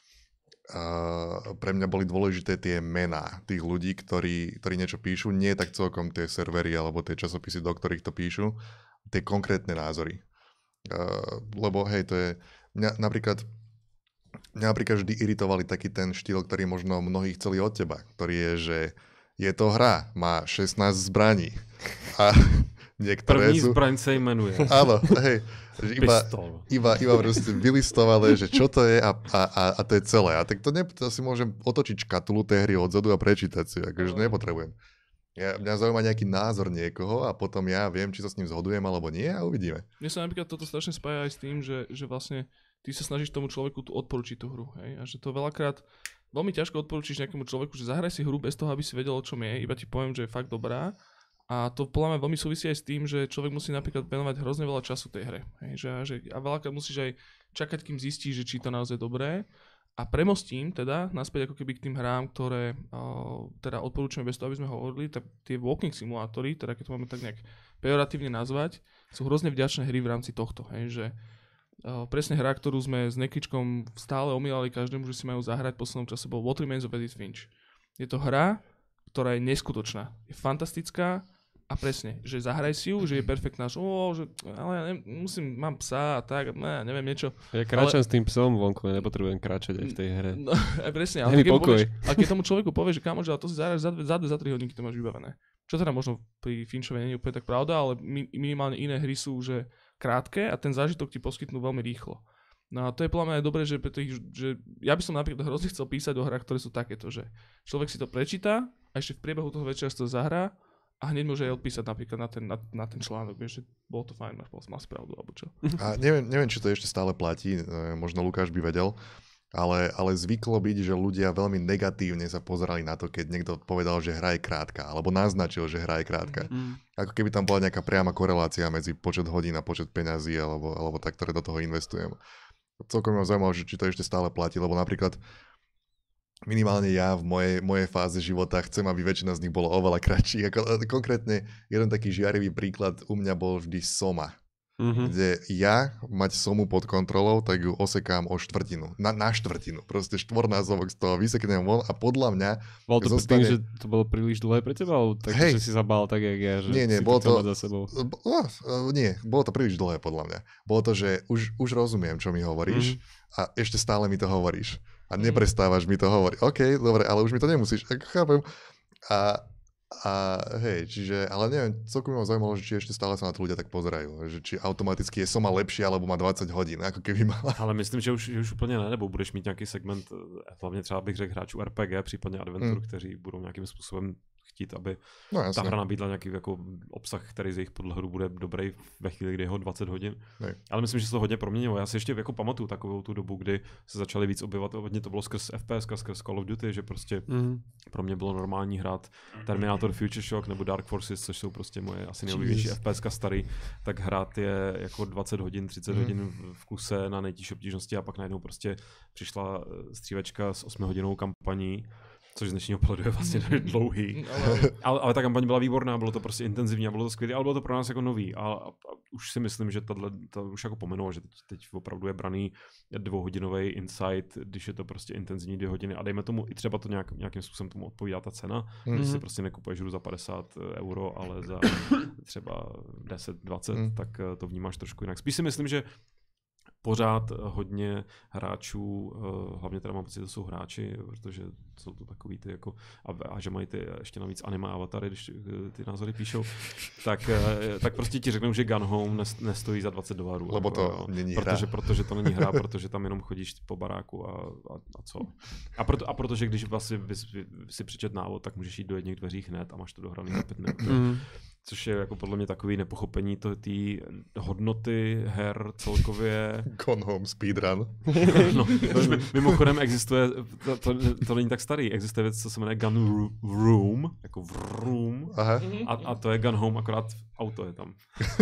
Uh, pre mňa boli dôležité tie mená tých ľudí, ktorí, ktorí niečo píšu. Nie tak celkom tie servery alebo tie časopisy, do ktorých to píšu. Tie konkrétne názory. Uh, lebo hej, to je... Mňa napríklad... Mňa napríklad vždy iritovali taký ten štýl, ktorý možno mnohí chceli od teba. Ktorý je, že je to hra, má šestnásť zbraní. A niektoré První sú... zbraň sa jmenuje. Áno, hej. Iba, iba, iba proste vylistované, že čo to je a, a, a to je celé. A tak to, ne, to si môžem otočiť škatulu tej hry odzadu a prečítať si, akože nepotrebujem. Ja, mňa zaujíma nejaký názor niekoho a potom ja viem, či sa s ním zhodujem alebo nie a uvidíme. Mne sa napríklad toto strašne spája aj s tým, že, že vlastne ty sa snažíš tomu človeku tu odporučiť tú hru. Hej? A že to veľakrát veľmi ťažko odporučíš nejakému človeku, že zahraj si hru bez toho, aby si vedel, o čom je, iba ti poviem, že je fakt dobrá. A to podľa mňa veľmi súvisí aj s tým, že človek musí napríklad venovať hrozne veľa času tej hre. Hej, že, že, a veľakrát musíš aj čakať, kým zistíš, že či to naozaj dobré. A premostím teda naspäť ako keby k tým hrám, ktoré uh, teda odporúčame bez toho, aby sme hovorili, tak tie walking simulátory, teda keď to máme tak nejak pejoratívne nazvať, sú hrozne vďačné hry v rámci tohto. Hej, že uh, presne hra, ktorú sme s Nekričkom stále omýlali každému, že si majú zahrať v poslednom čase, bol What Remains of Edith Finch. Je to hra, ktorá je neskutočná. Je fantastická a presne, že zahraj si ju, že je perfektná, že, ó, že ale ja ne, musím, mám psa a tak, ne, neviem niečo. Ja kráčam ale... s tým psom vonku, nepotrebujem kráčať aj v tej hre. No, aj presne, ale keď, povieš, ale keď tomu človeku povieš, že kamoč, ale to si zahráš za dve, za dve, za tri hodinky to máš vybavené. Čo teda možno pri Finchovi nie je úplne tak pravda, ale mi, minimálne iné hry sú, že krátke a ten zážitok ti poskytnú veľmi rýchlo. No a to je podľa mňa aj dobré, že, tých, že ja by som napríklad hrozne chcel písať o hrách, ktoré sú takéto, že človek si to prečíta a ešte v priebehu toho večera si to zahrá a hneď môže aj odpísať napríklad na ten, na, na ten článok, vieš, že bolo to fajn, mal spravdu, alebo čo. A neviem, neviem, či to ešte stále platí, možno Lukáš by vedel, ale, ale zvyklo byť, že ľudia veľmi negatívne sa pozerali na to, keď niekto povedal, že hra je krátka, alebo naznačil, že hra je krátka. Mm. Ako keby tam bola nejaká priama korelácia medzi počet hodín a počet peňazí, alebo, alebo tak, ktoré do toho investujem. Celkom ma zaujímalo, že či to ešte stále platí, lebo napríklad minimálne ja v mojej, mojej fáze života chcem, aby väčšina z nich bolo oveľa kratší. Ako, konkrétne jeden taký žiarivý príklad u mňa bol vždy Soma. Mm-hmm. Kde ja mať Somu pod kontrolou, tak ju osekám o štvrtinu. Na, na štvrtinu. Proste štvornásobok z toho vyseknem von a podľa mňa... Bolo to zostane... tým, že to bolo príliš dlhé pre teba? Alebo tak, že si zabal tak, jak ja? Že nie, nie, si bolo to... Za sebou? No, nie, bolo to príliš dlhé podľa mňa. Bolo to, že už, už rozumiem, čo mi hovoríš mm-hmm. a ešte stále mi to hovoríš. A neprestávaš mi to hovoriť. OK, dobre, ale už mi to nemusíš. Ako chápem. A... A hej, čiže, ale neviem, celkom ma zaujímalo, že či ešte stále sa na to ľudia tak pozerajú, že či automaticky je Soma lepšia, alebo má dvadsať hodín, ako keby mala. Ale myslím, že už, že už úplně ne, nebo budeš mít nějaký segment, hlavně třeba bych řekl hráčů R P G, případně Adventure, mm. kteří budou nějakým způsobem chtít, aby no, ta hra nabídla nějaký jako obsah, který z jejich podhledu bude dobrý ve chvíli, kdy je ho dvacet hodin. Nej. Ale myslím, že se to hodně proměnilo. Já si ještě jako pamatuju takovou tu dobu, kdy se začali víc objevovat, hodně to bylo skrz F P S, skrz Call of Duty, že prostě mm. pro mě bylo normální hrát Terminator Future Shock nebo Dark Forces, což jsou prostě moje asi nejoblíbenější F P S starý, tak hrát je jako dvacet hodin, třicet mm. hodin v kuse na nejtěžší obtížnosti a pak najednou prostě přišla střívečka s osmihodinovou kampaní, což z dnešního pohledu je vlastně dlouhý. Ale, ale, ale ta kampaň byla výborná, bylo to prostě intenzivní a bylo to skvělé, ale bylo to pro nás jako nový. A, a, a už si myslím, že tato, to už jako pomenulo, že teď, teď opravdu je braný dvouhodinový insight, když je to prostě intenzivní dvě hodiny. A dejme tomu i třeba to nějak, nějakým způsobem tomu odpovídá ta cena, mm-hmm. že si prostě nekupuješ hru za padesát euro, ale za třeba deset dvacet, mm. tak to vnímáš trošku jinak. Spíš si myslím, že pořád hodně hráčů, hlavně teda mám pocit, že to jsou hráči, protože jsou to takový ty jako, a, a že mají ty ještě navíc anime avatary, když ty názory píšou, tak, tak prostě ti řeknou, že Gun Home nestojí za dvacet dolarů. Lebo to jako, není protože, hra. Protože to není hra, protože tam jenom chodíš po baráku a, a, a co. A, proto, a protože když vlastně si, si přečet návod, tak můžeš jít do jedných dveří hned a máš to dohraný za pět minut. Mm. Což je jako podle mě takový nepochopení té hodnoty her celkově. Gone Home speedrun. No, mimochodem existuje, to, to, to není tak starý, existuje věc, co se jmenuje Gun Room, jako v room, Aha. A, a to je Gun Home, akorát auto je tam.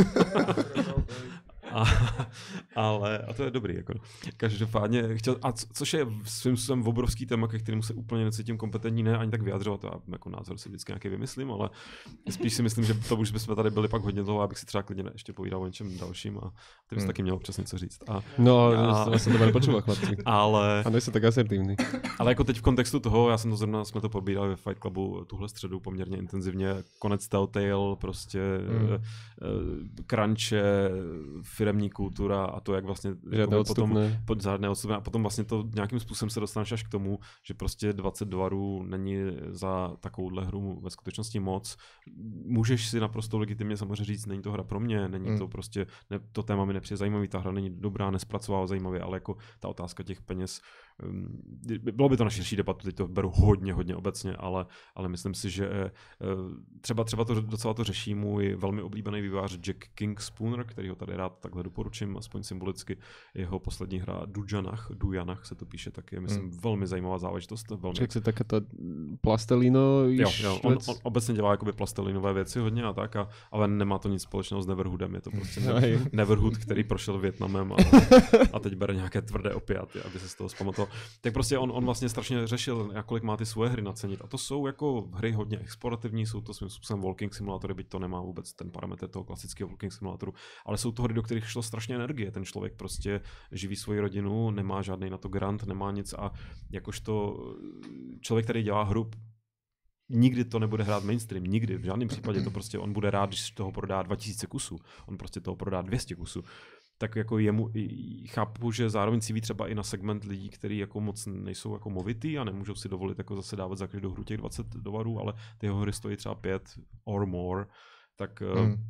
A, ale, a to je dobrý, jako. Každopádně chtěl, a co, což je svým způsobem obrovský téma, ke kterému se úplně necítím kompetentní, ne ani tak vyjadřovat, já jako názor si vždycky nějaký vymyslím, ale spíš si myslím, že to už bychom tady byli pak hodně dlouho, abych si třeba klidně ještě povídal o něčem dalším a ty bys hmm. taky měl občas něco říct. A, no, a, to jsem to nepočul, chlapci. Ale, a nejsi tak asertivní. Ale jako teď v kontextu toho, já jsem to zrovna, jsme to pobírali ve Fight Clubu tuhle středu poměrně intenzivně, konec Telltale, prostě hmm. uh, crunche, firemní kultura a to, jak vlastně potom pod žádné odstupné a potom vlastně to nějakým způsobem se dostaneš až k tomu, že prostě dvacet dolarů není za takovouhle hru ve skutečnosti moc. Můžeš si naprosto legitimně samozřejmě říct, není to hra pro mě, není hmm. to prostě, ne, to téma mi nepřijde zajímavý, ta hra není dobrá, nespracovává zajímavě, ale jako ta otázka těch peněz, bylo by to na širší debatu, teď to beru hodně, hodně obecně, ale, ale myslím si, že třeba, třeba to docela to řeší můj velmi oblíbený vývojář Jack King Spooner, který ho tady rád takhle doporučím, aspoň symbolicky. Jeho poslední hra Dujanach, Dujanach se to píše, tak je, myslím, hmm. velmi zajímavá záležitost. Velmi... Ček se také to plastelino... Jo, jo. On, on obecně dělá jakoby plastelinové věci hodně a tak, a, ale nemá to nic společného s Neverhoodem, je to prostě Neverhood, který prošel Vietnamem a, a teď bere nějaké tvrdé opiaty, aby se z toho zpamatoval. Tak prostě on, on vlastně strašně řešil, jakolik má ty svoje hry nacenit. A to jsou jako hry hodně explorativní, jsou to svým způsobem walking simulátory, byť to nemá vůbec ten parametr toho klasického walking simulátoru, ale jsou to hry, do kterých šlo strašně energie. Ten člověk prostě živí svoji rodinu, nemá žádný na to grant, nemá nic a jakožto člověk, který dělá hru, nikdy to nebude hrát mainstream, nikdy, v žádném případě to prostě on bude rád, když toho prodá dva tisíce kusů, on prostě toho prodá dvě stě kusů. Tak jako jemu, chápu, že zároveň cíví třeba i na segment lidí, kteří jako moc nejsou jako movitý a nemůžou si dovolit jako zase dávat za každou hru těch dvacet dolarů, ale ty hry stojí třeba pět or more, tak mm.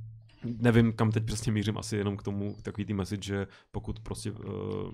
nevím, kam teď přesně mířím, asi jenom k tomu takový tý message, že pokud prostě uh, uh,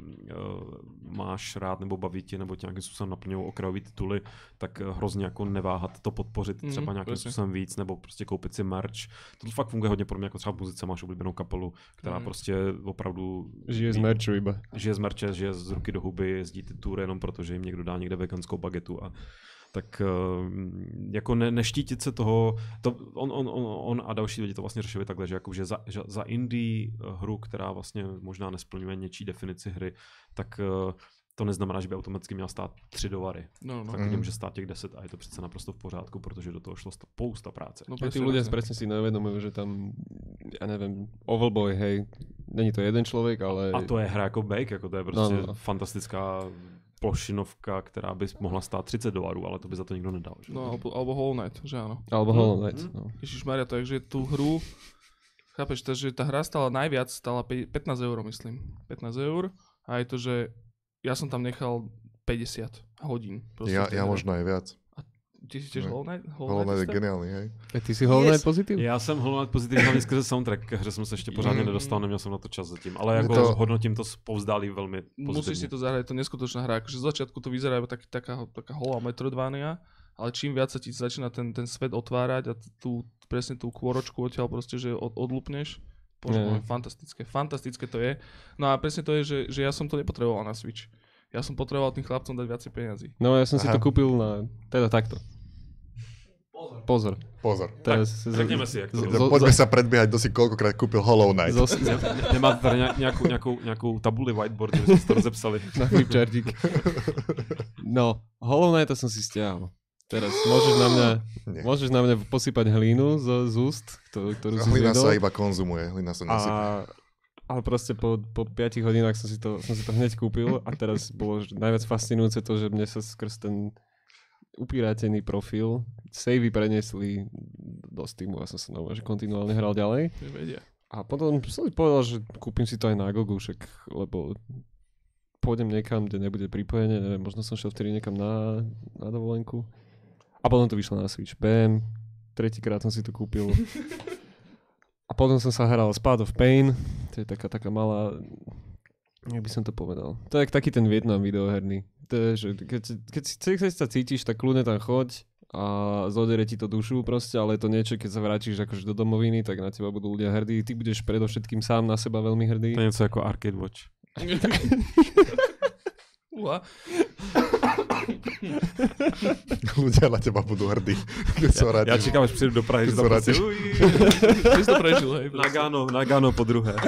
máš rád nebo baví tě, nebo tě nějakým způsobem naplňují okrajový tituly, tak hrozně jako neváhat to podpořit třeba mm, nějakým prostě. způsobem víc, nebo prostě koupit si merch. To fakt funguje hodně pro mě, jako třeba v muzice máš oblíbenou kapelu, která mm. prostě opravdu... Žije z merchu iba. Žije z merče, žije z ruky do huby, jezdí ty tury jenom proto, že jim někdo dá někde veganskou bagetu a tak jako ne, neštítit se toho, to, on, on, on, on a další lidi to vlastně řešili takhle, že, jako, že za, že za indie hru, která vlastně možná nesplňuje něčí definici hry, tak to neznamená, že by automaticky měla stát tři dolary. No, no. Tak mm. může stát těch deset a je to přece naprosto v pořádku, protože do toho šlo spousta práce. No, a tí ľudia presne si neuvedomujú, že tam, ja neviem, Ovalboy, hej, není to jeden člověk, ale... A to je hra jako Bake, jako to je prostě no, no. fantastická plošinovka, která by mohla stát třicet dolarů, ale to by za to nikdo nedal. Že? No, alebo, alebo Hollow Knight, že áno. Alebo Hollow Knight, mm. no. Ježišmaria, takže tú hru, chápeš, že tá hra stala najviac, stala pätnásť eur, myslím. pätnásť eur a je to, že ja som tam nechal päťdesiat hodín. Ja, ja možno aj viac. A ty si tiež Hollow Knight? Hollow Knight je geniálny, hej. A ty si Hollow Knight yes. pozitív? Já jsem Hollow Knight pozitív hlavně skrze soundtrack, ke hře jsem se ještě pořádně mm. nedostal, neměl jsem na to čas zatím, ale jako to... hodnotím to povzdálí velmi pozitivně. Musíš si to zahrať, je to neskutočná hra, akože z začiatku to vyzerá tak, taká, taká holá Metroidvania, ale čím viac sa ti začína ten, ten svet otvárať a tú, presne tú kôročku odtiaľ proste, že od, odlupneš, Bože, yeah. fantastické, fantastické to je. No a presne to je, že, že ja som to nepotreboval na Switch. Ja som potreboval tým chlapcom dať viacej peniazy. No ja som Aha. si to kúpil na, teda takto. Pozor. Pozor. Pozor. Teraz tak, řekneme si, jak to. Z, z, Poďme sa predbiehať, kto si koľkokrát kúpil Hollow Knight. Zos, ne, nemáte tady nejakú, nejakú, nejakú tabuli whiteboard, že ste to rozepsali. Na flipchartík. No, Hollow Knight som si stiahol. Teraz môžeš na mňa, môžeš na mňa posypať hlínu z, z úst, ktorú, ktorú si Hlína zvedol. sa iba konzumuje, hlína sa nesypá. Ale proste po, po piatich hodinách som si, to, som si to hneď kúpil a teraz bolo najviac fascinujúce to, že mne sa skrz ten upíratený profil savey preniesli do Steamu a som sa na že kontinuálne hral ďalej. A potom som si povedal, že kúpim si to aj na Gogu, však, lebo pôjdem niekam, kde nebude pripojenie, neviem, možno som šiel vtedy niekam na, na dovolenku. A potom to vyšlo na Switch. Bam, tretíkrát som si to kúpil. A potom som sa hral Path of Pain, to je taká, taká malá, jak by som to povedal, to je taký ten Vietnam videoherný. To je, že keď, keď, keď, keď sa cítiš, tak kľudne tam choď a zodere ti to dušu proste, ale je to niečo, keď sa vrátiš akože do domoviny, tak na teba budú ľudia hrdí, ty budeš predovšetkým sám na seba veľmi hrdý. To je niečo ako Arcade Watch. Uha. Ľudia na teba budú hrdí. Ja, ja čekám, až prídu do Prahy. Keď sa vrátiš. Ty si to prežil, hej. Nagano, Nagano po druhé.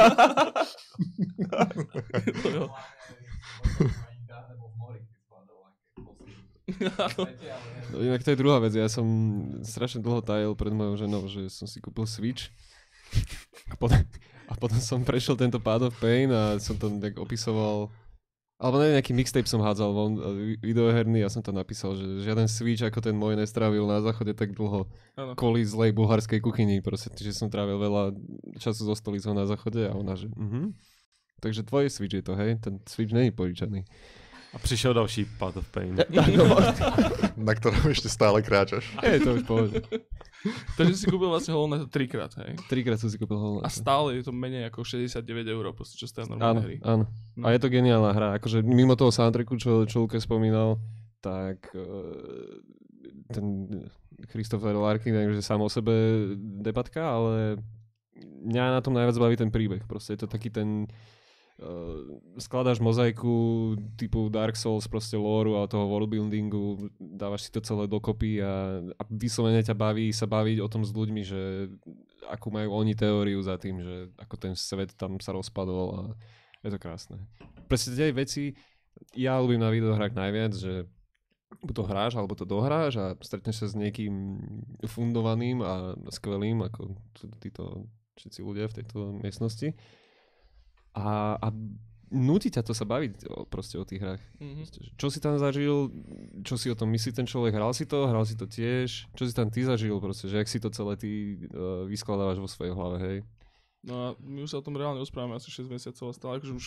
No, inak to je druhá vec. Ja som strašne dlho tajil pred mojou ženou, že som si kúpil Switch. A potom, a potom som prešiel tento Path of Pain a som tam tak opisoval. Alebo ne, nejaký mixtape som hádzal von, videoherný, ja som tam napísal, že žiaden Switch ako ten môj nestrávil na záchode tak dlho ano. Kvôli zlej bulharskej kuchyni, proste, že som trávil veľa času so stolicou na záchode a ona, že mhm. Takže tvoj Switch je to, hej? Ten Switch není požičaný. A přišel další Path of Pain. Na ktorom ešte stále kráčaš. Je to už pohode. Takže si kúpil vlastne Hollow Knight trikrát, hej? Trikrát som si kúpil Hollow Knight. A stále je to menej ako šesťdesiatdeväť eur, proste, čo stojí normálne hry. Áno, áno. A je to geniálna hra. Akože mimo toho soundtracku, čo, čo Luke spomínal, tak uh, ten Christopher Larkin, že sám o sebe debatka, ale mňa na tom najviac baví ten príbeh. Proste je to taký ten Uh, skladáš mozaiku typu Dark Souls, proste lore a toho worldbuildingu, dávaš si to celé dokopy a, a vyslovene ťa baví sa baviť o tom s ľuďmi, že akú majú oni teóriu za tým, že ako ten svet tam sa rozpadol a je to krásne. Presne tie veci ja ľúbim na videohrách najviac, že buď to hráš, alebo to dohráš a stretneš sa s niekým fundovaným a skvelým, ako títo všetci ľudia v tejto miestnosti. A, a núti ťa to sa baviť o, proste o tých hrách. Mm-hmm. Čo si tam zažil, čo si o tom myslí ten človek, hral si to, hral si to tiež, čo si tam ty zažil proste, že jak si to celé ty uh, vyskladávaš vo svojej hlave, hej? No a my už sa o tom reálne rozprávame asi šesť mesiacov a stále, že už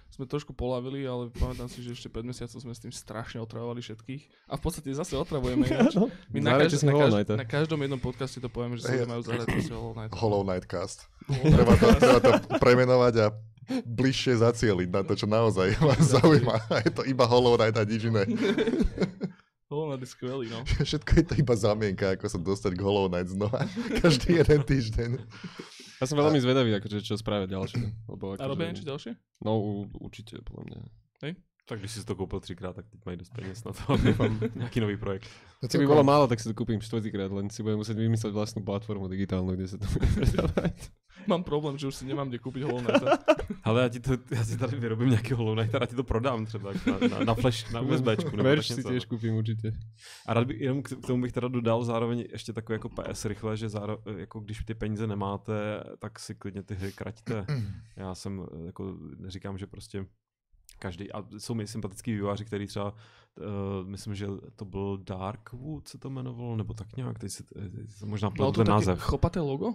sme trošku polavili, ale pamätám si, že ešte pred mesiacom sme s tým strašne otravovali všetkých. A v podstate zase otravujeme ináč. My na, každ- na, každ- na každom jednom podcaste to povieme, že sa hey, majú zahrať proste Hollow Knight. Hollow Knight cast. Treba to, treba to premenovať a bližšie zacieliť na to, čo naozaj vás zaujíma. Je to iba Hollow Knight a nič iné. Hollow Knight je skvelý, no. Všetko je to iba zámienka, ako sa dostať k Hollow Knight znova. Každý jeden týždeň. Ja som veľmi zvedavý, akože, čo spravia ďalšie. Lebo a robia niečo ďalšie? No, určite, podľa mňa. Hej? Tak když si to koupil třikrát, tak teď mají dost peněz na to, aby mám nějaký nový projekt. Keby bolo málo, tak si to kúpim štvrtýkrát, len si budem musieť vymysleť vlastnú platformu digitálnu, kde sa to bude predávať. Mám problém, že už si nemám kde kúpiť Hollow Knighta. Ale já, ti to, já si tady vyrobím nějaký Hollow Knight a ti to prodám třeba na, na, na flash, na USBčku. Merch si tiež kúpim určite. A rád by, jenom k tomu bych teda dodal zároveň ještě takové jako P S rychle, že záro, jako když ty peníze nemáte, tak si klidně ty hry kraťte. Já jsem, jako neříkám, že prostě každý, a jsou mi sympatický vývojáři, který třeba, uh, myslím, že to byl Darkwood se to jmenovalo, nebo tak nějak, teď si to možná no, ten název. Chopaté logo?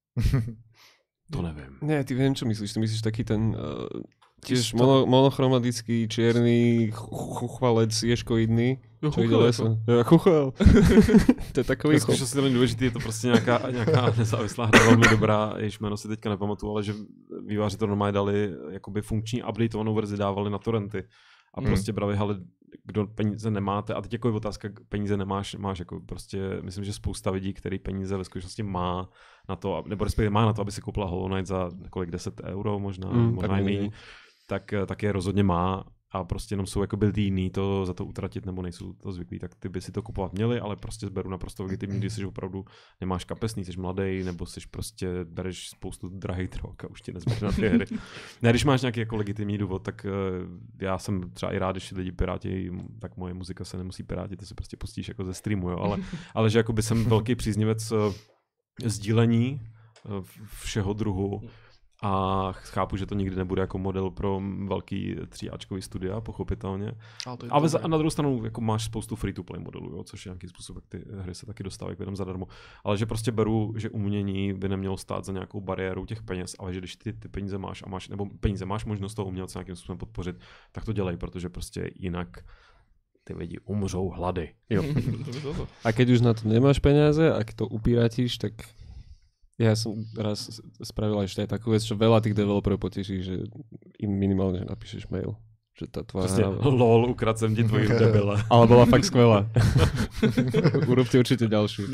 To nevím. Ne, ty viem, čo myslíš. Ty myslíš taký ten uh, tiež mono, monochromatický, čierny, chuchvalec, ješkoidný, čo ide leso. Ja, chuchval. To je takový chop. To je velmi důležitý, je to prostě nějaká, nějaká nezávislá hra, velmi dobrá, jejíž jméno si teďka nepamatuju, ale že vývojáři to normálně dali, jakoby funkční updateovanou verzi dávali na torrenty. A hmm. prostě brali, hele, kdo peníze nemáte, a teď jako je otázka, peníze nemáš, máš jako prostě, myslím, že spousta lidí, který peníze ve skutečnosti má na to, nebo respektive má na to, aby si koupila Hollow Knight za kolik, deset euro možná, hmm, možná i méně, tak, tak je rozhodně má a prostě jenom jsou jakoby líní to za to utratit, nebo nejsou to zvyklí, tak ty by si to kupovat měli, ale prostě zberu naprosto legitimní, když jsi opravdu nemáš kapesný, jsi mladý, nebo jsi prostě bereš spoustu drahých drog a už ti nezbyt na ty hry. Ne, když máš nějaký jako legitimní důvod, tak uh, já jsem třeba i rád, když lidi pirátí, tak moje muzika se nemusí pirátit, to si prostě pustíš jako ze streamu, jo, ale, ale že jakoby jsem velký příznivec uh, sdílení uh, všeho druhu. A chápu, že to nikdy nebude jako model pro velký tříáčkový studia, pochopitelně. Ale, Ale za, na druhou stranu jako máš spoustu free-to-play modelů, jo, což je nějaký způsob, jak ty hry se taky dostávají k lidem zadarmo. Ale že prostě beru, že umění by nemělo stát za nějakou bariérou těch peněz, ale že když ty, ty peníze máš a máš, nebo peníze máš možnost toho umělce nějakým způsobem podpořit, tak to dělej, protože prostě jinak ty lidi umřou hlady. Jo. A keď už na to nemáš peniaze, ak to upíratíš, tak ja som raz spravil ešte aj takú vec, čo veľa tých developerov poteší, že im minimálne že napíšeš mail. Že tá tvoja Proste, hra... lol, ukrát som ti tvoju debila. Ale bola fakt skvelá. Urobte určite ďalšiu.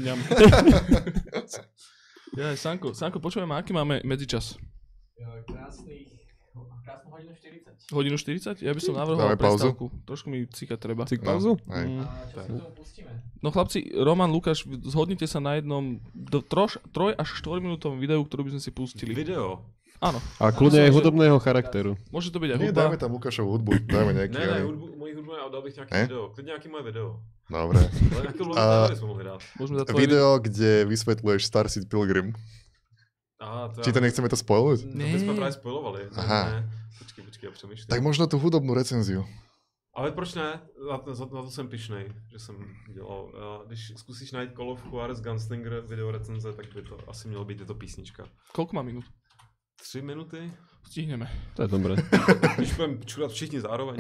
Ja, Sanko, Sanko, počujeme, aký máme medzičas? Krásnych, krásnu hodinu štyridsať. Hodinu štyridsať? Ja by som navrhoval prestávku. Trošku mi cíkať treba. Cík pauzu? No, mm. A čo si tomu pustíme? No chlapci, Roman, Lukáš, zhodnite sa na jednom do troš, troj až štyri minútovom videu, ktorú by sme si pustili. Video? Áno. A kľudne aj hudobného charakteru. Môže to byť aj hudba. Nie, dáme tam Lukášovu hudbu, dáme nejaký... Ne, ne, hudbu, moji hudbu a dal bych nejaký ne? video. Klidne nejaký moje video. Dobre. Ale nejaké hudbu sme mohli dať. Video, kde vysvetľuješ Starseed Pilgrim. Aha, to Či to nechceme to spoilovať? Ne. To by sme práve spoilovali. Aha. Ne. Počkej, počkej, ja přemýšľam. Tak možno tú hudobnú recenziu. Ale proč ne? Na to, na to jsem pyšnej, že jsem dělal. Když zkusíš najít Call of Juarez Gunslinger video recenze, tak by to asi mělo být, je to písnička. Koľko má minút? Tři minuty? Stihneme. To je dobré. Když budeme čurat všichni zároveň.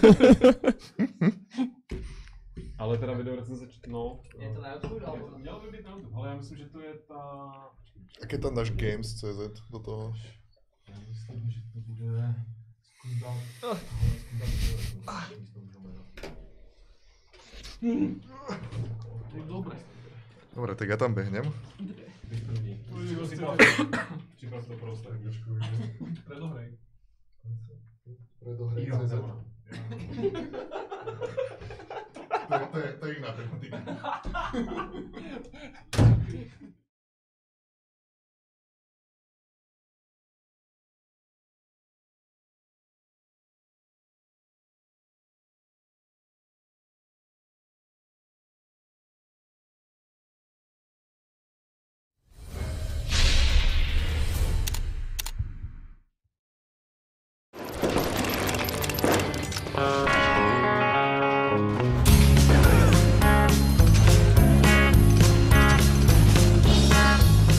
Ale teda video recenze, no. Je to na YouTube? Alebo... Mělo by být na YouTube, ale já myslím, že to je ta... A keď tam dáš Games tečka cé zet do toho? Já myslím, že to bude... Dobre. Dobre, tak ja tam behnem. Připrav to proste. Predohrej. Predohrej tečka cé zet. To je, to je, to je iná tematika.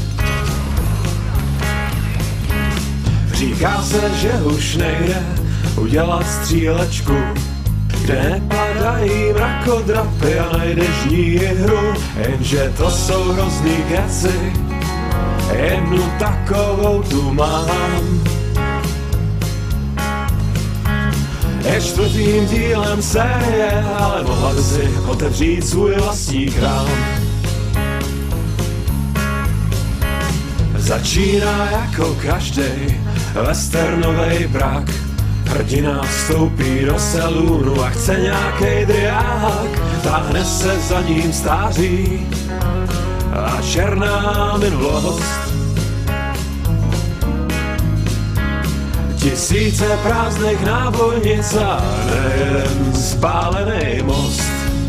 Říká se, že už nejde udělat střílečku, kde nepadají mrakodrapy a najdeš ní hru, jenže to jsou hrozný keci, jednu takovou tu mám. Je čtvrtým dílem série, ale mohla by si otevřít svůj vlastní krám. Začíná jako každej westernovej brak. Hrdina vstoupí do salonu a chce nějakej driák. Táhne se za ním stáří a černá minulost. Tisíce prázdných nábojnic a nejeden spálený most.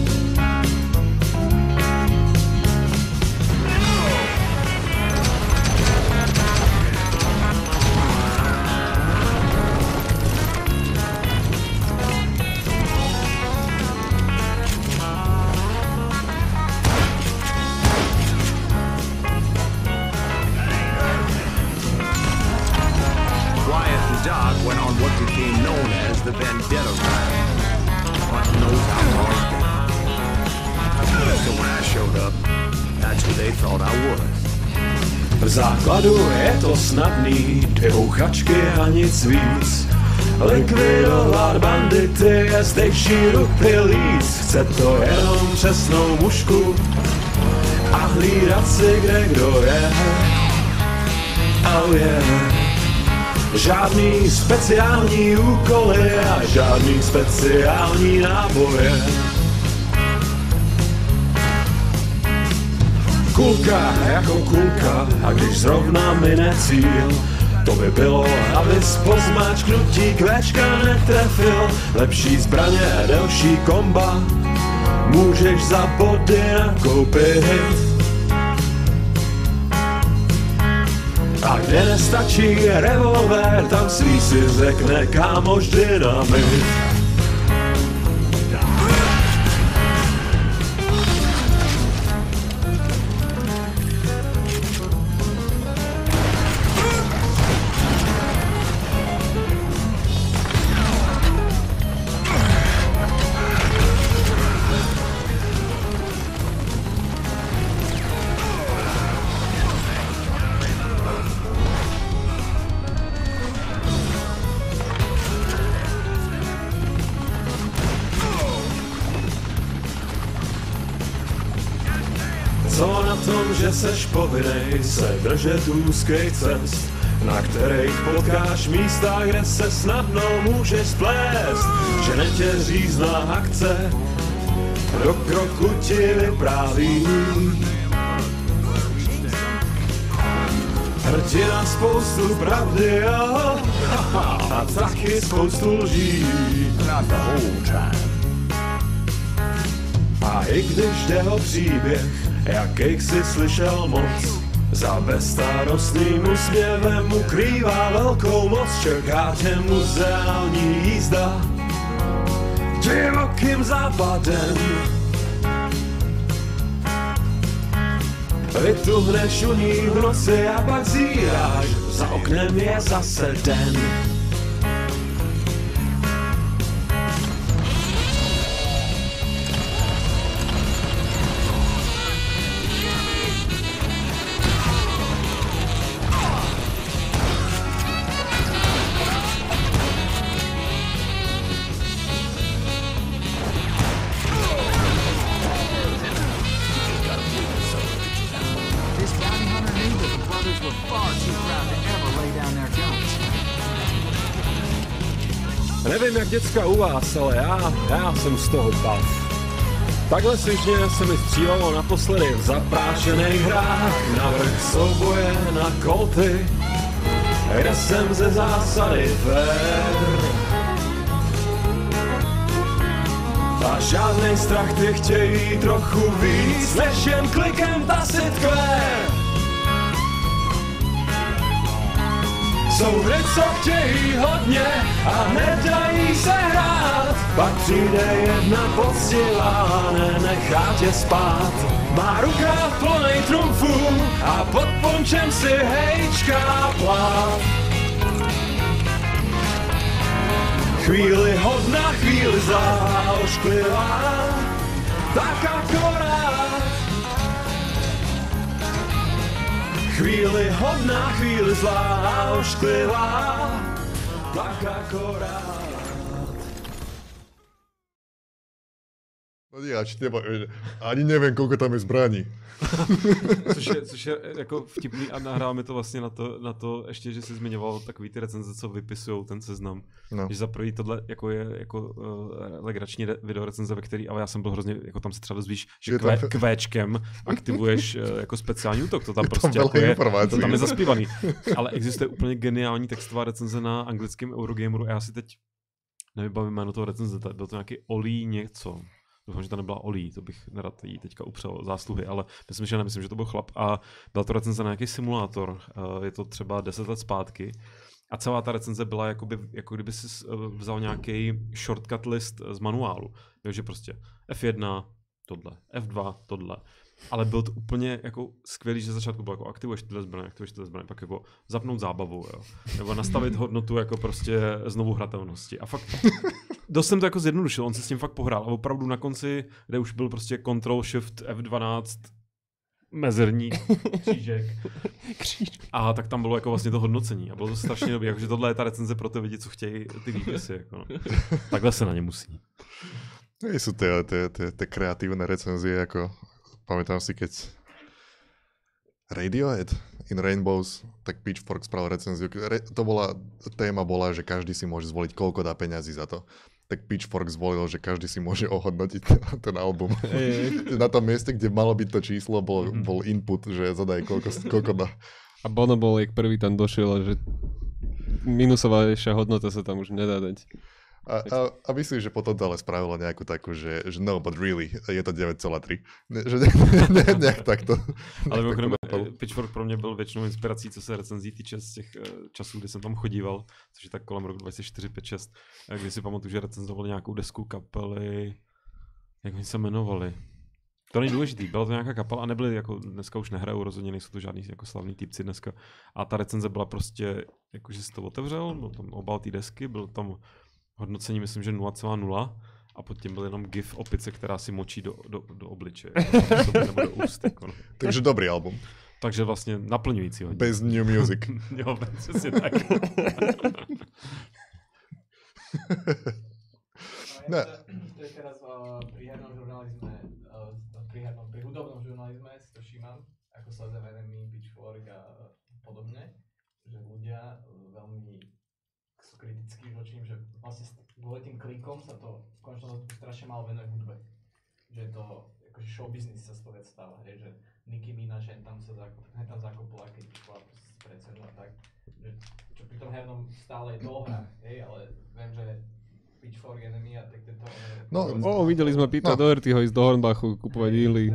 V základu je to snadný, dvě houchačky a nic víc. Likvidovat bandity je zdejší rupy líc. Chce to jenom přesnou mušku a hlídat si, kde kdo je. Oh yeah. Žádný speciální úkoly a žádný speciální náboje. Kulka jako kulka, a když zrovna mine cíl, to by bylo, abys po zmáčknutí kvéčka netrefil. Lepší zbraně, delší komba, můžeš za body nakoupit. A kde nestačí revolver, tam svý si řekne kámoš dynamit. Co na tom, že seš povinnej se držet úzkej cest, na kterých potkáš místa, kde se snadno můžeš splést, že netě řízná akce do kroku ti vypráví. Hrdina spoustu pravdy, jo, a taky spoustu lží. A i když jde o příběh, jakých si slyšel moc, za bezstarostným úsměvem ukrývá velkou moc. Čeká tě muzeální jízda divokým západem. Vytuhneš u ní v noci a pak zíráš, za oknem je zase den. Nevím jak děcka u vás, ale já, já jsem z toho bav. Takhle svižně se mi střílelo naposledy v zaprášených hrách, navrch souboje na kolty, kde jsem ze zásady fér. A žádnej strach, ty chtějí trochu víc, než jen klikem tasit kvér. Jsou hry, co chtějí hodně a nedají se hrát. Pak přijde jedna poctivá, nenechá tě spát. Má ruka plnej trumfů a pod pončem si hejčká plát. Chvíli hodná, chvíli zlá, ošklivá, tak akorát. Chvíli hodná, chvíli zlá, ošklivá, tak akorát. No nie, ač teba, ani nevím, koľko tam je zbraní. Což je, což je jako vtipný a nahráváme to vlastně na to, na to ještě, že jsi zmiňoval takový ty recenze, co vypisují ten seznam. No. Že za prvý tohle jako je jako uh, legrační re- videorecenze, ve který, ale já jsem byl hrozně, jako tam se třeba dozvíš, že kvé, tam... kvéčkem aktivuješ uh, jako speciální útok, to tam prostě jako je, to tam je zaspívaný. Ale existuje úplně geniální textová recenze na anglickém Eurogameru a já si teď nevybavím jméno toho recenze, byl to nějaký Olí něco. Doufám, že to nebyla Olí, to bych nerad jí teďka upřel zásluhy, ale myslím, že nemyslím, že to byl chlap a byla to recenze na nějaký simulátor, je to třeba deset let zpátky a celá ta recenze byla jakoby, jako kdyby si vzal nějaký shortcut list z manuálu, takže prostě F jedna, tohle, F dva, tohle. Ale byl to úplně jako skvělý, že začátku bylo jako aktivuješ tyhle zbraně, aktivuješ tyhle zbraně, pak jako zapnout zábavu, jo. Nebo nastavit hodnotu jako prostě znovu hratelnosti. A fakt dost jsem to jako zjednodušil, on se s tím fakt pohrál a opravdu na konci, kde už byl prostě Ctrl Shift F dvanáct mezerník, křížek. Křížek. A tak tam bylo jako vlastně to hodnocení a bylo to strašně dobrý, jakože tohle je ta recenze pro ty lidi, co chtějí ty výpisy, jako no. Takhle se na ně musí. Nie sú tie, tie, tie, tie kreatívne recenzie, ako pamätám si, keď Radiohead in Rainbows, tak Pitchfork spravil recenziu. Re, to bola, téma bola, že každý si môže zvoliť, koľko dá peňazí za to. Tak Pitchfork zvolil, že každý si môže ohodnotiť ten, ten album. Hey. Na tom mieste, kde malo byť to číslo, bol, mm-hmm. bol input, že zadaj, koľko, koľko dá. A Bono bol, jak prvý tam došiel, že minusová hodnota sa tam už nedá dať. A, a, a myslíš, že potom to ale spravilo nejakú takú, že, že no, but really, je to deväť celá tri. Ne, že ne, ne, nejak takto. Ale mimochodem, Pitchfork pro mě byl většinou inspirací, co se recenzí týče z těch uh, časů, kdy jsem tam chodíval, což je tak kolem roku dvacet čtyři, pět, šest, kdy si pamatuju, že recenzovali nějakou desku kapely, jak oni se jmenovali. To není důležitý, byla to nějaká kapela a nebyly, jako dneska už nehrajou, rozhodně nejsou to žádný jako slavný týpci dneska. A ta recenze byla prostě, jakože si to otevřel, byl tam obal té desky, byl tam hodnocení, myslím, že nula celá nula a pod tím byl jenom gif opice, která si močí do, do, do obličeje. Nebo do úst. Jako no. Takže dobrý album. Takže vlastně naplňující hodně. Bez new music. Jo, přesně tak. No. To je teraz uh, pri hernom žurnalizme, uh, pri, hernom, pri hudobnom žurnalizme si to všímam, ako sa zve Enemy, Pitchfork a podobne, že ľudia veľmi sú kritickí voči ním, že vlastne kvôli tým klikom sa to v končnom dôsledku strašne málo venuje hudbe. Že je to akože show business sa z toho viac stáva, hej, že Nicki Minaj hen tam sa zakop, hen tam zakopula, keď išla pre cenu a tak. Že, čo pri tom hernom stále je to hra, hej, ale viem, že Pitchfork, Enemy a tak tento... No, o, videli sme Pita no. Dohertyho ísť do Hornbachu kúpovať díly.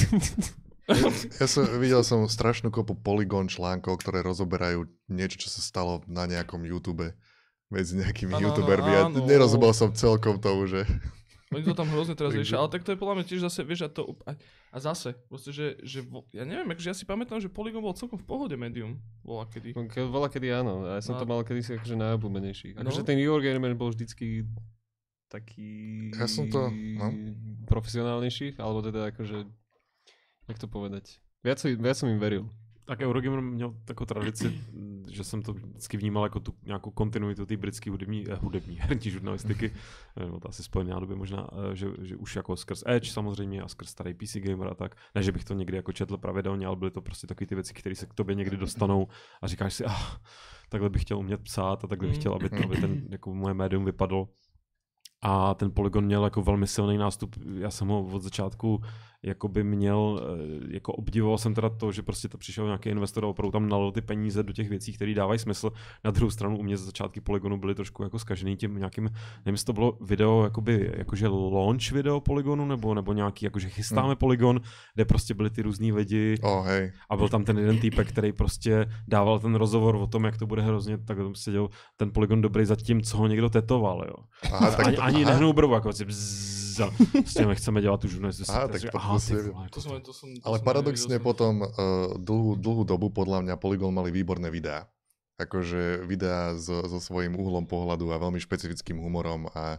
Ja som videl som strašnú kopu Polygon článkov, ktoré rozoberajú niečo, čo sa stalo na nejakom YouTube medzi nejakými ano, youtubermi. Ja nerozumel som celkom tomu, že... Oni to tam hrozne teraz riešia, ale tak to je podľa mňa tiež zase, vieš, a to... A zase, proste, že, že ja neviem, akože ja si pamätám, že Polygon bol celkom v pohode médium, bola kedy. Bola kedy áno, a ja som no. to mal kedysi akože najobľúbenejších. Akože no. ten Eurogamer bol vždycky taký... Ja som to, no. profesionálnejší, alebo teda akože... Jak to povedať? Viac, viac som im veril. Tak Eurogamer měl takovou tradici, že jsem to vždycky vnímal jako tu nějakou kontinuitu té britské hudební, eh, hudební herní žurnalistiky, nebo to asi spojené nádoby možná, že, že už jako skrz Edge samozřejmě a skrz starý P C Gamer a tak. Ne, že bych to někdy jako četl pravidelně, ale byly to prostě takové ty věci, které se k tobě někdy dostanou a říkáš si, ah, takhle bych chtěl umět psát a takhle bych chtěl, aby, to, aby ten jako moje médium vypadlo. A ten Polygon měl jako velmi silný nástup. Já jsem ho od začátku jakoby měl, jako obdivoval jsem teda to, že prostě to přišel nějaký investor a opravdu tam nalil ty peníze do těch věcí, které dávají smysl. Na druhou stranu u mě z začátky Polygonu byly trošku jako zkažený tím nějakým, nevím, jestli to bylo video, jakoby, jakože launch video Polygonu, nebo, nebo nějaký, jakože chystáme hmm. Polygon, kde prostě byli ty různý lidi. Oh, hej. A byl tam ten jeden týpek, který prostě dával ten rozhovor o tom, jak to bude hrozně, tak tam seděl ten Polygon dobrý za tím, co ho někdo tetoval, jo. Aha, tak to, ani, ani nehnul brvu, jako si bzzz, s tím chceme dělat tu žurnalistiku. Aha, tak aha, ty vole, to som, to som, to ale paradoxne potom uh, dlhú, dlhú dobu podľa mňa Polygon mali výborné videá. akože videá so, so svojím uhlom pohľadu a veľmi špecifickým humorom a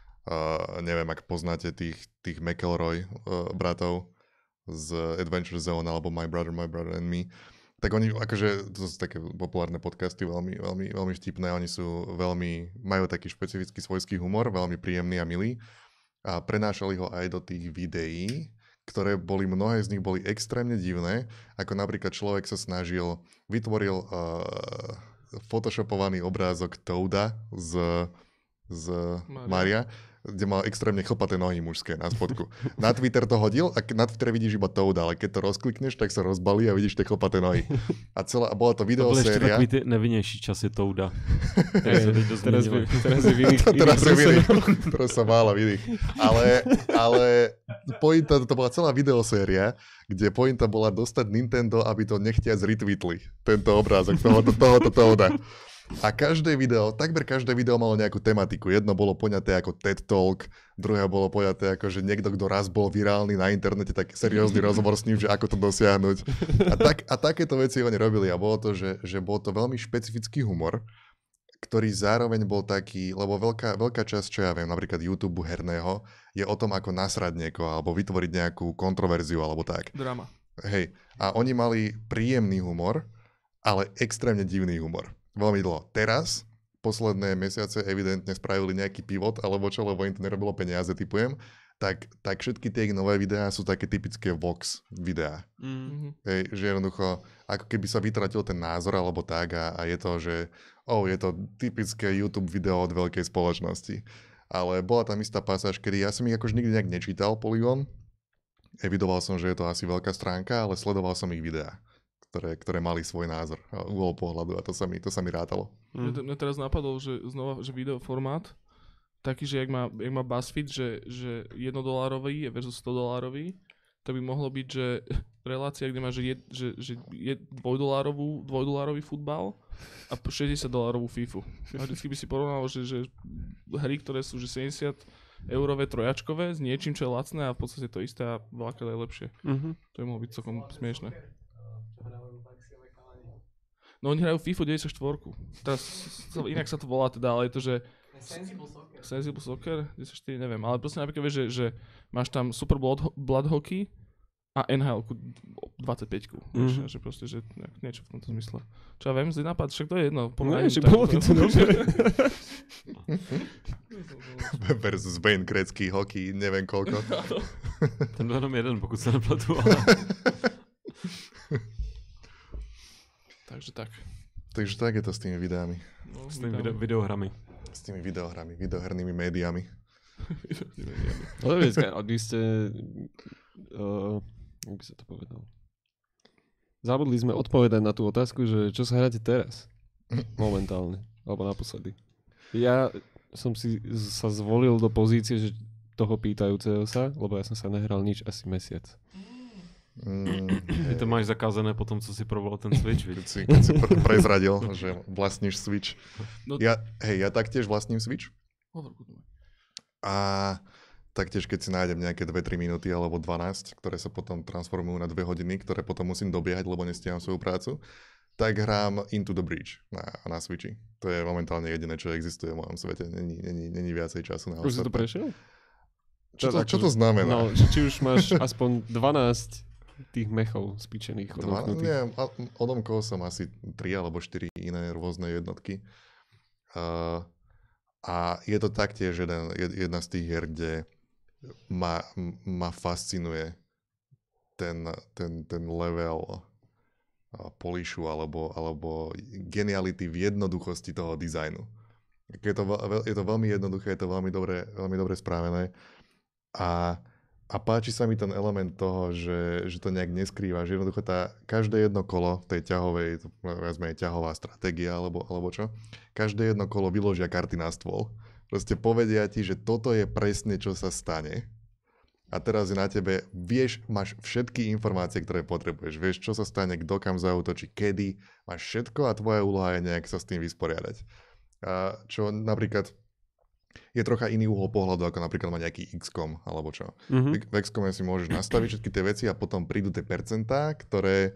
uh, neviem, ak poznáte tých, tých McElroy uh, bratov z Adventure Zone alebo My Brother, My Brother and Me, tak oni, akože, to sú také populárne podcasty, veľmi, veľmi, veľmi vtipné, oni sú veľmi, majú taký špecifický svojský humor, veľmi príjemný a milý a prenášali ho aj do tých videí, ktoré boli, mnohé z nich boli extrémne divné, ako napríklad človek sa snažil, vytvoril uh, photoshopovaný obrázok Toada z, z Maria, kde mal extrémne chlpaté nohy mužské na spodku. Na Twitter to hodil a na Twitter vidíš iba Toada, ale keď to rozklikneš, tak sa rozbalí a vidíš tie chlpaté nohy. A celá, a bola to videoséria. To boli ešte takový ty nevinnější časy Toada. Teraz je vynich. Teraz je vynich. Teraz sa mála vynich. Ale, ale pointa, to bola celá videoséria, kde pointa bola dostať Nintendo, aby to nechtiac retweetli. Tento obrázok tohoto, tohoto Toada. A každé video, takmer každé video malo nejakú tematiku. Jedno bolo poňaté ako TED Talk, druhé bolo poňaté ako, že niekto, kto raz bol virálny na internete, tak seriózny rozhovor s ním, že ako to dosiahnuť. A, tak, a takéto veci oni robili a bolo to, že, že bol to veľmi špecifický humor, ktorý zároveň bol taký, lebo veľká, veľká časť, čo ja viem, napríklad YouTube herného, je o tom, ako nasrať niekoho, alebo vytvoriť nejakú kontroverziu, alebo tak. Drama. Hej. A oni mali príjemný humor, ale extrémne divný humor. Veľmi dlho. Teraz, posledné mesiace evidentne spravili nejaký pivot, alebo čo, lebo im to nerobilo peniaze, typujem, tak, tak všetky tie nové videá sú také typické Vox videá. Mm-hmm. Hej, že jednoducho, ako keby sa vytratil ten názor, alebo tak, a, a je to, že oh, je to typické YouTube video od veľkej spoločnosti. Ale bola tam istá pasáž, kedy ja som ich akož nikdy nejak nečítal, Polygon. Evidoval som, že je to asi veľká stránka, ale sledoval som ich videá. Ktoré, ktoré mali svoj názor a uhol pohľadu a to sa mi, to sa mi rátalo. Mm. Mne teraz napadlo, že znova, že videoformát, taký, že jak má, jak má BuzzFeed, že, že jednodolárový versus sto dolárový, to by mohlo byť, že relácia, kde má, že, je, že, že je dvojdolárovú, dvojdolárový futbal a šesťdesiat dolárovú FIFU. A vždycky by si porovnal, že, že hry, ktoré sú že sedemdesiat eurové trojačkové s niečím, čo je lacné a v podstate to isté a veľakrát aj lepšie. Mm-hmm. To by mohlo byť celkom smiešné. No oni hrajú FIFA deväťdesiatštyri. Teraz, inak sa to volá teda, ale je to, že... Sensible Soccer. Sensible Soccer? deväťdesiatštyri, neviem. Ale proste napríklad vieš, že, že máš tam Super Blood, Blood Hockey a en há elku dvadsaťpäť. Mm-hmm. Že proste, že niečo v tomto zmysle. Čo ja viem, zlý nápad, však to je jedno. No, že bolo by to dobre. Versus Bane, grécky hokej, neviem koľko. Ten jenom jeden, pokud sa nepletu, ale... Takže tak. Takže tak je to s tými videami. No, s tými video, videohrami. S tými videohrami, videohernými médiami. No dobre, vy ste... Uh, jak by sa to povedal? Zabudli sme odpovedať na tú otázku, že čo sa hráte teraz? Momentálne. Alebo naposledy. Ja som si sa zvolil do pozície, že toho pýtajúceho sa, lebo ja som sa nehral nič asi mesiac. Mm, Ty to máš zakázané po tom, co si proval ten Switch, keď si, keď si pr- prezradil, že vlastníš Switch. No, ja, hej, ja taktiež vlastním Switch. A taktiež, keď si nájdem nejaké dve tri minúty alebo dvanásť, ktoré sa potom transformujú na dve hodiny, ktoré potom musím dobiehať, lebo nestíham svoju prácu, tak hrám Into the Breach na, na Switchi. To je momentálne jediné, čo existuje v mojom svete. Není, není, není viacej času na ostatné. Už si to prešiel? Čo to, čo to znamená? No, či už máš aspoň dvanásť tých mechov spíčených, odomknutých. Neviem, odomkol som asi tri alebo štyri iné rôzne jednotky. Uh, a je to taktiež jeden, jedna z tých hier, kde ma, ma fascinuje ten, ten, ten level polishu alebo, alebo geniality v jednoduchosti toho dizajnu. Je to, je to veľmi jednoduché, je to veľmi dobre, veľmi dobre správené a A páči sa mi ten element toho, že, že to nejak neskrýva, že jednoducho tá, každé jedno kolo v tej ťahovej, vezme ťahová stratégia alebo, alebo čo, každé jedno kolo vyložia karty na stôl. Proste povedia ti, že toto je presne, čo sa stane. A teraz je na tebe, vieš, máš všetky informácie, ktoré potrebuješ. Vieš, čo sa stane, kto kam zaútočí, kedy, máš všetko a tvoja úloha je nejak sa s tým vysporiadať. A čo napríklad je trocha iný uhol pohľadu, ako napríklad má nejaký iks kom, alebo čo. Mm-hmm. V iks kome si môžeš nastaviť všetky tie veci a potom prídu tie percentá, ktoré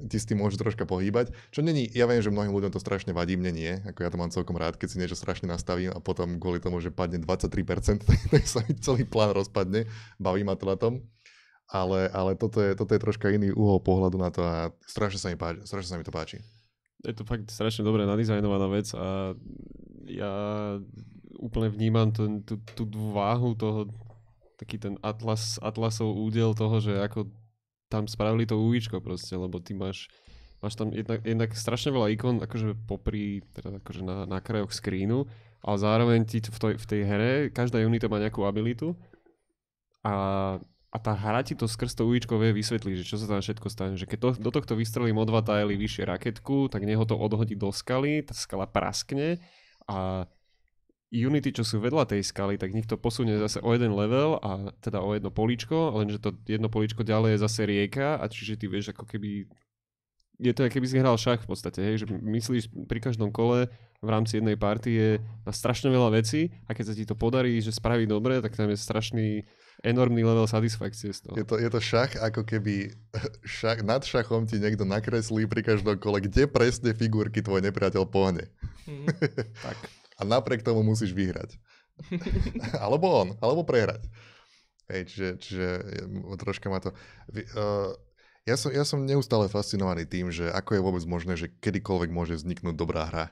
ty s tým môžeš troška pohýbať. Čo není, ja viem, že mnohým ľuďom to strašne vadí, mne nie. Ako ja to mám celkom rád, keď si niečo strašne nastavím a potom kvôli tomu, že padne dvadsaťtri percent, tak sa mi celý plán rozpadne. Baví ma to na tom. Ale, ale toto, je, toto je troška iný uhol pohľadu na to a strašne sa mi, páči, strašne sa mi to páči. Je to fakt strašne dobre nadizajnovaná vec a ja úplne vnímam ten, tú, tú váhu toho, taký ten atlas, atlasov údel toho, že ako tam spravili to úvičko proste, lebo ty máš, máš tam jednak, jednak strašne veľa ikon, akože popri, teda akože na, na krajoch screenu, ale zároveň ti v, toj, v tej hre, každá unita má nejakú abilitu a, a tá hra ti to skrz to úvičko vie vysvetliť, že čo sa tam všetko stane, že keď to, do tohto vystrelím o dva tajely vyššie raketku, tak neho to odhodí do skaly, tá skala praskne a unity, čo sú vedľa tej skaly, tak nech to posunie zase o jeden level a teda o jedno políčko, lenže to jedno políčko ďalej je zase rieka a čiže ty vieš ako keby je to, ako keby si hral šach v podstate, hej, že myslíš pri každom kole v rámci jednej partie na strašne veľa vecí a keď sa ti to podarí, že spraví dobre, tak tam je strašný enormný level satisfakcie z toho. Je to, je to šach, ako keby šach, nad šachom ti niekto nakreslí pri každom kole, kde presne figurky tvoj nepriateľ pohne. Mm. Tak. A napriek tomu musíš vyhrať. Alebo on, alebo prehrať. Hej, čiže, čiže troška ma to... Uh, ja, som, ja som neustále fascinovaný tým, že ako je vôbec možné, že kedykoľvek môže vzniknúť dobrá hra.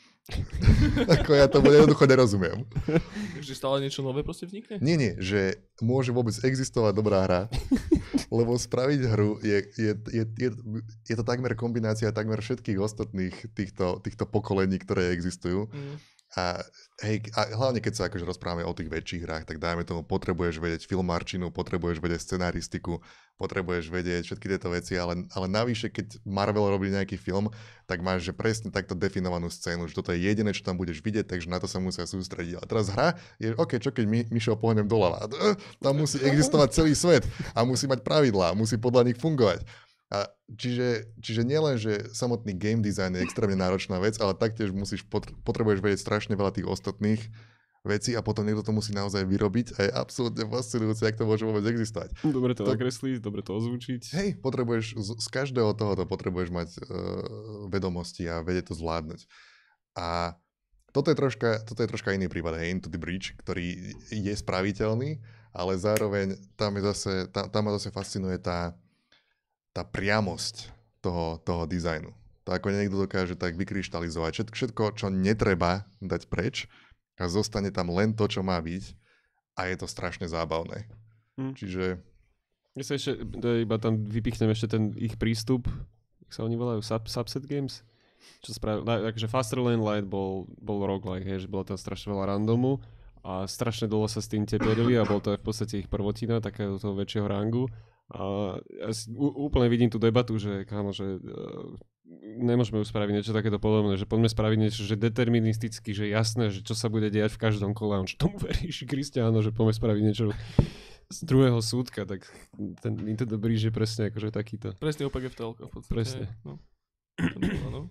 Ako ja tomu jednoducho nerozumiem. Že stále niečo nové proste vznikne? Nie, nie, že môže vôbec existovať dobrá hra, lebo spraviť hru je, je, je, je, je to takmer kombinácia takmer všetkých ostatných týchto, týchto pokolení, ktoré existujú. Mm. A, hej, a hlavne keď sa akože rozprávame o tých väčších hrách, tak dajme tomu, potrebuješ vedieť filmárčinu, potrebuješ vedieť scenaristiku, potrebuješ vedieť všetky tieto veci, ale, ale navyše, keď Marvel robí nejaký film, tak máš že presne takto definovanú scénu, že toto je jediné, čo tam budeš vidieť, takže na to sa musia sústrediť. A teraz hra je, OK, čo keď my, Mišo pohnem doľava? Tam musí existovať celý svet a musí mať pravidlá, musí podľa nich fungovať. A čiže, čiže nielen, že samotný game design je extrémne náročná vec, ale taktiež musíš, potrebuješ vedieť strašne veľa tých ostatných vecí a potom niekto to musí naozaj vyrobiť a je absolútne fascinujúce, jak to môže vôbec existovať. Dobre to, to nakresliť, dobre to ozvučiť. Hej, potrebuješ, z, z každého tohoto potrebuješ mať uh, vedomosti a vedieť to zvládnuť. A toto je troška, toto je troška iný prípad, hej, Into the Breach, ktorý je spraviteľný, ale zároveň tam, je zase, tam, tam ma zase fascinuje tá tá priamosť toho, toho dizajnu. To ako niekto dokáže tak vykryštalizovať. Všetko, všetko, čo netreba dať preč a zostane tam len to, čo má byť a je to strašne zábavné. Hm. Čiže... Ja sa ešte, iba tam vypichnem ešte ten ich prístup, jak sa oni volajú, Sub, Subset Games? Čo spravil, takže Faster Lane Light bol, bol roguelike, hej, že bolo tam strašne veľa randomu a strašne dlho sa s tým tepedili a bol to v podstate ich prvotina, takého toho väčšieho rangu. A ja si úplne vidím tú debatu, že kámo, že uh, nemôžeme spraviť niečo takéto podobné, že poďme spraviť niečo, že deterministicky, že jasné, že čo sa bude diať v každom kole. On že tomu veríš, Kristiáno, že poďme spraviť niečo z druhého súdka, tak ten Nintendo Bridge je presne akože takýto. Presne opak ef té elka v podstate. Presne. No. No.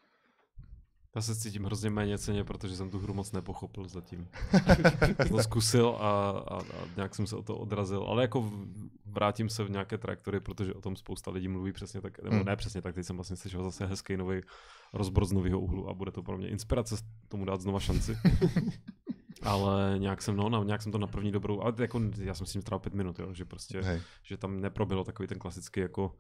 Já se cítím hrozně méněcenně, protože jsem tu hru moc nepochopil zatím. to zkusil a, a, a nějak jsem se o to odrazil, ale jako vrátím se v nějaké trajektory, protože o tom spousta lidí mluví přesně tak, nebo ne přesně tak, teď jsem vlastně slyšel zase hezký nový rozbor z nového úhlu a bude to pro mě inspirace tomu dát znova šanci. Ale nějak jsem, no, na, nějak jsem to na první dobrou, ale jako, já jsem s tím strávil pět minut, jo, že prostě, Hej. že tam neprobilo takový ten klasický jako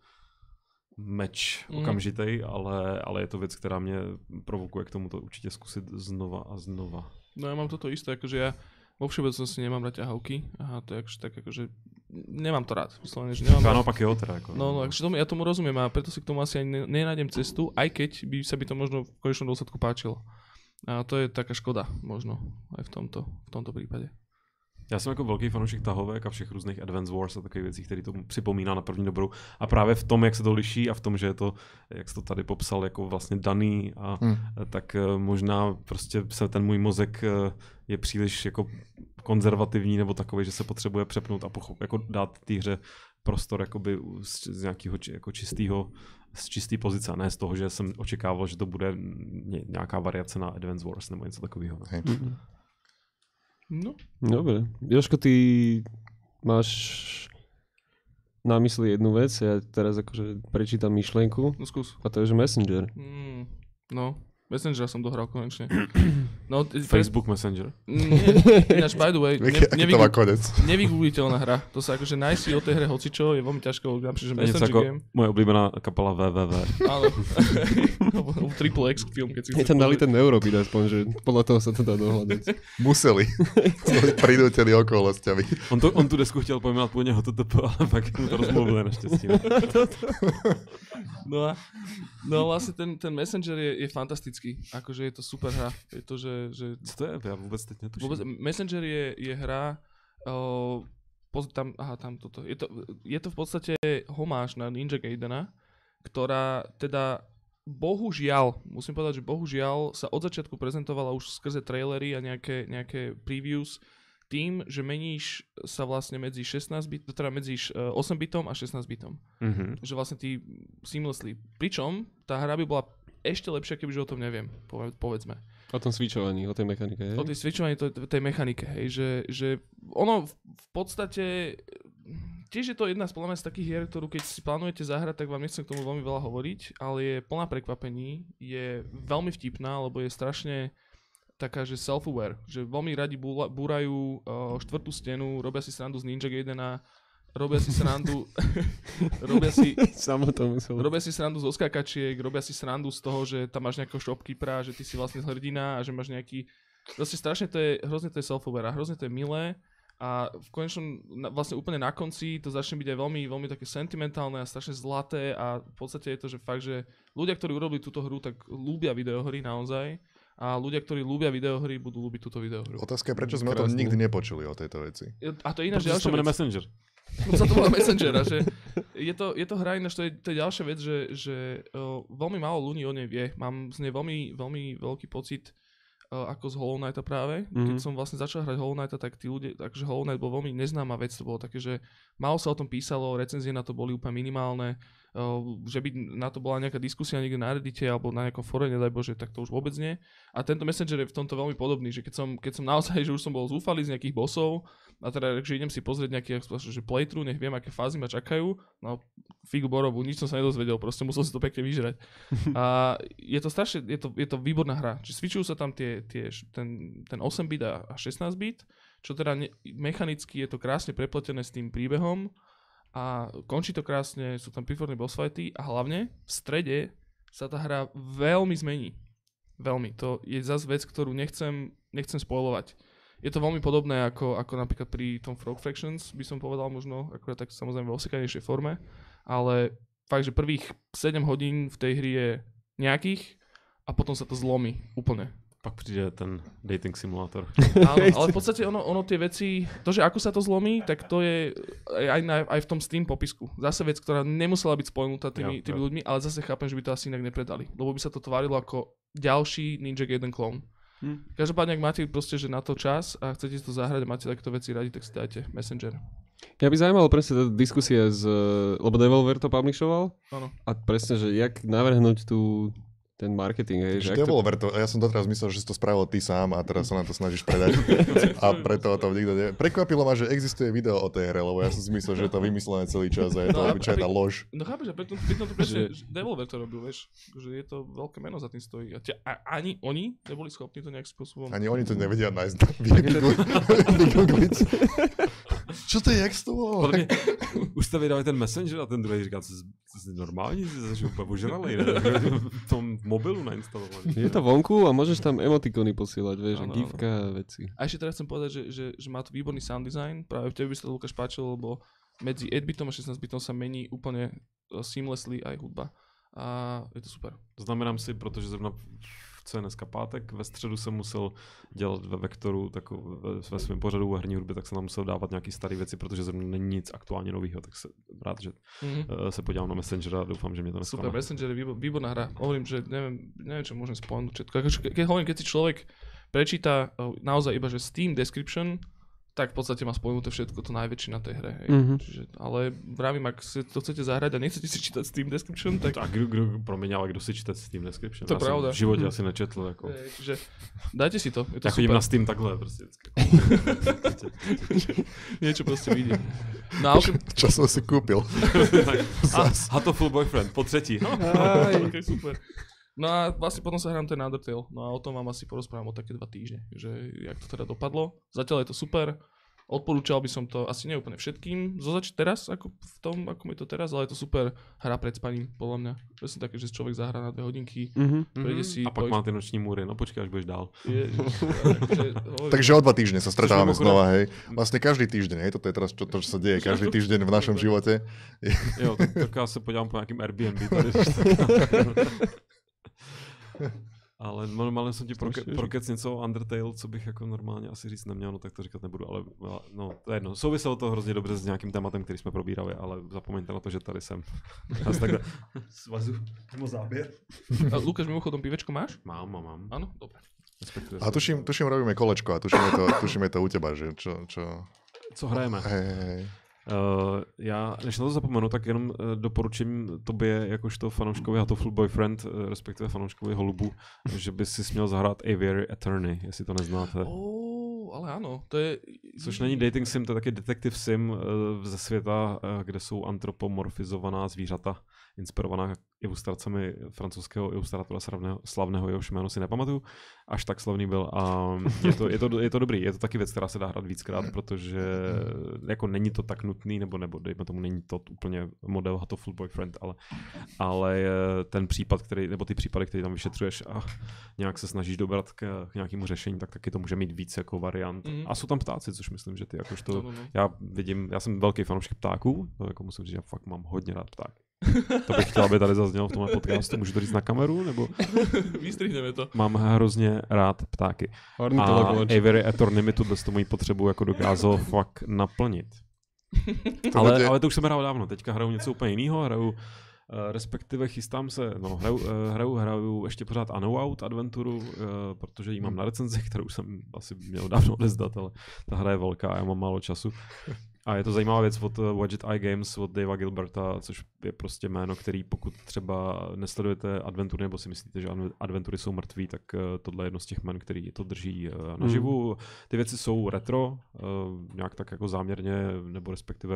meč mm. okamžitej, ale, ale je to věc, která mě provokuje k tomu to určitě zkusit znova a znova. No ja mám toto isté, akože ja vo všeobecnosti nemám rád ťahavky a to je akože tak akože nemám to rád. Vyslovene, že nemám rád. Naopak je otra. Ako, no, no, akože tomu, ja tomu rozumiem a preto si k tomu asi ani nenájdem cestu, aj keď by sa by to možno v konečnom dôsledku páčilo. A to je taká škoda možno aj v tomto, v tomto prípade. Já jsem jako velký fanoušek tahovek a všech různých Advance Wars a takových věcí, které to připomíná na první dobrou. A právě v tom, jak se to liší a v tom, že je to, jak jsi to tady popsal, jako vlastně daný, a hmm. tak možná prostě se ten můj mozek je příliš jako konzervativní nebo takový, že se potřebuje přepnout a pochop, jako dát té hře prostor jakoby z, z nějakého jako čistého, z čisté pozice, a ne z toho, že jsem očekával, že to bude nějaká variace na Advance Wars nebo něco takového. Ne? Hey. Mm-hmm. No. Dobre. Jožko, ty máš na mysli jednu vec, ja teraz akože prečítam myšlienku No skús. a to je, že Messenger. Mm, no, Messenger som dohral konečne. No, t- Facebook Messenger. Nie, ináč, by the way, ne, Aký to má nevygu- konec. nevygoogliteľná hra. To sa akože nájsť si o tej hre hocičo je veľmi ťažké, napríklad, že To je něco Messenger jako game. moje oblíbená kapela W W W. Áno. Alebo Triple X film, keď si Je chceš tam dali pozrieť. ten Eurobeat aspoň, že podľa toho sa to dá dohľadať. Museli. Boli prinútení okolnostiami. On, to, on tu desku chtěl pojmenovat původně H T T P, ale pak mu to rozmluvili naštěstí. Ne? No a no vlastne ten, ten Messenger je, je fantastický. Akože je to super hra. Je to, že, že Co to je? Já vůbec teď netuším. vôbec, Messenger je, je hra uh, poz, tam, aha, tam toto. Je to, je to v podstate homáž na Ninja Gaidena, ktorá teda bohužiaľ, musím povedať, že bohužiaľ sa od začiatku prezentovala už skrze trailery a nejaké, nejaké previews tým, že meníš sa vlastne medzi šestnásť bit, teda medzi uh, osem bitom a šestnásť bitom. Mhm. Že vlastne ty seamlessly. Pričom tá hra by bola ešte lepšia, kebyže o tom neviem, pove- povedzme. O tom switchovaní, o tej mechanike, hej? O tej switchovaní, to, tej mechanike, hej, že, že ono v, v podstate, tiež je to jedna z, podľa mňa, z takých hier, ktorú keď si plánujete zahrať, tak vám nechcem k tomu veľmi veľa hovoriť, ale je plná prekvapení, je veľmi vtipná, lebo je strašne taká, že self-aware, že veľmi radi búla, búrajú uh, štvrtú stenu, robia si srandu z Ninja Gaidena, robia si srandu, robia si, Samo to muselo. robia si srandu z oskákačiek, robia si srandu z toho, že tam máš nejakého shopkeepera, že ty si vlastne hrdina a že máš nejaký... Proste strašne to je, hrozne to je self-aware a hrozne to je milé a v konečnom, na, vlastne úplne na konci to začne byť aj veľmi, veľmi také sentimentálne a strašne zlaté a v podstate je to, že fakt, že ľudia, ktorí urobili túto hru, tak ľúbia videohry naozaj a ľudia, ktorí ľúbia videohry, budú ľúbiť túto videohru. Otázka je, prečo sme o tom Krásne. nikdy nepočuli o tejto veci. A to je ináč Protože se ďalšia to jmenuje vec. Messenger. No sa to volá Messenger, a že je to, je to hra ináč, to je, to je ďalšia vec, že, že uh, veľmi málo ľudí o nej vie. Mám z nej veľmi, veľmi veľký pocit uh, ako z Hollow Knighta práve. Mm-hmm. Keď som vlastne začal hrať Hollow Knighta, tak tí ľudia, takže Hollow Knight bol veľmi neznáma vec, to bolo také, že málo sa o tom písalo, recenzie na to boli úplne minimálne, uh, že by na to bola nejaká diskusia niekde na Reddite alebo na nejakom fóre, nedaj Bože, tak to už vôbec nie. A tento Messenger je v tomto veľmi podobný, že keď som, keď som naozaj, že už som bol zúfalý z nejakých bossov, a teda, že idem si pozrieť nejaký že playthrough, nech viem, aké fázy ma čakajú. No, figu borovu, nič som sa nedozvedel, proste musel si to pekne vyžrať. A je to strašne, je to, je to výborná hra. Čiže switchujú sa tam tie, tie ten, ten osem bit a šestnásť bit, čo teda ne, mechanicky je to krásne prepletené s tým príbehom a končí to krásne, sú tam príforné boss fighty a hlavne v strede sa tá hra veľmi zmení. Veľmi. To je zase vec, ktorú nechcem, nechcem spoilovať. Je to veľmi podobné ako, ako napríklad pri tom Frog Fractions, by som povedal možno, akurát tak samozrejme v osekanejšej forme, ale fakt, že prvých sedem hodín v tej hry je nejakých a potom sa to zlomí úplne. Pak přijde ten dating simulátor. Áno, ale v podstate ono, ono tie veci, to, že ako sa to zlomí, tak to je aj, na, aj v tom Steam popisku. Zase vec, ktorá nemusela byť spojenutá tými, Jo, tými jo. ľuďmi, ale zase chápem, že by to asi inak nepredali, lebo by sa to tvárilo ako ďalší Ninja Gaiden klón. Hm. Každopádne, ak máte proste, že na to čas a chcete si to zahrať a máte takéto veci radi, tak si dajte Messenger. Ja by zaujímalo presne tá diskusia z... Lebo Devolver to publishoval. Áno. A presne, že jak navrhnúť tú, ten marketing, hej. Že jak to... Devolver to, ja som doteraz myslel, že si to spravil ty sám a teraz sa nám to snažíš predať. A preto o tom nikto nevie. Prekvapilo ma, že existuje video o tej hre, lebo ja som si myslel, že je to vymyslené celý čas a je to No, obyčajná aby- lož. No chápeš, a preto, preto to presne, že Devolver to robil, vieš, že je to veľké meno za tým stojí. A, tia, a ani oni neboli schopní to nejak spôsobom... Ani oni to nevedia nájsť. Vygoogliť. Čo to je, jak to bolo? Podle mě, už jste vydali ten Messenger a ten druhý říká, co jsi normální, jsi zažil úplně ožralej, ne? V tom mobilu nainstalovaný. Je to vonku a môžeš tam emotikony posielať, vieš, Áno, a gifka a veci. A ešte teraz chcem povedať, že, že, že má to výborný sound design, práve tebe by sa to, Lukáš, páčilo, lebo medzi osem bitom a šestnásť bitom sa mení úplne uh, seamlessly aj hudba. A je to super. Znamenám si, protože zrovna co je dneska pátek, ve středu jsem musel dělat ve Vektoru takovou, ve, ve svém pořadu o herní hudbě, tak jsem tam musel dávat nějaký staré věci, protože zrovna není nic aktuálně nového, tak se rád, že Mhm. uh, se podívám na Messengera a doufám, že mě to Super, nesklame. Messenger je výbor, výborná hra. Hovorím, že neviem, neviem čo môžem spomenúť všetko. Akože Ke, keď hovorím, keď si človek prečíta uh, naozaj iba, že Steam description, tak v podstate má spomenuté všetko to najväčšie na tej hre. Hej. Mhm. Čiže, ale vravím, ak si to chcete zahrať a nechcete si čítať Steam Description, tak... Tak kdo, kdo, promiň, ale kdo si čte Steam Description? To Já jsem pravda. v životě asi nečetl. Jako. Hej, čiže dajte si to, je to Já chodím super. na Steam takhle prostě vždycky. Niečo proste vyjde. No a okrem... Čo som si kúpil? A Hatoful Boyfriend, po třetí. No. Okay, super. No a vlastne potom sa hrám ten Undertale. No a o tom vám asi porozprávam o také dva týždne, že jak to teda dopadlo. Zatiaľ je to super. Odporúčal by som to asi neúplne všetkým. Zozač teraz, ako v tom, ako mi to teraz, ale je to super hra pred spaním, podľa mňa. Presne také, že človek zahrá na dve hodinky, Mhm. prejde si... A pak pojď- má ty noční můry, no počkej, až budeš dál. Je, takže, hovorím, Takže o dva týždne sa stretávame mimochodem- znova, hej. Vlastne každý týždeň, hej, toto je teraz čo, to, čo sa deje každý týždeň v našom živote. Jo, tak, tak já se podívám po nějakým Airbnb tady. Ale normálně jsem ti proke, prokec něco o Undertale, co bych jako normálně asi říct neměl, no tak to říkat nebudu, ale no, to je jedno. Souviselo to hrozně dobře s nějakým tématem, který jsme probírali, ale zapomeňte na to, že tady jsem. Já se takhle svazu mimo záběr. a Lukáš, mimochodom, pivečko máš? Mám, mám, mám. Áno? Dobre. Respektive A tuším, tuším robíme kolečko a tuším je to, tuším je to u teba, že čo, čo... Co hrajeme? Hej, hej, hej. Uh, já, než na to zapomenu, tak jenom uh, doporučím tobě, jakožto fanouškovi Hatoful Boyfriend, uh, respektive fanouškovi Holubu, že by si směl zahrát Aviary Attorney, jestli to neznáte. Oh, ale áno, to je... Což není dating sim, to je taky detective sim uh, ze světa, uh, kde jsou antropomorfizovaná zvířata, inspirovaná ilustracemi francouzského ilustrátora slavného, slavného, jehož jméno si nepamatuju, až tak slavný byl. A je to, je, to, je to dobrý, je to taky věc, která se dá hrát víckrát, protože jako není to tak nutný, nebo, nebo dejme tomu, není to úplně model Hatoful Boyfriend, ale, ale ten případ, který, nebo ty případy, které tam vyšetřuješ a nějak se snažíš dobrat k, k nějakému řešení, tak taky to může mít víc jako variant. Mhm. A jsou tam ptáci, což myslím, že ty jakožto, No, no, no. já vidím, já jsem velký fanoušek ptáků, to jako musím říct, že fakt mám hodně rád ptáky. To bych chtěl, aby tady zaznělo v tomhle podcastu. Můžu to říct na kameru, nebo Vystrihneme to. mám hrozně rád ptáky. A Ornitolog. Avery Attorney mi tuhle moji potřebu jako dokázal fakt naplnit. Ale, bude- ale to už jsem hrál dávno, teďka hraju něco úplně jiného, hraju uh, respektive chystám se, no hraju, uh, hraju, hraju ještě pořád A No Out adventuru, uh, protože ji mám na recenzi, kterou jsem asi měl dávno odezdat, ale ta hra je velká a já mám málo času. A je to zajímavá věc od uh, Wadget Eye Games, od Davea Gilberta, což je prostě jméno, který pokud třeba nesledujete adventury nebo si myslíte, že adventury jsou mrtví, tak uh, tohle je jedno z těch jmen, který to drží uh, naživu. Mm. Ty věci jsou retro, uh, nějak tak jako záměrně, nebo respektive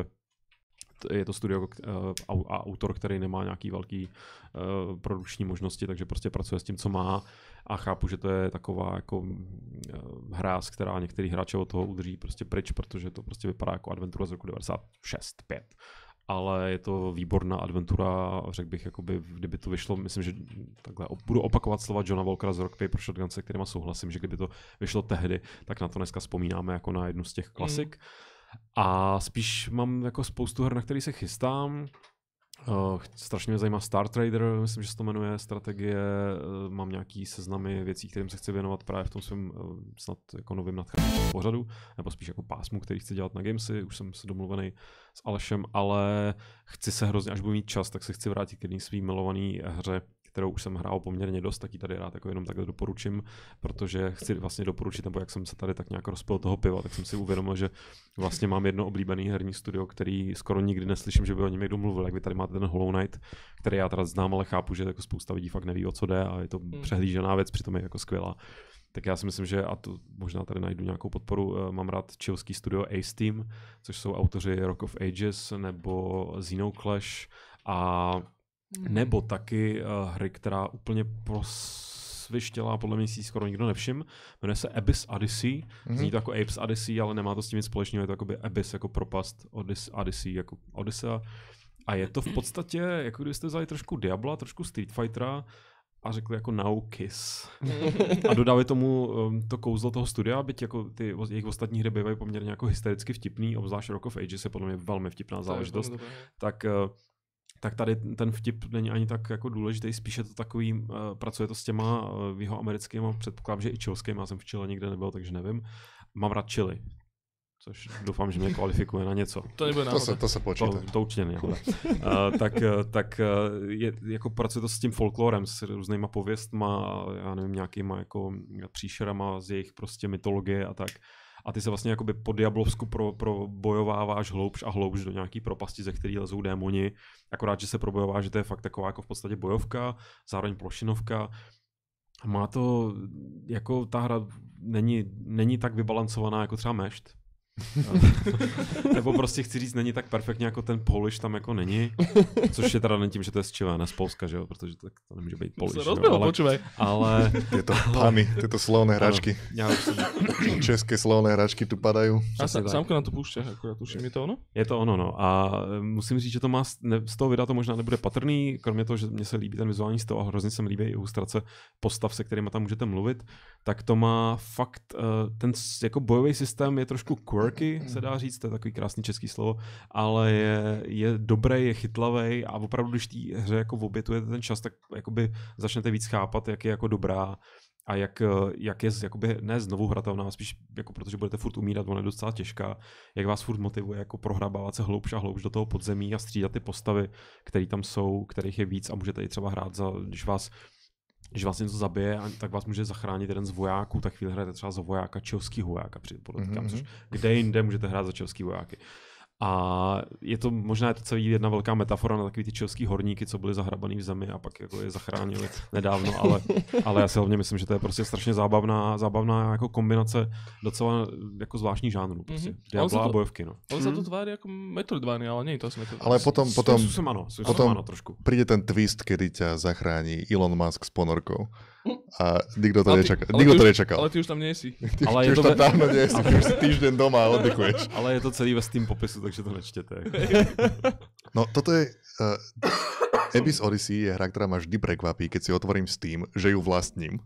je to studio a autor, který nemá nějaký velký uh, produkční možnosti, takže prostě pracuje s tím, co má a chápu, že to je taková jako uh, hráz, která některý hráče od toho udrží prostě pryč, protože to prostě vypadá jako adventura z roku devadesát šest pět. Ale je to výborná adventura, řekl bych, jakoby, kdyby to vyšlo, myslím, že takhle budu opakovat slova Johna Walkera z Rock Paper Shotgun, se kterýma souhlasím, že kdyby to vyšlo tehdy, tak na to dneska vzpomínáme jako na jednu z těch klasik. Mm. A spíš mám jako spoustu her, na který se chystám. Uh, strašně mě zajímá Star Trader, myslím, že se to jmenuje, strategie. Uh, mám nějaký seznamy věcí, kterým se chci věnovat právě v tom svém uh, snad jako novým nadcházejícím pořadu, nebo spíš jako pásmu, který chci dělat na Gamesy. Už jsem se domluvený s Alešem, ale chci se hrozně, až budu mít čas, tak se chci vrátit k jedné svý milovaný hře, kterou už jsem hrál poměrně dost, tak ji tady rád jako jenom takhle doporučím, protože chci vlastně doporučit, nebo jak jsem se tady tak nějak rozpil toho piva, tak jsem si uvědomil, že vlastně mám jedno oblíbený herní studio, který skoro nikdy neslyším, že by o něm někdo mluvil. Jak vy tady máte ten Hollow Knight, který já teda znám, ale chápu, že jako spousta lidí fakt neví, o co jde a je to hmm. přehlížená věc, přitom je jako skvělá. Tak já si myslím, že a to možná tady najdu nějakou podporu, mám rád chilský studio Ace Team, což jsou autoři Rock of Ages nebo Xenoclash a nebo taky uh, hry, která úplně prosvištěla, podle mě si skoro nikdo nevšim. Jmenuje se Abyss Odyssey. Mm-hmm. Zní to jako Apes Odyssey, ale nemá to s tím nic společného. Je to jakoby Abyss jako propast, Odys, Odyssey jako Odyssea. A je to v podstatě, jako kdybyste vzali trošku Diabla, trošku Street Fightera a řekli jako now kiss. A dodali tomu um, to kouzlo toho studia, byť jako ty jejich ostatní hry bývají poměrně jako hystericky vtipný, obzvlášť Rock of Ages je podle mě velmi vtipná záležitost. Tak uh, tak tady ten vtip není ani tak jako důležitý, spíše to takový, uh, pracuje to s těma uh, jeho americkými, předpokládám, že i chilskými, já jsem v Chile nikde nebyl, takže nevím. Mám rád chili, což doufám, že mě kvalifikuje na něco. To nebude náhoda. To se, to se počítá. To, to určitě nehoda. uh, tak tak uh, je, jako pracuje to s tím folklorem, s různýma pověstma, já nevím, nějakýma jako příšerama z jejich prostě mytologie a tak. a ty se vlastně jakoby po Diablovsku pro, probojováváš hloubš a hloubš do nějaký propasti, ze který lezou démoni, akorát, že se probojováš, že to je fakt taková jako v podstatě bojovka, zároveň plošinovka. Má to, jako ta hra není, není tak vybalancovaná jako třeba Mešt. Nebo prostě chci říct, není tak perfektně jako ten polish tam jako není, což je teda jen tím, že to je z Chile, ne z Polska, že jo, protože tak to nemůže být polish, jo, ale, ale... Tieto pany, tieto slovné hračky. Já už jsem... České slovné hračky tu padajú. A sa, sámko na to púšťa, akurát tuším, je to ono? Je to ono, no. A musím říct, že to má, ne, z toho videa to možná nebude patrný, kromě toho, že mně se líbí ten vizuální styl a hrozně se mi líbí ilustrace postav, se kterými tam můžete mluvit, tak to má fakt, ten jako bojový systém je trošku quirky, se dá říct, to je takový krásný český slovo, ale je, je dobrý, je chytlavej a opravdu, když té hře jako obětujete ten čas, tak jakoby začnete víc chápat, jak je jako dobrá a jak, jak je jakoby ne znovu hratelná, spíš jako protože budete furt umírat, ona je docela těžká, jak vás furt motivuje jako prohrabávat se hloubš a hloubš do toho podzemí a střídat ty postavy, které tam jsou, kterých je víc a můžete i třeba hrát za, když vás Když vás něco zabije, tak vás může zachránit jeden z vojáků, tak chvíli hrajete třeba za vojáka, čilskýho vojáka, podotýkám, mm-hmm. což kde jinde můžete hrát za čilský vojáky. A je to možná je to celý jedna velká metafora na takový ty čilský horníky, co byli zahrabaný v zemi a pak jako je zachránili nedávno, ale, ale já si hlavně myslím, že to je prostě strašně zábavná, zábavná jako kombinace docela jako zvláštní žánru. Prostě. Mm-hmm. Diabla a bojovky. No. Ale sa to tvári ako Metroidvania, ale nie je to asi Metroidvania. Ale potom, potom, Susem ano, susem potom ano, trošku. príde ten twist, kedy ťa zachráni Elon Musk s ponorkou. A nikto to Ale ty- nečakal. ale Nikto ty to už- nečakal. Ale ty už tam nie si. Ty, ale ty je už to tam ve- dávno nie si, ty už si týždeň doma a oddychuješ. Ale je to celý ve Steam popisu, takže to nečtěte. No toto je... Uh, Abyss Odyssey je hra, ktorá ma vždy prekvapí, keď si otvorím Steam, že ju vlastním.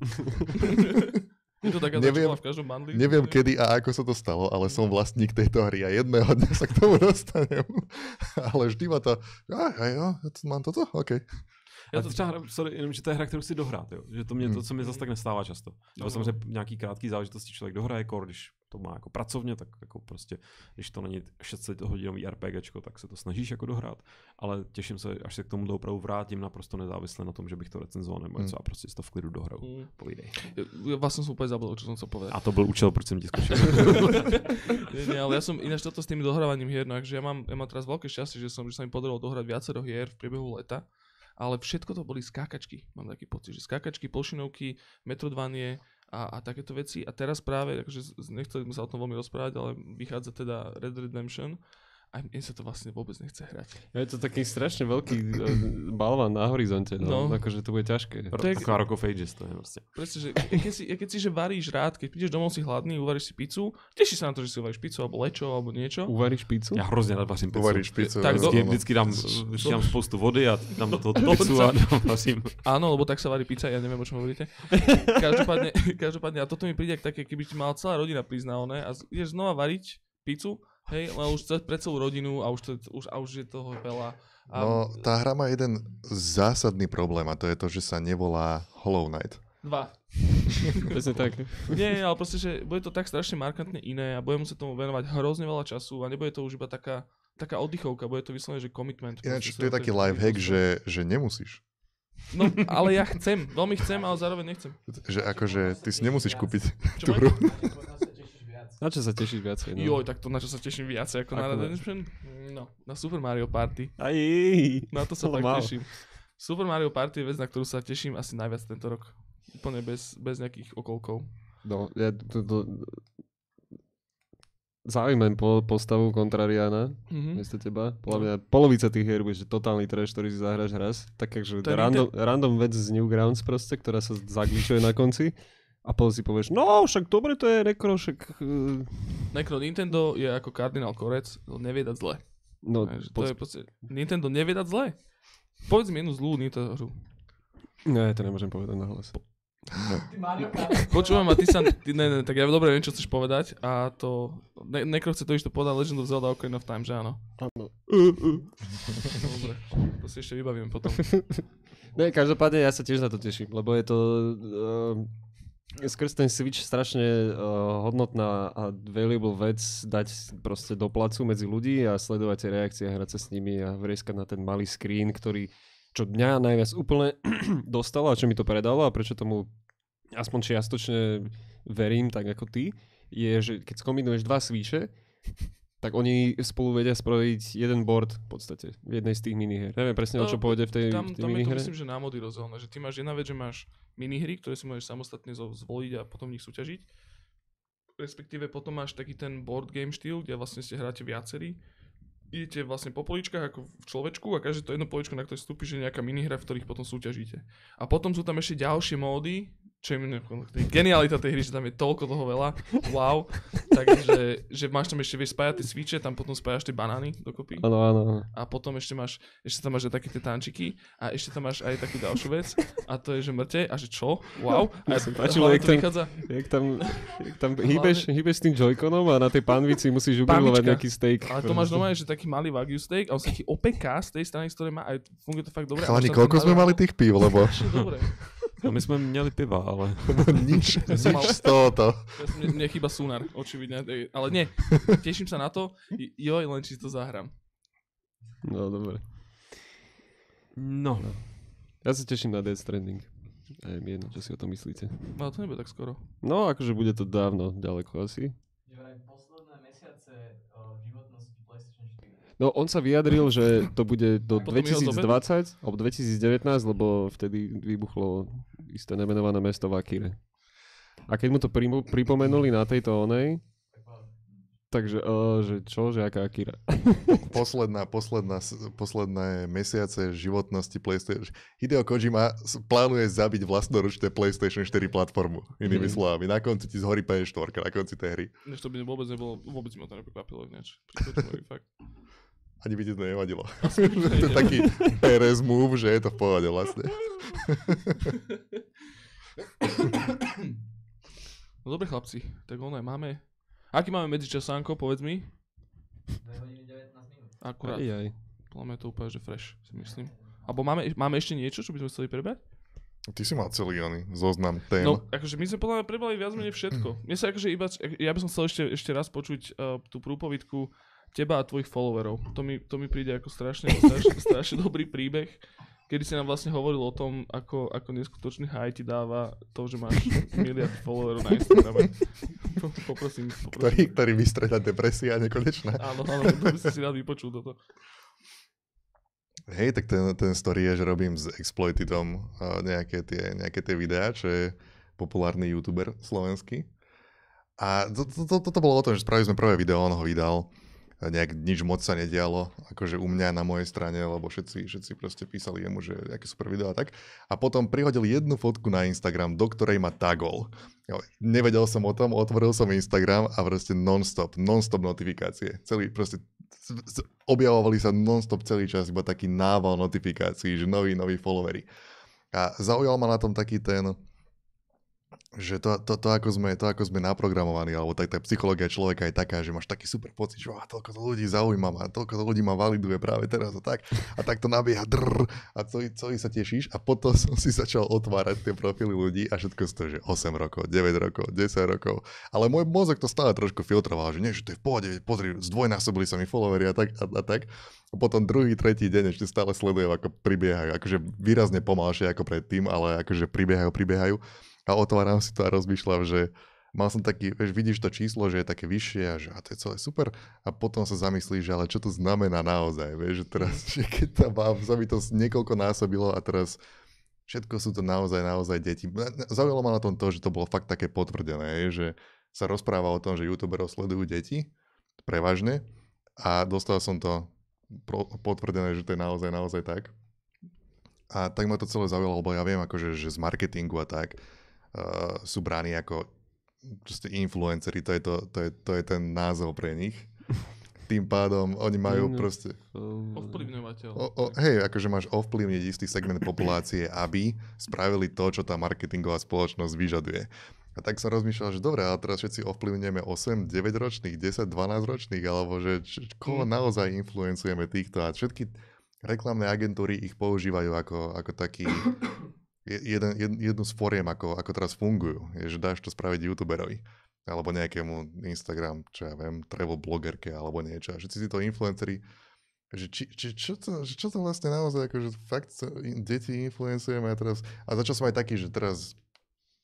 Je to taká Neviem- začala v každom bandli. Neviem kedy a ako sa to stalo, ale som vlastník tejto hry a jedného dňa sa k tomu dostanem. Ale vždy ma to... A, a jo, ja to- mám toto? OK. Já to třeba hra, sorry, jenom, že to je hra, kterou si dohrát, jo. Že to mě, to, co mi zase tak nestává často. No, No, samozřejmě nějaký krátký záležitosti člověk dohraje, kor, když to má jako pracovně, tak jako prostě, když to není šest set hodinový RPGčko, tak se to snažíš jako dohrát, ale těším se, až se k tomu opravdu vrátím naprosto nezávisle na tom, že bych to recenzoval nebo něco a prostě si to v klidu dohraju. Mm. Povídej. Ja vlastne som úplne zabudol, čo som chcel povedať. A to byl účel, proč jsem ti skočil. nie, nie, ale ja som ináč toto s tými dohrávaním hier, no, že ja mám, ja mám teraz veľké šťastie, že, som, že sa mi podarilo dohrať viacero hier v priebehu leta, ale všetko to boli skákačky. Mám taký pocit, že skákačky, plošinovky, Metroidvanie a, a takéto veci. A teraz práve, akože nechceli sme sa o tom veľmi rozprávať, ale vychádza teda Red Redemption a mne sa to vlastne vôbec nechce hrať. Je to taký strašne veľký uh, balván na horizonte, no. No. Akože to bude ťažké. To je- Taková Rock of Ages to je prostě. Presne, že ja keď, si, ja keď si že varíš rád, keď prídeš domov si hladný, uvaríš si pizzu, tešíš sa na to, že si uvaríš pizzu alebo lečo alebo niečo. Uvaríš pizzu? Já hrozně rád vařím pizzu. Uvaríš pizzu. Tak áno. do- Vždycky, vždycky dám, vždycky dám spoustu vody a dám do toho tu pizzu a vařím. Áno, lebo tak sa varí pizza, ja neviem, o čom hovoríte. Každopádne, každopádne, a toto mi príde ako také, keby ti mala celá rodina prísť na oné a z- ideš znova variť pizzu, hej, ale už cez- pre celú rodinu a už, to, už, a už je toho veľa. A, No, tá hra má jeden zásadný problém a to je to, že sa nevolá Hollow Knight. Dva. Presne tak. Nie, ale proste, že bude to tak strašne markantne iné a budem musieť tomu venovať hrozne veľa času a nebude to už iba taká, taká oddychovka, bude to vyslovene, že commitment. Ináč proste to je sa do taký tej- life hack, že, že nemusíš. No, ale ja chcem, veľmi chcem, ale zároveň nechcem. Že akože ty si nemusíš kúpiť Čo tú môj- hru. Na čo sa tešíš viacej? No? Joj, tak to na čo sa teším viacej ako na Ako Red na- Redemption? No, na Super Mario Party. Aj, Na to sa Ale tak málo. teším. Super Mario Party je vec, na ktorú sa teším asi najviac tento rok. Úplne bez, bez nejakých okolkov. No, ja to, to... Zaujímam po, postavu Contrariana, Mhm. miesto teba. Podľa mňa polovica tých hier bude, že totálny trash, ktorý si zahráš raz. Takže To je random, random vec z Newgrounds proste, ktorá sa zagličuje na konci. A potom si povieš, no však dobre to je Necro, však... Uh, Necro, Nintendo je ako kardinál korec, nevie dať zle. no, Takže to po, je proste, Nintendo nevie dať zle. Povedz mi jednu zlú Nintendo hru. ne, to nemôžem povedať na hlas. Ty Mario Kart. Počúvam a ty sa... Ty, ne, ne, tak ja dobre viem, čo chceš povedať. A to... Ne, Necro chce to isto povedať Legend of Zelda Ocarina of Time, že áno? Áno. Dobre, to si ešte vybavím potom. Ne, každopádne ja sa tiež na to teším, lebo je to... Uh, skrz ten Switch strašne uh, hodnotná a valuable vec dať proste do placu medzi ľudí a sledovať tie reakcie, hrať sa s nimi a vrieskať na ten malý screen, ktorý čo mňa najviac úplne dostalo a čo mi to predalo a prečo tomu aspoň čiastočne verím tak ako ty, je, že keď skombinuješ dva switche, tak oni spolu vedia spraviť jeden board v podstate, v jednej z tých minihier. Neviem presne, o čo pôjde v tej, tam, v tej tam je to minihre. myslím, že na mody rozdelené, že ty máš jedna vec, že máš minihry, ktoré si môžeš samostatne zvoliť a potom v nich súťažiť. Respektíve potom máš taký ten board game štýl, kde vlastne ste hráte viacerí. Idete vlastne po poličkách ako v človečku a každé to jedno poličko, na ktoré vstúpiš, je nejaká minihra, v ktorých potom súťažíte. A potom sú tam ešte ďalšie módy, čo je genialita tej hry, že tam je toľko toho veľa, wow. Takže že máš tam ešte, vieš, spájať tie switche, tam potom spájaš tie banány dokopy. Áno, áno, áno. A potom ešte máš, ešte tam máš aj také tie tančiky a ešte tam máš aj takú ďalšiu vec a to je, že mŕte a že čo? Wow. A ja som páčilo, jak to tam, vychádza. jak tam, jak tam hýbeš, hýbeš s tým joyconom a na tej panvici musíš ugrilovať nejaký steak. Ale to máš normálne, že taký malý wagyu steak a on sa ti opeká z tej strany, z ktorej má, aj funguje to fakt dobre. Chalani, koľko sme mali tých pív, lebo... Dobre. No my sme měli piva, ale... nič, nič z tohoto. Mne, mne chýba Sunar, očividne. Ale nie, teším sa na to. Joj, len či to zahrám. No, dobre. No. Ja sa teším na Death Stranding. Aj mi jedno, čo si o tom myslíte. No to nebude tak skoro. No, akože bude to dávno, ďaleko asi. Že vraj posledné mesiace o životnosti PlayStation štyri. No, on sa vyjadril, že to bude do Potom dvetisícdvadsať alebo dvetisícdevätnásť, lebo vtedy vybuchlo isté nemenované mesto v Akire. A keď mu to pripo- pripomenuli na tejto onej, takže, uh, že čo, že aká Akira? Posledná, posledná, posledné mesiace životnosti PlayStation. Hideo Kojima plánuje zabiť vlastnoručné PlayStation štyri platformu. Inými hmm. slovami. Na konci ti zhorí pé es štyri, na konci tej hry. Než to by vôbec nebolo, vôbec mi to neprekvapilo ináč. Prípadne, fakt. Ani by ti to nevadilo. To je taký Perez move, že je to v pohode vlastne. No dobre chlapci, tak ono máme... Aký máme medzičas, Sánko, povedz mi? dve hodiny devätnásť minút. Akurát. Aj, aj. Podľa mňa je to úplne, že fresh, si myslím. Alebo máme, máme ešte niečo, čo by sme chceli prebrať? Ty si mal celý oný zoznam tém. No, akože my sme podľa mňa prebrali viac menej všetko. Mne sa akože iba, ja by som chcel ešte, ešte raz počuť uh, tú prúpovidku teba a tvojich followerov. To mi, to mi príde ako strašne, strašne, strašne dobrý príbeh, kedy si nám vlastne hovoril o tom, ako, ako neskutočný high ti dáva to, že máš miliard followerov na Instagrame. Poprosím, poprosím. Ktorý, ktorý vystretá depresia nekonečná. Áno, áno, to by si si rád vypočul toto. Hej, tak ten, ten story je, že robím s Exploitedom uh, nejaké, tie, nejaké tie videá, čo je populárny youtuber slovenský. A to, to, to, toto bolo o tom, že spravili sme prvé video, on ho vydal. Nejak nič moc sa nedialo, akože u mňa na mojej strane, lebo všetci, všetci proste písali jemu, že aké super video a tak. A potom prihodil jednu fotku na Instagram, do ktorej ma tagol. Nevedel som o tom, otvoril som Instagram a proste non-stop, non-stop notifikácie. Celý proste objavovali sa non-stop celý čas, iba taký nával notifikácií, že noví, noví followery. A zaujal ma na tom taký ten, že to, to, to, ako sme, to, ako sme naprogramovaní, alebo tak tá psychológia človeka je taká, že máš taký super pocit, že á, toľko to ľudí zaujíma ma, toľko to ľudí ma validuje práve teraz a tak. A tak to nabieha drrr, a celý, celý sa tešíš a potom som si začal otvárať tie profily ľudí a všetko z toho, že osem rokov, deväť rokov, desať rokov. Ale môj mozog to stále trošku filtroval, že nie, že to je v pohode, pozri, zdvojnásobili sa mi followery a tak a, a tak. A potom druhý, tretí deň ešte stále sledujem, ako pribiehajú, akože výrazne pomalšie ako predtým, ale akože pribiehajú, pribiehajú. A otváram si to a rozmýšľam, že mal som taký, vieš, vidíš to číslo, že je také vyššie a že a to je celé super a potom sa zamyslíš, že ale čo to znamená naozaj, vieš, že teraz, že keď tam mám, sa mi to niekoľko násobilo a teraz všetko sú to naozaj, naozaj deti. Zaujalo ma na tom to, že to bolo fakt také potvrdené, že sa rozpráva o tom, že youtuberov sledujú deti, prevažne, a dostal som to potvrdené, že to je naozaj, naozaj tak. A tak ma to celé zaujalo, lebo ja viem, akože, že z marketingu a tak, Uh, sú bráni ako influenceri, to je, to, to, je, to je ten názov pre nich. Tým pádom oni majú proste... Ovplyvňovateľ. O, o, hej, akože máš ovplyvniť istý segment populácie, aby spravili to, čo tá marketingová spoločnosť vyžaduje. A tak som rozmýšľal, že dobre, ale teraz všetci ovplyvňujeme osem, deväť ročných, desať, dvanásť ročných, alebo že č, koho naozaj influencujeme týchto a všetky reklamné agentúry ich používajú ako, ako taký... Jeden, jed, jednu z foriem, ako, ako teraz fungujú, je, že dáš to spraviť youtuberovi alebo nejakému Instagram, čo ja viem, travel blogerke alebo niečo. A všetci títo influenceri, že či, či, čo, to, čo to vlastne naozaj, akože fakt deti influencujeme a teraz, a začal som aj taký, že teraz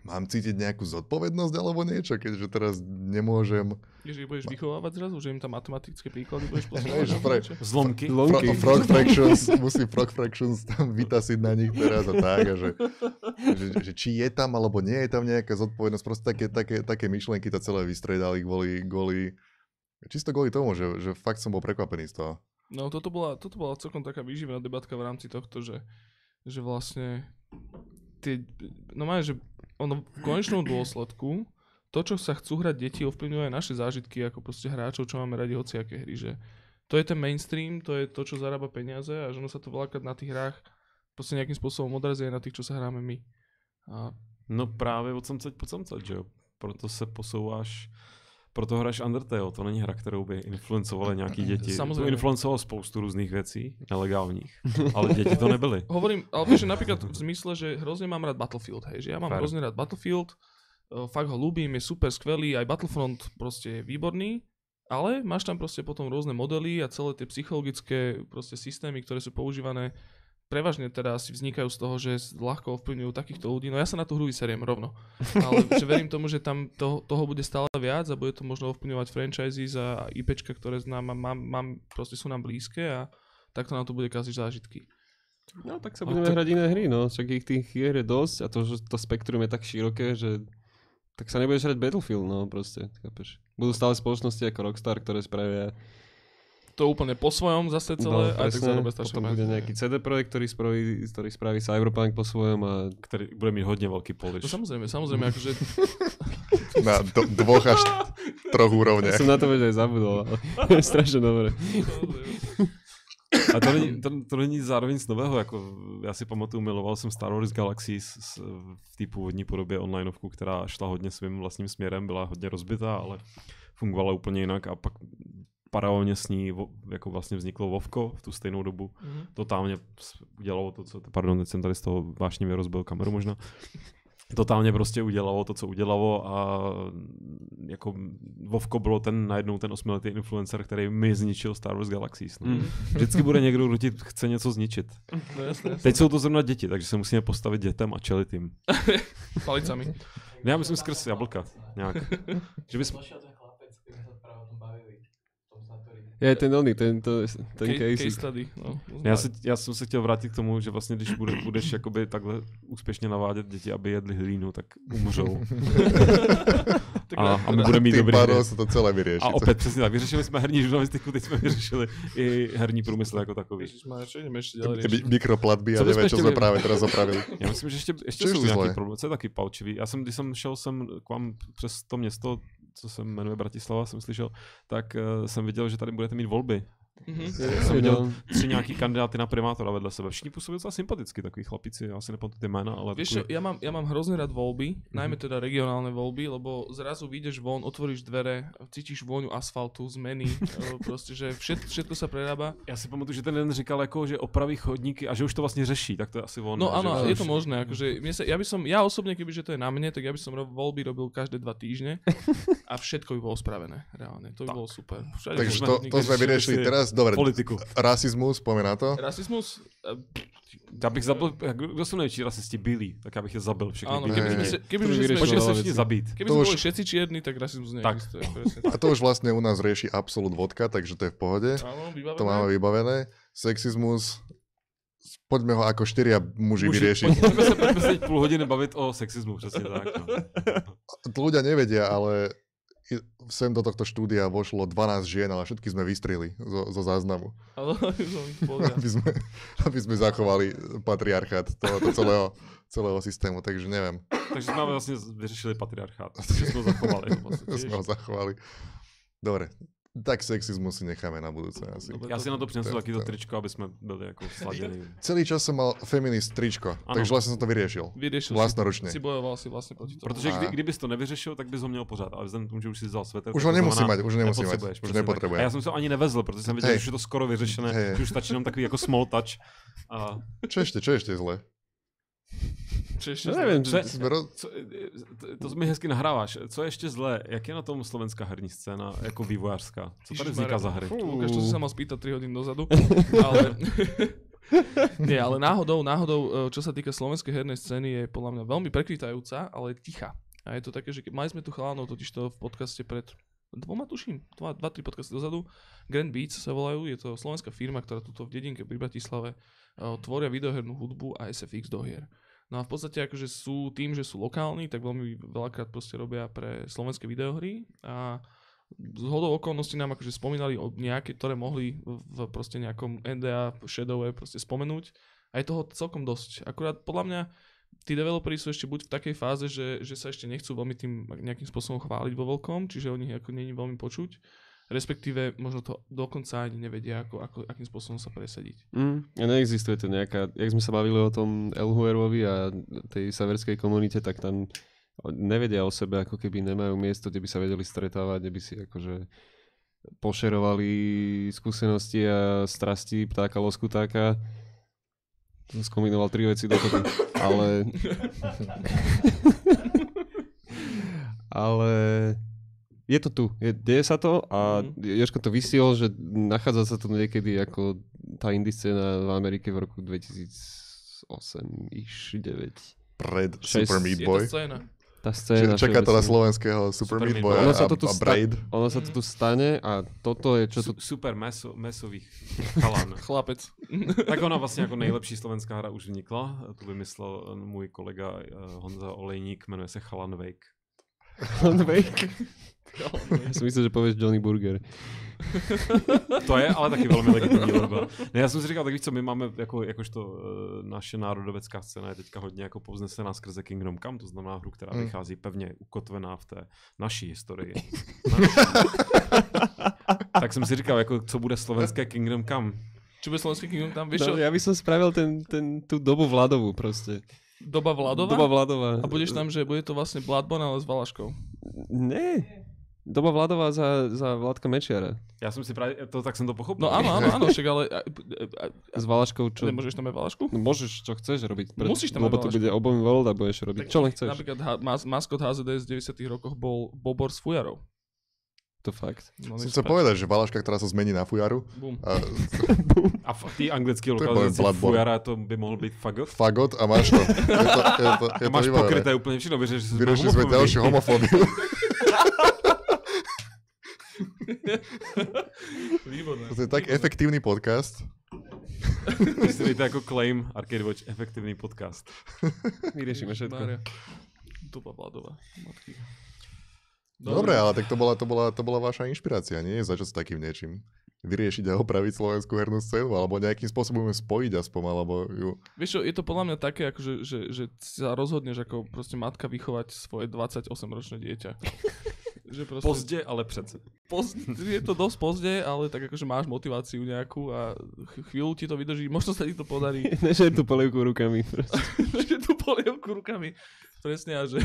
mám cítiť nejakú zodpovednosť alebo niečo, keďže teraz nemôžem... Že ich budeš vychovávať zrazu, že im tam matematické príklady budeš Vieš, pre- posúvať? Zlomky. Fro- frog fractions, musí frog fractions tam vytasiť na nich teraz a tak, a že, že, že či je tam alebo nie je tam nejaká zodpovednosť, proste také, také, také myšlienky to celé vystredali kvôli, kvôli, čisto kvôli tomu, že, že fakt som bol prekvapený z toho. No toto bola, toto bola celkom taká výživná debatka v rámci tohto, že, že vlastne tie, no má, že ono v konečnom dôsledku to, čo sa chcú hrať deti, ovplyvňuje aj naše zážitky ako proste hráčov, čo máme radi hociaké hry, že to je ten mainstream, to je to, čo zarába peniaze a že ono sa to veľakrát na tých hrách proste nejakým spôsobom odrazí aj na tých, čo sa hráme my. A... No právě od samceť po samceť, že jo? Proto se posouváš, proto hraješ Undertale, to není hra, kterou by influencovaly nějaký děti. Samozřejmě. To influencovalo spoustu různých věcí, nelegálních, ale děti to nebyly. Hovorím, ale vieš, že napríklad v zmysle, že hrozne mám rád Battlefield, hej, že ja mám Fair. hrozne rád Battlefield, uh, fakt ho ľúbim, je super skvelý, aj Battlefront proste je výborný, ale máš tam proste potom rôzne modely a celé tie psychologické proste systémy, ktoré sú používané, prevažne teda asi vznikajú z toho, že ľahko ovplyvňujú takýchto ľudí. No ja sa na tú hru vyseriem rovno. Ale že verím tomu, že tam to, toho bude stále viac a bude to možno ovplyvňovať franchises a IPčka, ktoré znám, mám, mám, proste sú nám blízke a takto nám to bude kaziť zážitky. No tak sa budeme hrať iné hry, no. Však ich tých hier je dosť a to, že to spektrum je tak široké, že tak sa nebudeš hrať Battlefield, no proste, chápeš. Budú stále spoločnosti ako Rockstar, ktoré spravia To úplne po svojom zase celé, no, aj tak zarobia strašne potom bude nejaký cé dé Projekt, ktorý spraví, ktorý spraví Cyberpunk po svojom a Který bude mít hodně velký polish. No samozrejme, samozrejme, akože... Na do, dvoch až troch ja úrovniach. som na to veď aj zabudol, ale strašne dobre. A to není, to, to není zároveň z nového, jako já si pamatuju, miloval jsem Star Wars Galaxy s, s, v té původní podobě onlineovku, která šla hodně svým vlastním směrem, byla hodně rozbitá, ale fungovala úplně jinak a pak paralelně s ní jako vlastně vzniklo Vovko v tu stejnou dobu. Mm-hmm. Totálně udělalo to, co... Pardon, teď jsem tady z toho vášnivě rozbil kameru možná. Totálně prostě udělalo to, co udělalo a jako Vovko bylo ten najednou ten osmiletý influencer, který mi zničil Star Wars Galaxies. No. Mm. Vždycky bude někdo, kdo ti chce něco zničit. No jasne, jasne. Teď jsou to zrovna děti, takže se musíme postavit dětem a čelit jim. Palicami. Já myslím skrz jablka. Nějak. Že bys... Došiel ten chlapec, keď sme sa práve o tom bavili. V tom Satori. Je ten oný, ten, to, ten Case, case Casey. study. No. Já, se, já jsem se chtěl vrátit k tomu, že vlastně když bude, budeš jakoby takhle úspěšně navádět děti, aby jedli hlínu, tak umřou. A, a my budeme mít Tým dobrý pádom hry. sa to celé vyrieši. A opět přesně tak, vyřešili jsme herní žurnalistiku, teď jsme vyřešili i herní průmysl jako takový. Ježišmarja, čo ideme ešte ďalej Ty riešiť? mi- Mikroplatby a Co bychom neviem, čo ještě sme vy- práve teraz opravili. Já myslím, že ještě, ještě Co jsou ještě nějaký zlé? problémy, co je taky palčivý. Já jsem, když jsem šel sem k vám přes to město, co se jmenuje Bratislava, jsem slyšel, tak uh, jsem viděl, že tady budete mít volby. Mhm. Já jsem viděl tři nějaký kandidáty na primátora vedle sebe. Všichni působí docela sympaticky, takový chlapici, já si nepamatuju ty jména, ale Vieš čo, takový... ja mám, ja mám hrozne rád voľby, Mhm. najmä teda regionálne voľby, lebo zrazu vyjdeš von, otvoríš dvere, cítiš vôňu asfaltu, zmeny, e, proste, že všet, všetko sa prerába. Já si pamatuju, že ten jeden říkal, jako, že opraví chodníky a že už to vlastně řeší, tak to je asi on. No že, áno, že je to už- možné, akože mne sa, ja by som, ja osobne, kebyže to je na mne, tak ja by som ro- voľby robil každé dva týždne a všetko by bolo spravené, reálne, to by Tak. bolo super. Všade Takže by to, sme- to sme Nikdy vyriešili si- teraz. Dobre, Politiku. rasizmus, poďme na to. Rasizmus? E, Já bych zabil, jak- kdo jsou největší rasisti? Bílí, tak já bych je zabil všechny. Áno, bílé. keby sme, Hej. se- keby To by sme, vyriešilo Pojďme se veľa všichni vecí. zabít. keby To sme už- boli všetci čierni, tak rasizmus neexistuje. presne A tak. to už vlastne u nás rieši Absolut vodka, takže to je v pohode. Áno, vybavené. To máme vybavené. Sexizmus, poďme ho ako štyria muži Muži, vyriešiť. Pojďme se, pojďme se teď půl hodiny bavit o sexismu, přesně tak. No. To ľudia nevedia, ale i- sem do tohto štúdia vošlo dvanásť žien, ale všetky sme vystrihli zo, zo záznamu. Ale som ich povedal. Aby sme, aby sme zachovali patriarchát tohoto celého, celého systému, takže neviem. Takže jsme vlastně vyřešili patriarchát. Že jsme ho zachovali. To sme ho zachovali. Dobre, tak sexizmus si necháme na budúce asi. Dobre, Já si na to přinesu to- taky to to- tričko, aby jsme byli jako sladěni. Celý čas som mal feminist tričko, Ano. takže vlastne som to vyriešil. Vyriešil Vlastnoručne. si, si bojoval si vlastne proti tomu. Protože A- kdy, kdybys to nevyřešil, tak bys ho měl pořád. Ale vzhledem k tomu, že už si vzal sveter. Už tak ho to nemusím znamená, mať, už ho nemusím mať. nepotřebuješ, Už přesně tak. nepotrebujem. A já jsem se ani nevezl, protože jsem viděl, Hej. že už je to skoro vyřešené, Hej. že už stačí nám takový jako small touch. A Čo ešte, čo ešte je zle? Čo ešte No zle? neviem, Co čo, je- Sme roz... co, to, to mi hezky nahráváš. Co je ještě zlé? Jak je na tom slovenská herní scéna jako vývojářská? Co tady vzniká za hry? Lukáš, to si sa mal spýtať tri hodiny dozadu, ale Nie, ale náhodou, náhodou, čo sa týka slovenskej hernej scény, je podľa mňa veľmi prekvitajúca, ale je tichá. A je to také, že mali sme tu chalanov totižto v podcaste pred dvoma, tuším, dva, dva, tri podcasty dozadu. Grand Beats sa volajú, je to slovenská firma, ktorá tuto v dedinke pri Bratislave uh, tvoria videohernú hudbu a es ef iks do hier. No a v podstate akože sú tým, že sú lokálni, tak veľmi veľakrát proste robia pre slovenské videohry a z hodou okolností nám akože spomínali o nejaké, ktoré mohli v proste nejakom en dé á Shadowe proste spomenúť. A je toho celkom dosť. Akurát podľa mňa tí developeri sú ešte buď v takej fáze, že, že sa ešte nechcú veľmi tým nejakým spôsobom chváliť vo veľkom, čiže o nich ako nie je veľmi počuť. Respektíve možno to dokonca ani nevedia, ako, ako, akým spôsobom sa presadiť. Mm, a neexistuje to nejaká, jak sme sa bavili o tom Elhuerovi a tej severskej komunite, tak tam nevedia o sebe, ako keby nemajú miesto, kde by sa vedeli stretávať, kde by si akože pošerovali skúsenosti a strasti ptáka loskutáka. Skombinoval tri veci do toho, ale... ale... Je to tu, je, deje sa to a mm. Jožko to vysiel, že nachádza sa to niekedy ako tá indie scéna v Amerike v roku dvetisícosem až deväť. Pred šesť Super Meat Boy. Je to scéna. Tá scéna. Čaká to na slovenského Super, Super Meat Boy a, sa to tu a sta- Braid. Ono sa to tu stane a toto je čo to... Su- super meso, mesových chalán. Chlapec. Tak ona vlastne ako nejlepší slovenská hra už vznikla. Tu vymyslel môj kolega Honza Olejník, menuje sa Chalan Wake. Chalan Wake? Ja som myslel, že povieš Johnny Burger. To je ale taky velmi legitimní volba. Ne, já jsem si říkal, tak víš co, my máme, jako, jakožto uh, naše národovecká scéna je teďka hodně jako povznesená skrze Kingdom Come, to znamená hru, která mm. vychází pevně ukotvená v té naší historii. Tak jsem si říkal, jako, co bude slovenské Kingdom Come. Čo bude slovenský Kingdom Come? Vieš No, čo? ja by som spravil ten, ten, tú dobu Vladovú proste. Doba Vladova? Doba Vladová. A budeš tam, že bude to vlastne Bloodborne, ale s Valaškou. Ne. Doba Vladová za, za Vládka Mečiara. Já jsem si právě, to, tak jsem to pochopil. No áno, áno, áno, však ale... A, a, a, S Valaškou čo? nemôžeš tam aj Valašku? No, môžeš, čo chceš robiť. Pred, Musíš tam lebo mať to Valašku. bude open world a budeš robiť, Tak čo len chceš. Napríklad ha, mas, maskot há zet dé z deväťdesiatych rokoch bol Bobor s fujarou. To fakt. No, Som nech chcel sa povedať, že Valaška, ktorá sa zmení na fujaru. Bum. A A v té anglické To je lokalizaci Bloodborne. fujara to by mohl být fagot. fagot a máš to. Je to, je to, je A to máš vybavené. pokryté úplně všechno, vyřeš, že jsi Vyriešili sme homofobní. ďalšiu homofóbiu. Výborné. To je tak efektívny podcast. Si dejte jako claim Arcade Watch, efektivní podcast. Vyriešime všetko. Mária. Doba Vladova. Matky. Dobre, ale tak to bola, to, bola, to bola vaša inšpirácia, nie? Začať s takým niečím. Vyriešiť a opraviť slovenskú hernú scénu, alebo nejakým spôsobom ju spojiť aspoň, alebo ju... Vieš čo, je to podľa mňa také, akože, že, že sa rozhodneš ako proste matka vychovať svoje dvadsaťosemročné dieťa. Že proste... Pozdě, ale přece. Poz... Je to dosť pozde, ale tak akože máš motiváciu nejakú a ch- chvíľu ti to vydrží, možno sa ti to podarí. Nežer tú polievku rukami. Proste. Že tú polievku rukami. Presne a že...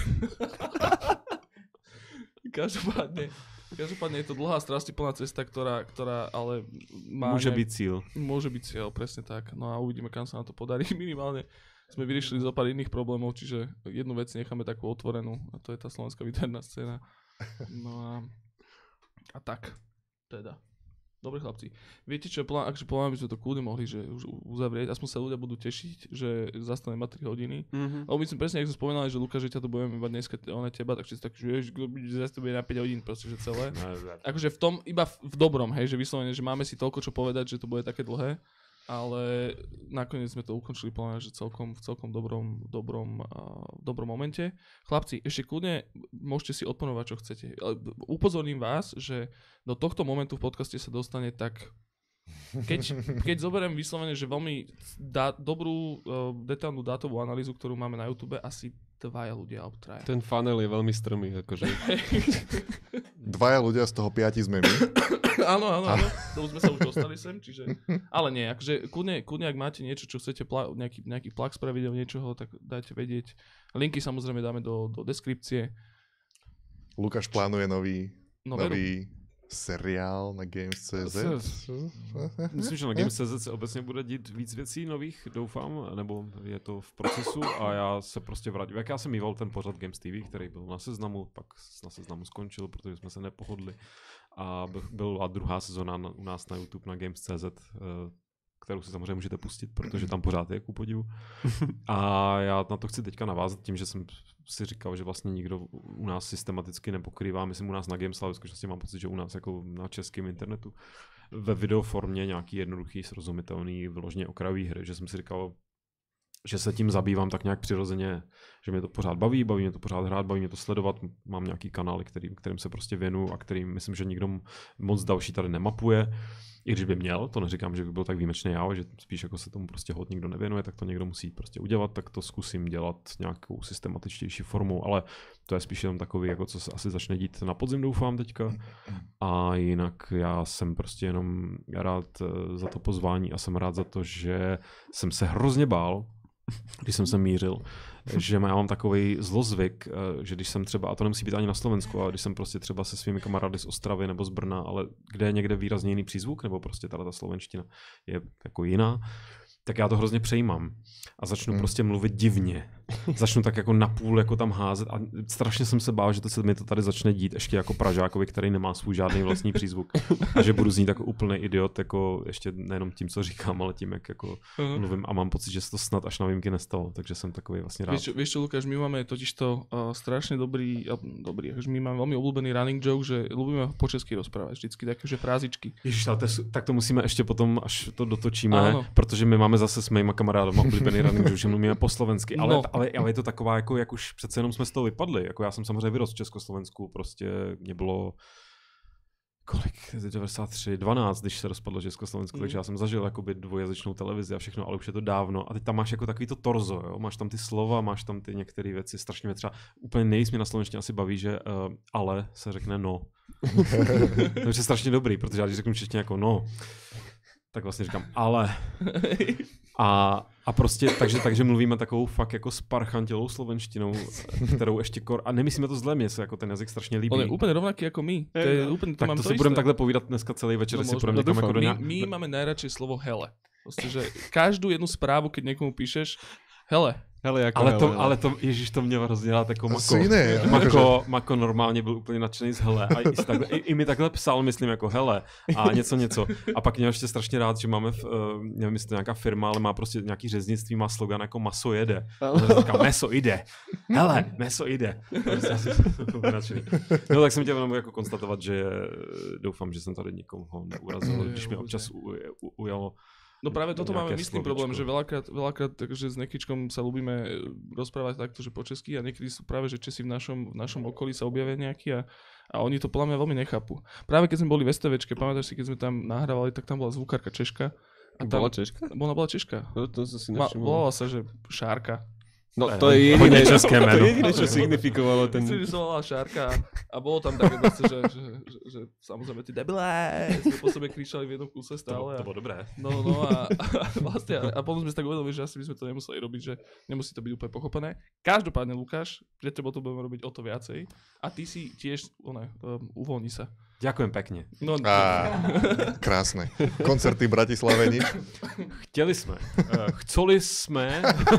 Každopádne, každopádne je to dlhá strastiplná cesta, ktorá, ktorá ale má... Může nejak- být cíl. Môže byť cieľ, presne tak. No a uvidíme, kam sa nám to podarí. Minimálne sme vyriešili zo pár iných problémov, čiže jednu vec necháme takú otvorenú a to je tá slovenská videoherná scéna. No a, a tak, teda. Dobre chlapci. Viete čo, plán, akže plán by sme to kľudne mohli že už uzavrieť, aspoň sa ľudia budú tešiť, že zastane ma tri hodiny. Mm-hmm. Lebo my sme presne, ako sme spomínali, že Lukáš, že ťa to budeme mať dneska ona teba, tak si tak, že vieš, kto bude zase na päť hodín, proste, že celé. Akože v tom, iba v, v dobrom, hej, že vyslovene, že máme si toľko čo povedať, že to bude také dlhé, ale nakoniec sme to ukončili plne, že celkom, v celkom dobrom, dobrom, uh, dobrom momente. Chlapci, ešte kľudne môžete si odponovať, čo chcete. Ale upozorním vás, že do tohto momentu v podcaste sa dostane tak, keď, keď zoberiem vyslovene, že veľmi dá, dobrú, uh, detailnú dátovú analýzu, ktorú máme na YouTube, asi dvaja ľudia, alebo traja. Ten funnel je veľmi strmý, akože. Dvaja ľudia, z toho piati sme my. Áno, áno, áno. To už sme sa už dostali sem, čiže... Ale nie, akože kľudne, kľudne ak máte niečo, čo chcete, pla- nejaký, nejaký plak spraviť alebo niečoho, tak dajte vedieť. Linky samozrejme dáme do, do deskripcie. Lukáš plánuje nový, No, nový seriál na Games tečka cé zet. Myslím, že na Games tečka cé zet se obecně bude dít víc věcí nových, doufám, nebo je to v procesu a já se prostě vrátím. Jak já jsem mýval ten pořad Games té vé, který byl na Seznamu, pak na Seznamu skončil, protože jsme se nepohodli a byla druhá sezona u nás na YouTube na Games tečka cé zet, kterou si samozřejmě můžete pustit, protože tam pořád je ku podivu. A já na to chci teďka navázat tím, že jsem si říkal, že vlastně nikdo u nás systematicky nepokrývá, myslím u nás na Games, ale v skutečnosti mám pocit, že u nás jako na českém internetu ve videoformě nějaký jednoduchý, srozumitelný, vyloženě okrajový hry, že jsem si říkal, že se tím zabývám tak nějak přirozeně, že mě to pořád baví, baví mě to pořád hrát, baví mě to sledovat, mám nějaký kanály, kterým, kterým se prostě věnuju a kterým myslím, že nikdo moc další tady nemapuje, i když by měl, to neříkám, že by byl tak výjimečný já, že spíš jako se tomu prostě hod nikdo nevěnuje, tak to někdo musí prostě udělat, tak to zkusím dělat nějakou systematičtější formou, ale to je spíš jenom takový, jako co se asi začne dít na podzim, doufám teďka. A jinak já jsem prostě jenom rád za to pozvání a jsem rád za to, že jsem se hrozně bál, když jsem se mířil, že já mám takový zlozvyk, že když jsem třeba, a to nemusí být ani na Slovensku, ale když jsem prostě třeba se svými kamarády z Ostravy nebo z Brna, ale kde je někde výrazně jiný přízvuk, nebo prostě ta slovenština je jako jiná, tak já to hrozně přejímám a začnu hmm. prostě mluvit divně. Začnu tak jako napůl jako tam házet a strašně jsem se bál, že to se mi to tady začne dít ještě jako Pražákovi, který nemá svůj žádný vlastní přízvuk a že budu znít jako úplný idiot, jako ještě nejenom tím, co říkám, ale tím, jak jako uh-huh. mluvím a mám pocit, že se to snad až na výjimky nestalo, takže jsem takový vlastně rád. Vieš, vieš čo, Lukáš, my máme totiž to uh, strašne dobrý, uh, dobrý, my máme veľmi obľúbený running joke, že ľúbime po česky rozprávať, vždycky také, že frázičky. Ježiš, ale to, tak to musíme ještě potom, až to dotočíme, ano. Protože my máme zase s mýma kamarádama oblíbený running joke, že mluvíme po slovensky, ale, no. ale, ale je to taková, jako jak už přece jenom jsme z toho vypadli, jako já jsem samozřejmě vyrost v Československu, prostě mě bylo kolik, devadesát tři, dvanáct, když se rozpadlo Československo, mm. takže já jsem zažil jakoby dvojazyčnou televizi a všechno, ale už je to dávno. A teď tam máš jako takový to torzo, jo? Máš tam ty slova, máš tam ty některé věci, strašně mě třeba úplně nejvíc mě na slovenštině asi baví, že uh, ale se řekne no. To je strašně dobrý, protože já když řeknu češtině jako no, tak vlastně říkám ale. A, a prostě, takže, takže mluvíme takovou fakt jako sparchantělou slovenštinou, kterou ještě kor... A nemyslíme to zle, mě se jako ten jazyk strašně líbí. On je úplně rovnaký jako my. To je úplne, to tak mám to to si isté. budeme takhle povídat dneska celý večer, no, si budeme někam jako do my, nějak... my máme najradšej slovo hele. Proste, že každú jednu správu, keď niekomu píšeš, hele. Hele, jako ale, hele, to, hele. ale to, ježiš, to mě hrozně rád jako Mako. Jiné, Mako, Mako normálně byl úplně nadšený z hele. A i, takhle, i, i mi takhle psal, myslím, jako hele a něco, něco. A pak mě ještě strašně rád, že máme, v, uh, nevím, jestli to je nějaká firma, ale má prostě nějaký řeznictví, má slogan jako maso jede. A říká, meso jde. Hele, meso jde. No tak jsem chtěl jenom jako konstatovat, že doufám, že jsem tady nikoho neurazil, když mě občas u, u, ujalo. No práve toto máme my s tým problém, že slovičko. veľakrát, veľakrát takže s Nekyčkom sa ľúbime rozprávať takto, že po česky a niekedy sú práve, že Česi v našom, v našom okolí sa objavia nejakí a, a oni to podľa mňa veľmi nechápu. Práve keď sme boli v STVčke, pamätáš si, keď sme tam nahrávali, tak tam bola zvukárka Češka. A tam, bola Češka? Ona bola Češka. No, to som si Ma, nevšimol. volala sa, že Šárka. No to je jediné, české meno. to je jediné, čo signifikovalo ten... Myslím, že som volala Šárka a bolo tam také proste, že, že, že, že samozrejme ty debilé, sme po sebe kričali v jednom kúse stále. To, to bolo dobré. No, no a, a vlastne, a potom sme si tak uvedomili, že asi by sme to nemuseli robiť, že nemusí to byť úplne pochopené. Každopádne, Lukáš, pre teba to budeme robiť o to viacej a ty si tiež, one, um, uvoľni sa. Ďakujem pekne. No, Á, krásne. Koncerty v Bratislave nič? Chtěli jsme. Uh, chceli jsme.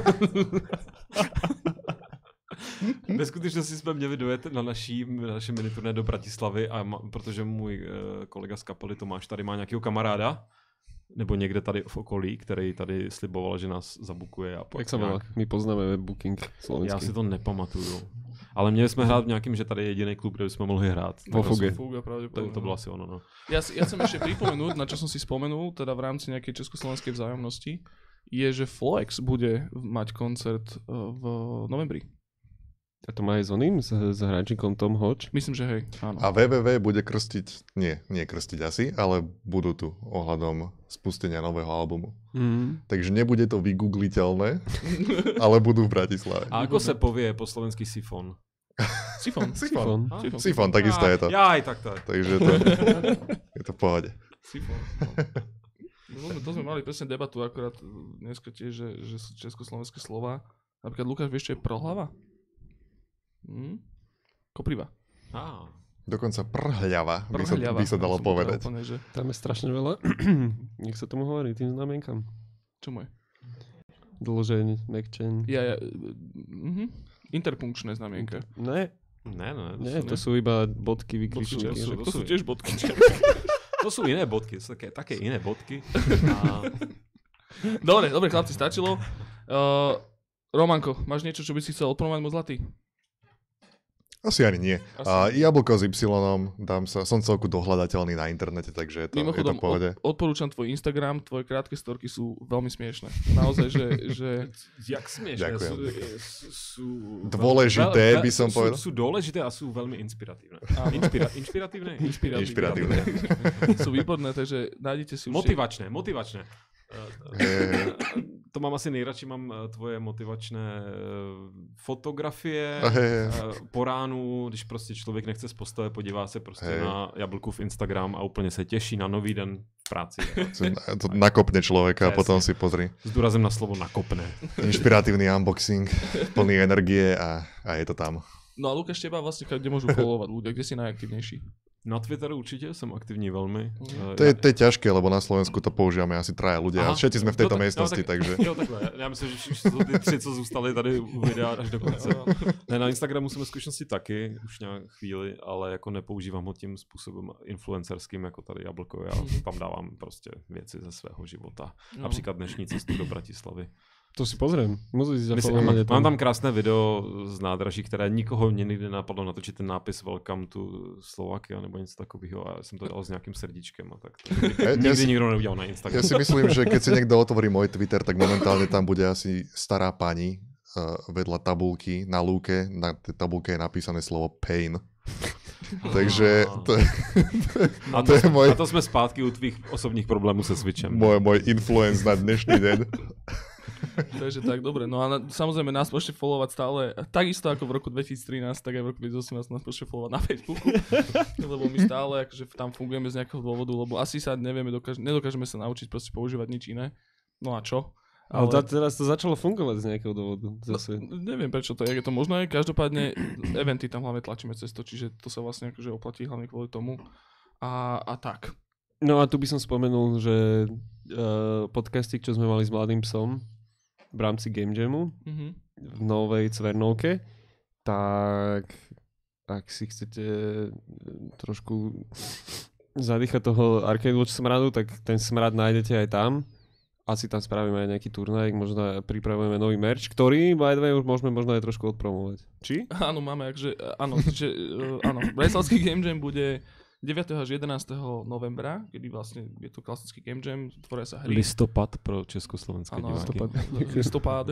Ve skutečnosti jsme měli dojet na, naší, na naše miniturné do Bratislavy, a ma, protože můj uh, kolega z kapely Tomáš tady má nějakého kamaráda, nebo někde tady v okolí, který tady sliboval, že nás zabukuje. A pak Jak se volá? My poznáme webbooking slovenský. Já si to nepamatuju. Ale měli jsme hrát v nějakým, že tady je jediný klub, kde jsme mohli hrát. Vo Fuge. Fuga, To, to bylo asi ono, no. Ja, ja chcem ešte pripomenúť, na čo som si spomenul, teda v rámci nejakej československej vzájomnosti, je, že Floex bude mať koncert v novembri. A to má aj s oným, s, s hráčikom Tom Hodge? Myslím, že hej, áno. A www bude krstiť, nie, nie krstiť asi, ale budú tu ohľadom spustenia nového albumu. Mm. Takže nebude to vygoogliteľné, ale budú v Bratislave. A ako se povie po slovensky sifon? Sifon. Sifon. Sifon. Sifon, Sifon takisto je to. Jaj, tak to je. Takže to, je to v pohode. Sifon. No, to sme mali presne debatu akorát dneska tiež, že, že sú československé slova. Napríklad Lukáš, vieš, čo je prohlava? Hm? Kopriva. Á. Dokonca prhľava by sa, Prhľava. by sa dalo Som povedať. Úplne, že... Tam je strašne veľa. Nech sa tomu hovorí, tým znamienkam. Čo moje? Dlžeň, mekčeň. Ja, ja, mhm. Interpunkčné znamienka. Ne, Ne, ne, to, nie, sú, to sú iba bodky, To sú, vykričníky. to sú, to to sú sú- tiež bodky. to sú iné bodky, sú také, také iné bodky. A Dobre, dobre, chlapci, stačilo. Uh, Romanko, máš niečo, čo by si chcel odpromovať, môj zlatý? Asi ani nie. Asi A nie. jablko s Y, dám sa, som celku dohľadateľný na internete, takže je to, je to Mimochodom, v pohode. od, odporúčam tvoj Instagram, tvoje krátke storky sú veľmi smiešne. Naozaj, že... že... Jak smiešne, Ďakujem. sú, sú, sú Dôležité, veľ- by som sú, povedal. Sú dôležité a sú veľmi inspiratívne. Áno. Inšpira, inšpiratívne? Inšpiratívne. Inšpiratívne. Sú výborné, takže nájdete si určite... Motivačné, motivačné. Eh, To mám asi nejradši, mám eh, tvoje motivačné eh, fotografie A hej, hej. eh, po ránu, když prostě člověk nechce z postele, podívá se prostě Hej. na Jablku v Instagram a úplně se těší na nový den v práci. To nakopne človeka a Presne. potom si pozri. S důrazem na slovo nakopne. Inšpiratívny unboxing, plný energie a, a je to tam. No a Lukáš, teba vlastne kde môžu followovať ľudia, kde si najaktívnejší? Na Twitteru určitě jsem aktivní velmi. Eh, To je, to je ťažké, lebo na Slovensku to používame asi traja ľudia. Aha. A všetci sme v tejto No tak- miestnosti, no tak- takže... Jo, takhle. Já myslím, že všichni jsou ty tři, co zůstali tady u videa až do konce. Ne, na Instagramu jsem ve skutečnosti taky, už nějak chvíli, ale jako nepoužívám ho tím způsobem influencerským, jako tady Jablko. Já tam dávám prostě věci ze svého života. No. Například dnešní cestu do Bratislavy. To si pozriem. Musíš si Myslím, zafollowovať. mám, mám tam krásné video z nádraží, které nikoho mě nikdy napadlo natočit ten nápis Welcome to Slovakia nebo něco takového. A já jsem to dal s nějakým srdíčkem a tak. To nikdy, Ja- ja nikdy si- nikdo neudělal na Ja Instagramu. si myslím, že keď si niekto otvorí môj Twitter, tak momentálne tam bude asi stará pani uh, vedľa tabulky na lúke. Na tej tabulke je napísané slovo pain. Takže to je A to to, je môj- a to jsme zpátky u tvých osobních problémů se Switchem. môj, môj influence na dnešný deň. Takže tak, dobre. No a na, samozrejme nás môžete followovať stále, takisto ako v roku dvetisíctrinásť, tak aj v roku dvetisícosemnásť nás môžete followovať na Facebooku, lebo my stále akože tam fungujeme z nejakého dôvodu, lebo asi sa nevieme, dokáž, nedokážeme sa naučiť proste používať nič iné. No a čo? Ale tá, teraz to začalo fungovať z nejakého dôvodu. Zase. Neviem prečo to je, je to možné. Každopádne eventy tam hlavne tlačíme cez to, čiže to sa vlastne akože oplatí hlavne kvôli tomu. A, a tak. No a tu by som spomenul, že uh, podcasty, čo sme mali s Mladým psom v rámci Game Jamu Mhm. v novej Cvernovke, tak ak si chcete trošku zadýchať toho Arcade Watch smradu, tak ten smrad nájdete aj tam. Asi tam spravíme aj nejaký turnaj, možno pripravujeme nový merch, ktorý, by the way, už môžeme možno aj trošku odpromovať. Či? Áno, máme, akže, áno, že, uh, áno, Bratislavský Game Jam bude deviateho až jedenásteho novembra, kedy vlastne je to klasický Game Jam, tvoria sa hry. Listopad pro československé Áno, diváky. listopad. Listopád.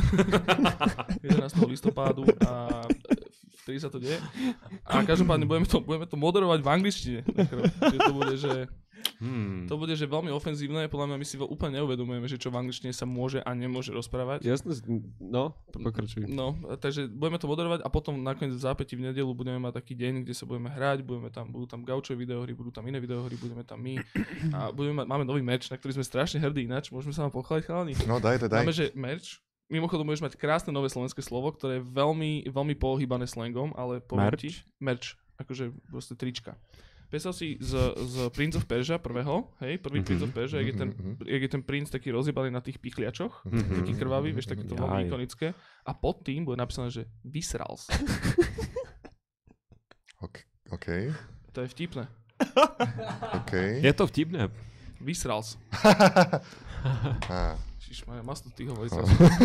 jedenásteho listopádu a vtedy sa to deje. A každopádne budeme to, budeme to moderovať v angličtine. Čiže to bude, že Hmm. To bude, že veľmi ofenzívne, podľa mňa my si úplne neuvedomujeme, že čo v angličtine sa môže a nemôže rozprávať. Jasné, no, pokračuj. No, takže budeme to moderovať a potom nakoniec v zápäti v nedeľu budeme mať taký deň, kde sa budeme hrať, budeme tam, budú tam gaučové videohry, budú tam iné videohry, budeme tam my a budeme mať, máme nový merch, na ktorý sme strašne hrdí ináč, môžeme sa vám pochváliť, chalani. No dajte, daj. Máme, že merch, mimochodom budeš mať krásne nové slovenské slovo, ktoré je veľmi, veľmi pohýbané slangom, ale poviem Merch? ti, merch, akože proste trička. Písal si z, z Prince of Persia prvého, hej, prvý Mhm. Prince of Persia, jak je, ten, Mhm, mhm. jak je ten princ taký rozjebaný na tých pichliačoch, Mhm. taký krvavý, vieš, také to veľmi Jaj. ikonické. A pod tým bude napísané, že Viscerals. Ok, OK, To je vtipné. OK. Je to vtipné. Viscerals. Á, Ježišmarja, mas to ty hovoriť. No.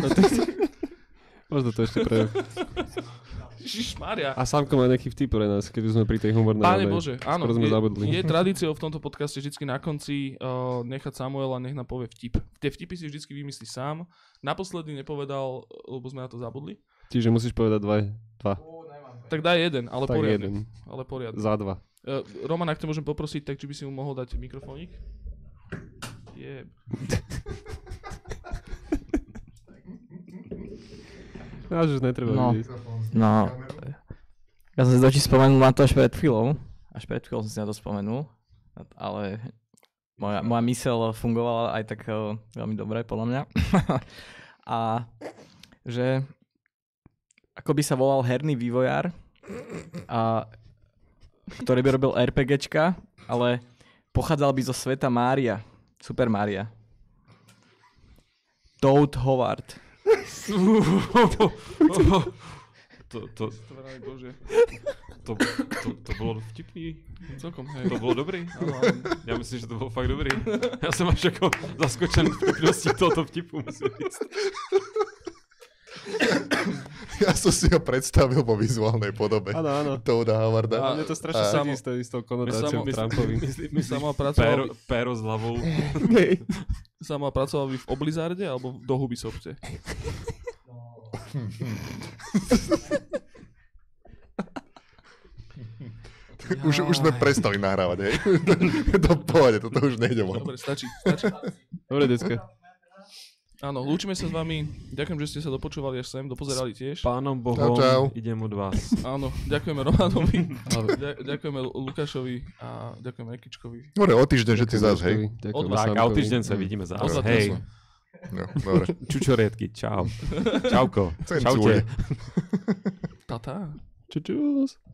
Možno to ešte pre... Ježišmarja. A Sámko má nejaký vtip pre nás, keď už sme pri tej humornej. Páne ale Bože, áno, skoro sme je, zabudli. je tradíciou v tomto podcaste vždycky na konci uh, nechať Samuela, nech nám povie vtip. Tie vtipy si vždycky vymyslí sám. Naposledy nepovedal, lebo sme na to zabudli. Čiže musíš povedať dva. dva. Tak daj jeden, ale Tak poriadny. jeden. Ale poriadny. Za dva. Uh, Roman, ak ťa môžem poprosiť, tak či by si mu mohol dať mikrofónik? Jeb. No, už netreba No. vidieť. No, ja som si totiž spomenul na to až pred chvíľou. Až pred chvíľou som si na to spomenul. Ale moja, moja myseľ fungovala aj tak uh, veľmi dobre, podľa mňa. A že ako by sa volal herný vývojár, a, ktorý by robil RPGčka, ale pochádzal by zo sveta Mária. Super Mária. Toad Howard. To To, to, Stvaraj Bože. to, to, to bolo vtipný. Celkom, hej. To bolo dobrý. Áno, áno. Ja myslím, že to bolo fakt dobrý. Ja som až ako zaskočený vtipnosti tohoto vtipu, musím říct. Ja som si ho predstavil vo vizuálnej podobe. Áno, áno. Toada Howarda. A mne to strašne A- sedí s tou istou konotáciou My samo- Trumpovi. My sa mal pracoval, Péro, péro s hlavou. sa mal pracoval vy v Oblizarde alebo v do Ubisofte? Už, už sme prestali nahrávať, hej? To pohode, toto už nejde von. Dobre, stačí, stačí. Dobre, decka. Áno, lúčime sa s vami. Ďakujem, že ste sa dopočúvali až sem, dopozerali tiež. Pánom Bohom, Čau, čau. idem od vás. Áno, ďakujeme Romanovi, ďa- ďakujeme Lu- Lukášovi a ďakujeme Ekičkovi. Dobre, o týždeň, že ty zás, hej? Ďakujem Tak, Tak, a o týždeň sa vidíme Od zás. dva Hej, No, dobre. čučoriedky, čau. Čauko. Cencúre. Čaute. Tata. Čučus.